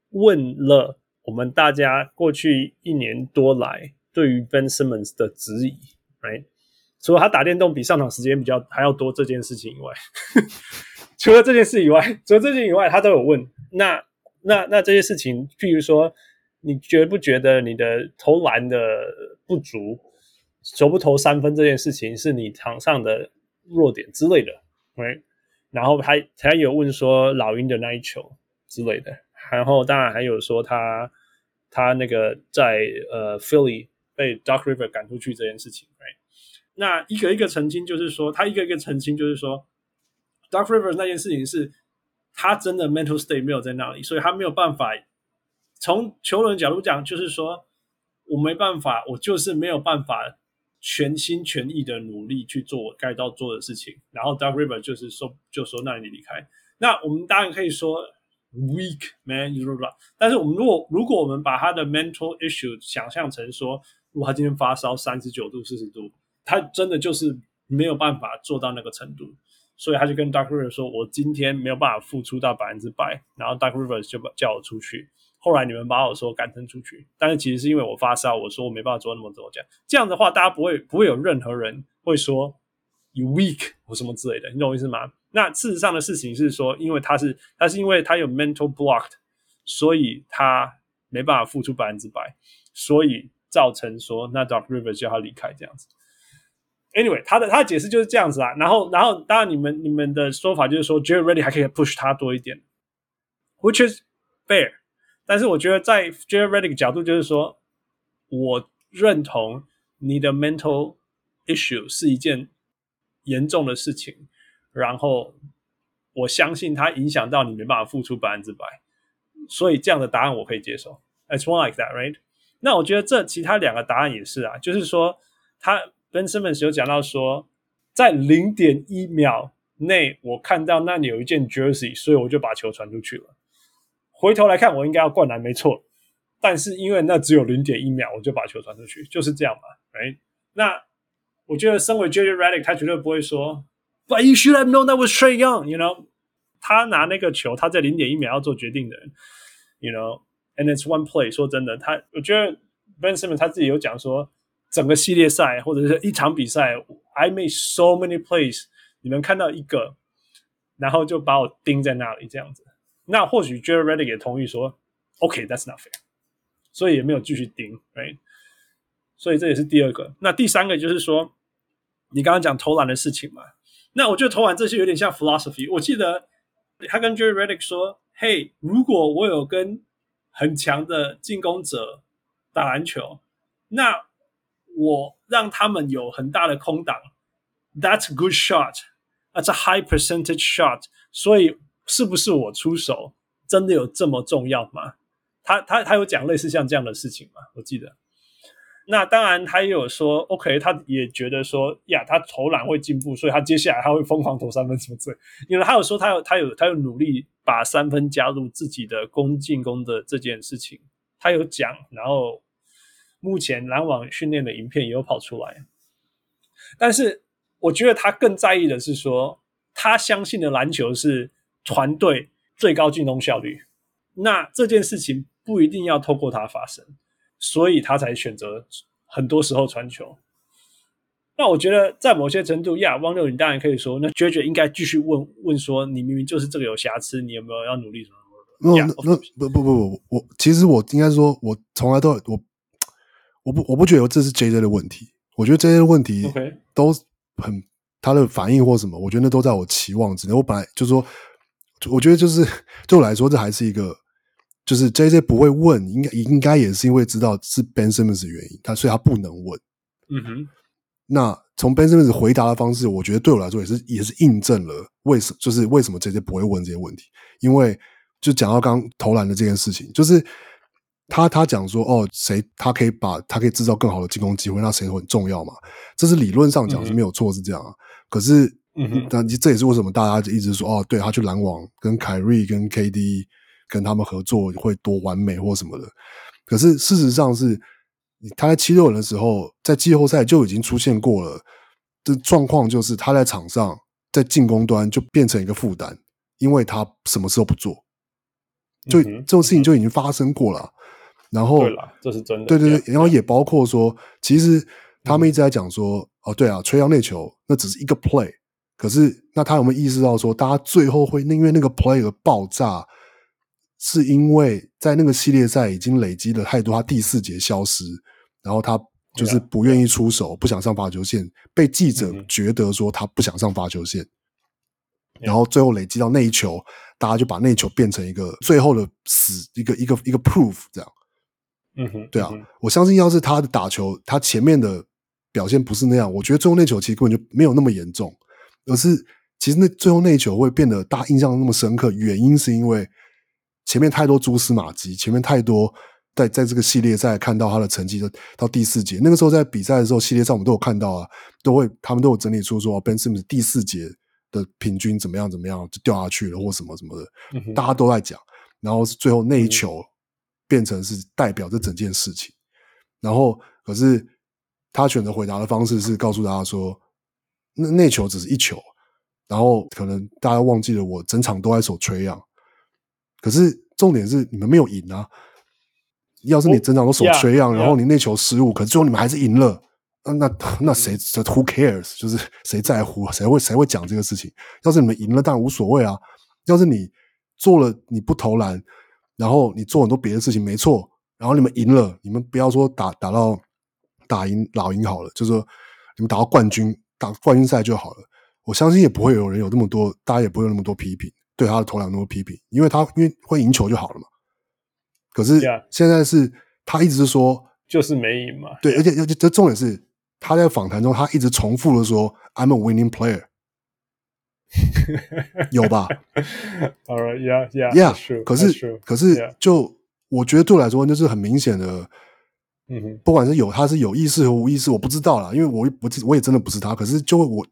[SPEAKER 3] 問了我們大家過去1年多來對於 Ben Simmons 的質疑 ，right？ 除了他打電動比上場時間還要多這件事情以外，除了這件事以外，他都有問。那這些事情，譬如說，你覺不覺得你的投籃的不足，投不投3分這件事情是你場上的弱點之類的 ，right？ 然後他有問說老鷹的那一球之類的，然後當然還有說他那個在Philly 被 Doc Rivers 趕出去這件事情 ，right？ 那一個一個澄清，就是說他一個一個澄清，就是說 Doc Rivers 那件事情是他真的 mental state 沒有在那裡，所以他沒有辦法。從球員角度講，就是說我沒辦法，我就是沒有辦法全心全意的努力去做我該要做的事情。然後 Doc Rivers 就說那你離開。那我們當然可以說 weak man， 但是我们如果我們把他的 mental issue 想象成說，如果他今天發燒39度40度，他真的就是沒有辦法做到那個程度，所以他就跟 Doc Rivers 說，我今天沒有辦法付出到100%，然後 Doc Rivers 就叫我出去。後來你們把我說趕成出去，但是其實是因為我發燒，我說我沒辦法做那麼多這樣的話，大家不會有任何人會說 you weak 或什麼之類的，你懂我意思嗎？那事實上的事情是說，因為他是因為他有 mental blocked， 所以他沒辦法付出100%，所以造成說那 Doc Rivers 叫他離開這樣子。Anyway， 他的解釋就是這樣子啦。然後當然你們的說法就是說 Jared Redick 還可以 push 他多一點 ，which is fair。但是我覺得在 Jared Redick 角度就是說，我認同你的 mental issue 是一件嚴重的事情，然後我相信它影響到你沒辦法付出100%，所以這樣的答案我可以接受。It's one like that, right？ 那我覺得這其他2個答案也是啊，就是說Ben Simmons 有講到說，在 0.1 秒內我看到那裡有一件 jersey， 所以我就把球傳出去了。回頭來看，我應該要灌籃沒錯，但是因為那只有 0.1 秒，我就把球傳出去，就是這樣嘛 ，right？ 那我覺得身為 Jared Redick， 他絕對不會說 But you should have known that was Trae Young, you know？ 他拿那個球，他在 0.1 秒要做決定的人 ，you know？And it's one play。說真的，我覺得 Ben Simmons 他自己有講說，整個系列賽或者是一場比賽 ，I made so many plays， 你們看到一個，然後就把我釘在那裡這樣子。那或許 Jared Redick 也同意說 OK, that's not fair， 所以也沒有繼續盯 right？ 所以這也是第2個。那第3個就是說，你剛剛講投籃的事情嘛，那我覺得投籃這些有點像 philosophy。我記得他跟 Jared Redick 說，嘿，如果我有跟很強的進攻者打籃球，那我讓他們有很大的空檔， that's a good shot, that's a high percentage shot， 所以是不是我出手真的有这麼重要嗎？他有講類似像這樣的事情嗎？我記得。那當然他也有說 OK， 他也覺得說呀，他投籃會進步，所以他接下來他會瘋狂投3分什麼之類。因為他有說他有努力把3分加入自己的進攻的這件事情，他有講，然後目前籃網訓練的影片也有跑出來。但是我覺得他更在意的是說，他相信的籃球是團隊最高進攻效率，那這件事情不一定要透過他發生，所以他才選擇很多時候傳球。那我覺得在某些程度汪六你當然可以說，那 JJ 應該繼續問說，你明明就是這個有瑕疵，你有沒有要努力什麼？
[SPEAKER 2] 不，我其實我應該說，我從來都我不覺得這是 JJ 的問題，我覺得 JJ 的問題都很他的反應或什麼，我覺得那都在我期望之內。我本來就說。我覺得就是對我來說，這還是一個，就是 JJ 不會問，應該也是因為知道是 Ben Simmons 的原因，所以他不能問。
[SPEAKER 3] 嗯哼。
[SPEAKER 2] 那從 Ben Simmons 回答的方式，我覺得對我來說也是印證了為什麼 JJ 不會問這些問題。因為就講到剛投籃的這件事情，就是他講說他可以製造更好的進攻機會，那誰很重要嘛？這是理論上講是沒有錯，是這樣啊。可是。但這也是為什麼大家就一直說對，他去籃網跟凱瑞跟 KD 跟他們合作會多完美或什麼的。可是事實上是，他在76人的時候，在季後賽就已經出現過了。這狀況就是他在場上在進攻端就變成一個負擔，因為他什麼事都不做。 就這種事情就已經發生過了。然後
[SPEAKER 3] 對啦，這是真的。
[SPEAKER 2] 对对对，然後也包括說，其實他們一直在講說，哦，對啊，Trae Young內球那只是一個 play， 可是那他有沒有意識到說，大家最後會因為那個 play 而爆炸，是因為在那個系列賽已經累積了太多，他第4節消失，然後他就是不願意出手，不想上罰球線，被記者覺得說他不想上罰球線，然後最後累積到那一球，大家就把那一球變成一個最後的一個 proof 這樣。對啊，我相信要是他的打球，他前面的表現不是那樣，我覺得最後那球其實根本就沒有那麼嚴重，而是其實那最後那一球會變得大家印象那麼深刻，原因是因為前面太多蛛絲馬跡，前面太多在這個系列賽看到他的成績到第4節，那個時候在比賽的時候，系列賽我們都有看到啊，他們都有整理出說 Ben Simmons 第4節的平均怎麼樣就掉下去了或什麼什麼的，大家都在講，然後最後那一球變成是代表這整件事情，然後可是他選擇回答的方式是告訴大家說，那球只是一球，然後可能大家忘記了我整場都在守Trae Young，可是重點是你們沒有贏啊！要是你整場都守Trae Young，然後你那球失誤，可是最後你們還是贏了，那誰 Who cares？ 就是誰在乎啊？誰會講這個事情？要是你們贏了，當然無所謂啊。要是你做了你不投籃，然後你做很多別的事情，沒錯，然後你們贏了，你們不要說打到打贏老鷹好了，就是說你們打到冠軍賽就好了。我相信也不會有人有那麼多，大家也不會有那麼多批評，對他的投籃那麼批評，因為會贏球就好了嘛。可是現在是他一直說
[SPEAKER 3] 就是沒贏嘛，
[SPEAKER 2] 對，而且這重點是他在訪談中他一直重複的說 I'm a winning player， 有吧
[SPEAKER 3] ？Alright, yeah,
[SPEAKER 2] yeah.
[SPEAKER 3] True,
[SPEAKER 2] 可是就我覺得對我來说就是很明顯的，不管是他是有意識和無意識，我不知道啦，因為我也真的不是他，可是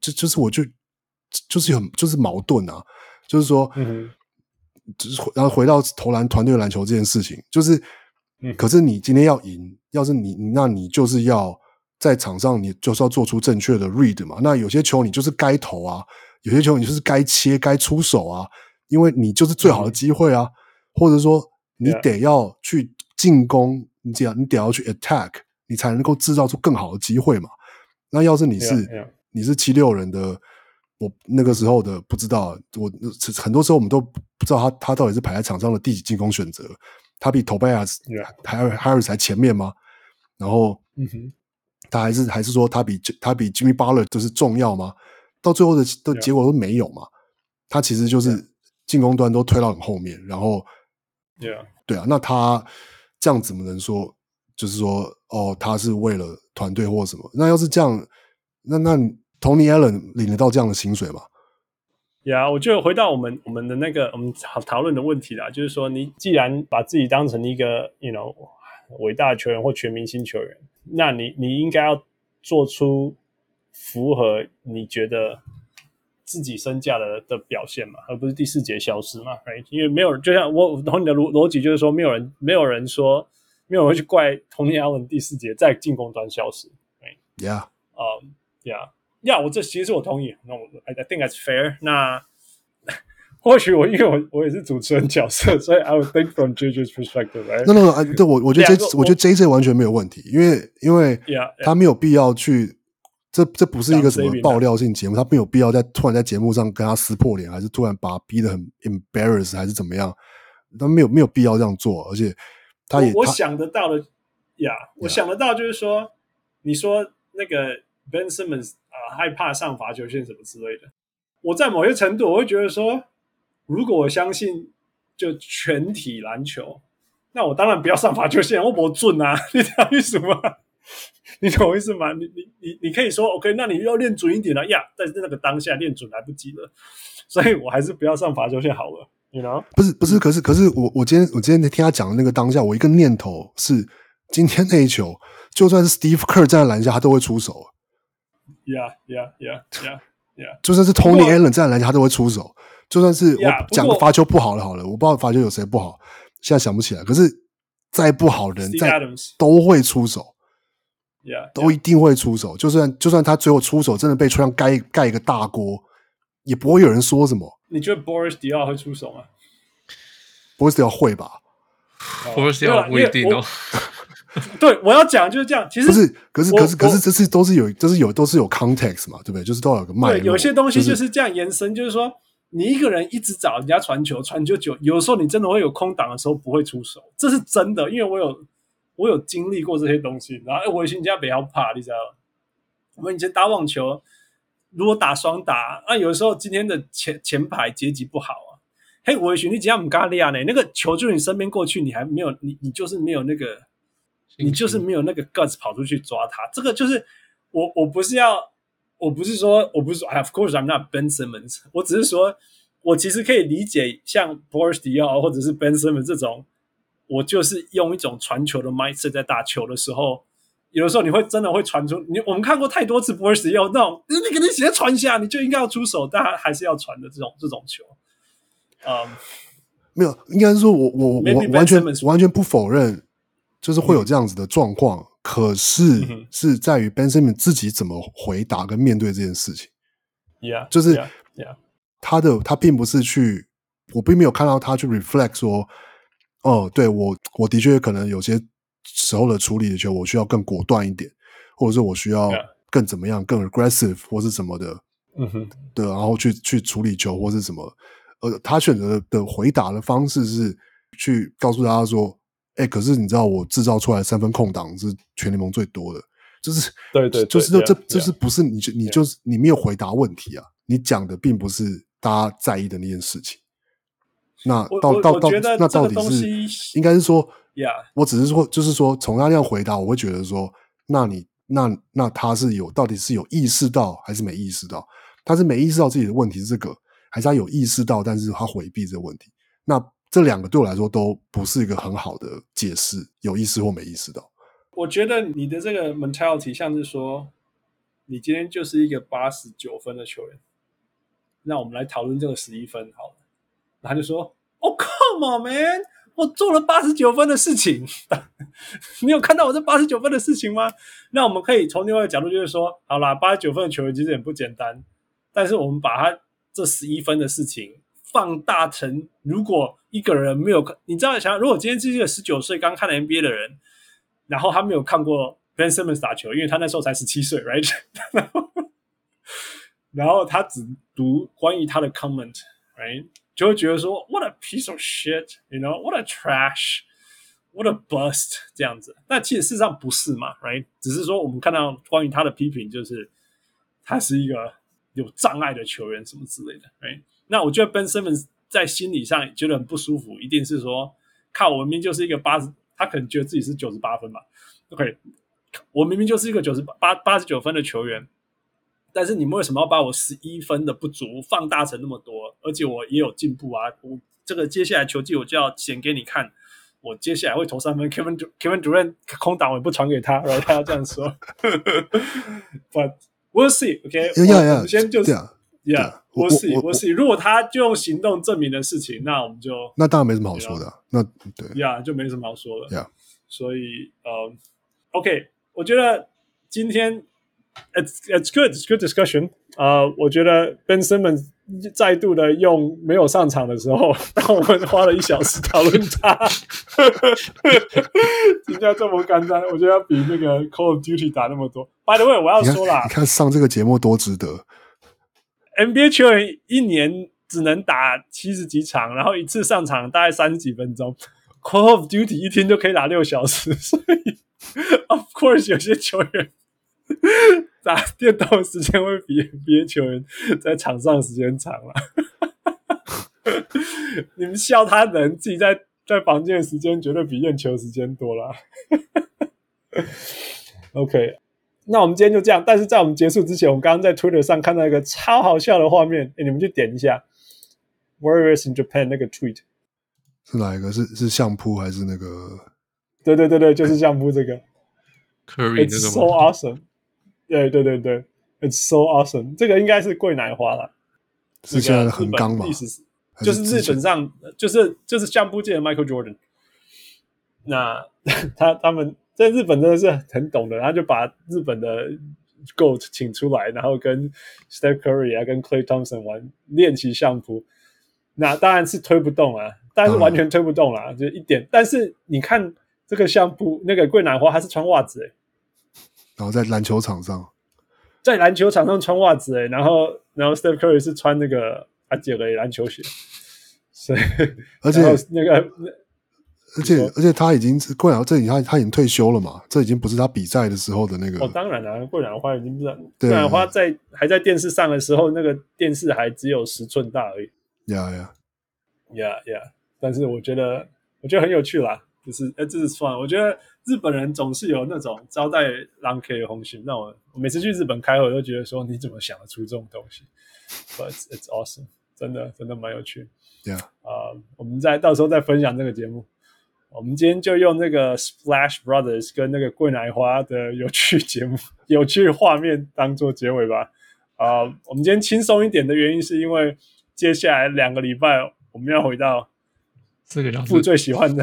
[SPEAKER 2] 就是矛盾啊，就是说，然後回到投籃团队籃球这件事情，就是，可是你今天要贏，要是那你就是要在場上，你就是要做出正確的 read 嘛。那有些球你就是該投啊，有些球你就是該切、該出手啊，因為你就是最好的機會啊，或者說你得要去進攻，你得要去 attack， 你才能夠制造出更好的機會嘛。那要是你是76人的。我那個時候的不知道，很多時候我們都不知道他到底是排在場上的第幾進攻選擇，他比 Tobias Harris 還前面嗎？然後，他還是說他比 Jimmy Butler 就是重要嗎？到最後的結果都沒有嘛。他其實就是進攻端都推到很後面，然後，對啊，那他這樣怎麼能說就是說哦，他是為了團隊或什麼？那要是這樣，那Tony Allen 領得到這樣的薪水嗎？
[SPEAKER 3] 我就回到我們的那個我們討論的問題啦，就是說你既然把自己當成一個偉大的球員或全明星球員，那你應該要做出符合你覺得自己身價的表現嘛，而不是第4節消失嘛， right? 因為沒有人，就像我懂你的邏輯，就是說沒有人會去怪 Tony Allen 第4節在進攻端消失 ，right? Yeah, 我這其實我同意。那I think that's fair。那或許因為我也是主持人角色，所以 I would think from JJ's perspective。
[SPEAKER 2] No， 對，我覺得JJ 完全沒有問題，因為他沒有必要去，這不是一個什麼爆料性節目，他沒有必要突然在節目上跟他撕破臉，還是突然把他逼得很 embarrass， 還是怎麼樣？他沒有必要這樣做，而且
[SPEAKER 3] 我想得到的我想得到就是說，你說那個 Ben Simmons。害怕上罰球線什麼之類的，我在某些程度我會覺得說，如果我相信就全體籃球，那我當然不要上罰球線，我不準啊，你懂我意思嗎？你懂我意思嗎？你可以說 OK， 那你要練準一點了呀，但是那個當下練準來不及了，所以我還是不要上罰球線好了。You know？
[SPEAKER 2] 不是，可是我今天聽他講的那個當下，我一個念頭是，今天那一球，就算是 Steve Kerr 站在籃下，他都會出手。
[SPEAKER 3] Yeah.
[SPEAKER 2] 就算是 Tony Allen 這樣來講，他都會出手。就算是我講個罰球不好的好了，我不知道罰球有誰不好，現在想不起來。可是再不好的人，都會出手，都一定會出手。就算他最後出手真的被吹上蓋一個大鍋，也不會有人說什麼。
[SPEAKER 3] 你覺得 Boris Diaw 會出手嗎？
[SPEAKER 2] Boris 會吧
[SPEAKER 4] ？Boris 不一定哦。
[SPEAKER 3] 对，我要講就是這樣。其實
[SPEAKER 2] 不是，可是这是都是有 context 嘛，對不對？就是都有個脈絡。
[SPEAKER 3] 對，有些東西就是這樣延伸，就是說你一個人一直找人家傳球，傳球久，有時候你真的會有空檔的時候不會出手，這是真的，因為我有經歷過這些東西。然後我以前家不要怕，你知道嗎？我們以前打網球，如果打雙打，有時候今天的前排截擊不好啊，嘿，我以前你只要不敢練呢，那個球就你身邊過去，你還沒有你就是沒有那個。你就是沒有那個 guts 跑出去抓他，這個就是我不是說 Of course I'm not Ben Simmons， 我只是說我其實可以理解像 Boris Diaw 或者是 Ben Simmons 這種，我就是用一種傳球的 mindset 在打球的時候，有的時候你會真的會傳出我們看過太多次 Boris Diaw 那種你給你直接傳下你就應該要出手，但他還是要傳的這種球。
[SPEAKER 2] 沒有，應該是說我完全不否認。就是會有這樣子的狀況，可是是在於 Ben Simmons 自己怎麼回答跟面對這件事情。就是他並不是我並沒有看到他去 reflect 說，對我的確可能有些時候的處理的球，我需要更果斷一點，或者是我需要更怎麼樣，更 aggressive 或是什麼的，對，然後去處理球或是什麼。他選擇的回答的方式是去告訴大家說。可是你知道我製造出來的3分空檔是全聯盟最多的，就是對，就是這是不是你沒有回答問題啊？你講的並不是大家在意的那件事情。那到底是應該是說，我只是說，就是說從他那樣回答，我會覺得說，那他是到底是有意識到還是沒意識到？他是沒意識到自己的問題是這個，還是他有意識到，但是他回避這個問題？那這兩個對我來說都不是一個很好的解釋，有意識或沒意識到。
[SPEAKER 3] 我覺得你的這個 mentality 像是說，你今天就是一個89分的球員，那我們來討論這個11分好了。然後他就說 ：“Oh come on man，我做了89分的事情，你有看到我這89分的事情嗎？”那我們可以從另外一個角度就是說，好啦，89分的球員其實也不簡單，但是我們把他這11分的事情放大成，如果一個人沒有，你知道想，如果今天是一個19歲剛看 NBA 的人，然後他沒有看過 Ben Simmons 打球，因為他那時候才17歲 ，right？ 然後他只讀關於他的 comment，right？ 就會覺得說 ，What a piece of shit，you know？What a trash，What a bust， 這樣子。但其實事實上不是嘛 ，right？ 只是說我們看到關於他的批評，就是他是一個有障礙的球員什麼之類的 ，right？ 那我覺得 Ben Simmons 在心理上覺得很不舒服，一定是說，看我明明就是一個80，他可能覺得自己是98分吧。OK， 我明明就是一個89分的球員，但是你們為什麼要把我11分的不足放大成那麼多？而且我也有進步啊！我這個接下來球季我就要顯給你看，我接下來會投3分。Kevin Durant 空檔我也不傳給他，然後他要這樣說。But we'll see， OK？ 我們先就是。Yeah，we'll see。如果他就用行動證明的事情，那我們就
[SPEAKER 2] 那當然沒什麼好說的。那對
[SPEAKER 3] 就沒什麼好說的。所以OK， 我覺得今天 it's good discussion。我覺得 Ben Simmons 再度的用沒有上場的時候，讓我們花了1小時討論他。人家這麼簡單，我覺得要比那個 Call of Duty 打那麼多。By the way， 我要說啦，
[SPEAKER 2] 你看上這個節目多值得。
[SPEAKER 3] NBA 球員一年只能打70幾場，然後一次上場大概30幾分鐘。Call of Duty 一天就可以打6小時，所以 of course 有些球員打電動的時間會比 NBA 球員在場上的時間長了。你們笑他人，自己在房間的時間絕對比驗球時間多了。OK。那我們今天就這樣，但是在我們結束之前，我們剛剛在 Twitter 上看到一個超好笑的畫面，你們去點一下 Warriors in Japan 那個 tweet
[SPEAKER 2] 是哪一個？是相撲還是那個？
[SPEAKER 3] 對，就是相撲這個
[SPEAKER 4] Curry
[SPEAKER 3] ，It's so awesome。对 ，It's so awesome。這個應該是貴乃花啦，
[SPEAKER 2] 是現在的橫綱嘛？
[SPEAKER 3] 就是日本上就是相撲界的 Michael Jordan。那他們。在日本真的是很懂的，然后就把日本的 GOAT 請出來，然後跟 Steph Curry 跟 Klay Thompson 练習相撲。那當然是推不動啊， 但是完全推不動啦，就一點。但是你看這個相簿，那個桂南花他是穿襪子
[SPEAKER 2] 然後在籃球場上
[SPEAKER 3] 穿襪子然後 Steph Curry 是穿那個阿杰的籃球鞋，所以
[SPEAKER 2] 而且
[SPEAKER 3] 那个。
[SPEAKER 2] 而且他已经桂南花他已經退休了嘛，這已經不是他比賽的時候的那個。
[SPEAKER 3] 當然啦，桂南花已經不是桂南花還在電視上的時候，那個電視還只有10寸大而已。
[SPEAKER 2] Yeah.
[SPEAKER 3] 但是我覺得很有趣啦，就是這是算，我覺得日本人總是有那種招待狼 K 的紅心，那我每次去日本開會，我都覺得說你怎麼想得出這種東西 ？But it's awesome， 真的蠻有趣。
[SPEAKER 2] Yeah，
[SPEAKER 3] 我們到時候再分享這個節目。我們今天就用那個 Splash Brothers 跟那個桂乃花的有趣節目、有趣畫面當做結尾吧。我們今天輕鬆一點的原因是因為接下來2個禮拜我們要回到父最喜歡的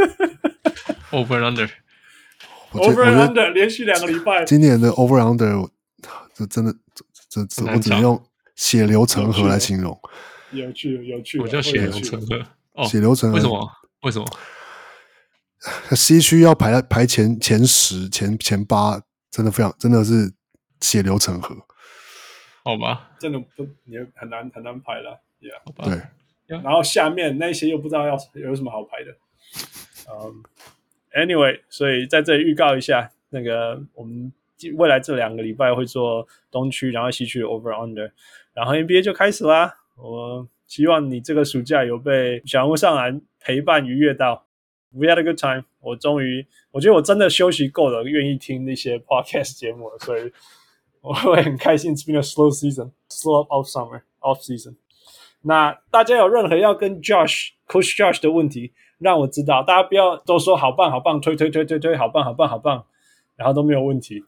[SPEAKER 4] Over and
[SPEAKER 3] Under。Over and Under 連續2個禮拜，
[SPEAKER 2] 今年的 Over and Under 這真的我只能用血流成河來形容。
[SPEAKER 3] 有趣，
[SPEAKER 4] 我叫血流成河。
[SPEAKER 2] 血流成河，
[SPEAKER 4] 為什麼？
[SPEAKER 2] 西區要排前10、前8，真的是血流成河。
[SPEAKER 4] 好吧，
[SPEAKER 3] 真的你很難排了。Yeah，
[SPEAKER 4] 好吧。
[SPEAKER 2] 對，
[SPEAKER 3] 然後下面那些又不知道有什麼好排的。Anyway， 所以在這裡預告一下，那個我們未來這2個禮拜會做東區，然後西區的 Over Under， 然後 NBA 就開始啦。我希望你這個暑假有被小人物上籃陪伴愉悅到。We had a good time。我覺得我真的休息夠了，願意聽那些 podcast 節目了，所以我會很開心。It's been a slow season, slow off summer, off season。那大家有任何要跟 Coach Josh 的問題，讓我知道。大家不要都說好棒，推，好棒，然後都沒有問題。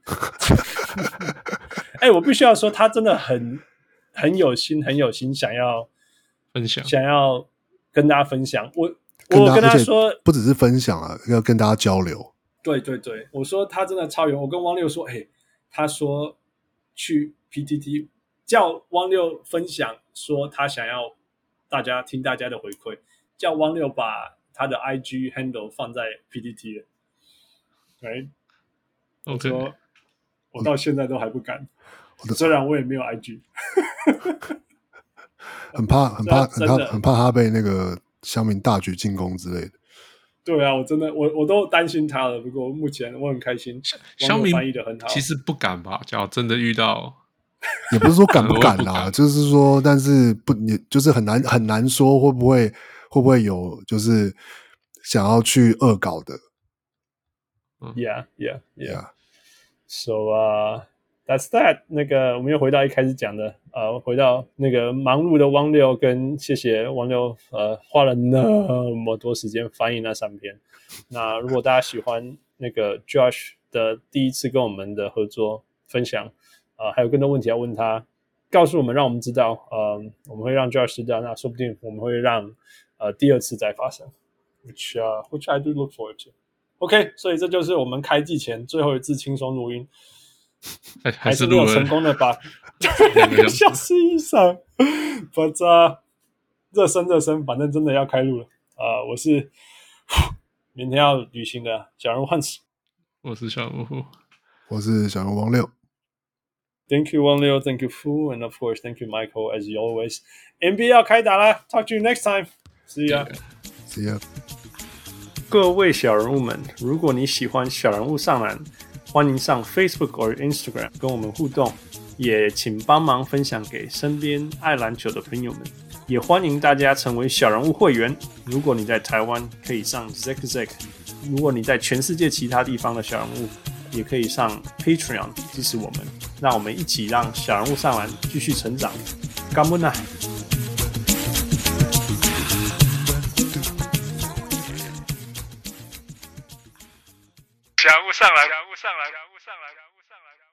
[SPEAKER 3] 我必須要說，他真的很有心，想要分享，想要跟大家分享。我跟他說，
[SPEAKER 2] 不只是分享啊，要跟大家交流。對，
[SPEAKER 3] 我說他真的超有。我跟汪六說，他說去 PTT 叫汪六分享，說他想要聽大家的回饋，叫汪六把他的 IG handle 放在 PTT 了。對，我說我到現在都還不敢，雖然我也沒有 IG，
[SPEAKER 2] 很怕他被那個鄉民大舉進攻之類的。
[SPEAKER 3] 對啊，我都擔心他了。不過目前我很開心，鄉民翻譯的很好。
[SPEAKER 4] 其實不敢吧？只要真的遇到，
[SPEAKER 2] 也不是說敢不敢啦，就是說，但是你就是很難說會不會有就是想要去惡搞的。
[SPEAKER 3] Yeah. So that's that。那個我們又回到一開始講的，回到那個忙碌的汪六，跟謝謝汪六，花了那麼多時間翻譯那3篇。那如果大家喜歡那個 Josh 的第一次跟我們的合作分享，還有更多問題要問他，告訴我們，讓我們知道，我們會讓 Josh 知道，那說不定我們會讓第2次再發生，which I do look forward to。OK， 所以這就是我們開季前最後一次輕鬆錄音。還是沒有成功的把2個小時以上，but 熱身，反正真的要開錄了。我是明天要旅行的小人物Hans，
[SPEAKER 4] 我是小人物，
[SPEAKER 2] 我是小人物汪六。
[SPEAKER 3] Thank you 汪六 ，Thank you Fu，and of course thank you Michael as always。NBA 要開打啦 ，Talk to you next time，See ya。See
[SPEAKER 2] ya。
[SPEAKER 3] 各位小人物們，如果你喜歡小人物上籃，歡迎上 Facebook 或 Instagram 跟我們互動，也請幫忙分享給身邊愛籃球的朋友們。也歡迎大家成為小人物會員。如果你在台灣，可以上 Zack； 如果你在全世界其他地方的小人物，也可以上 Patreon 支持我們。讓我們一起讓小人物上籃繼續成長。感恩啊！小人物上籃。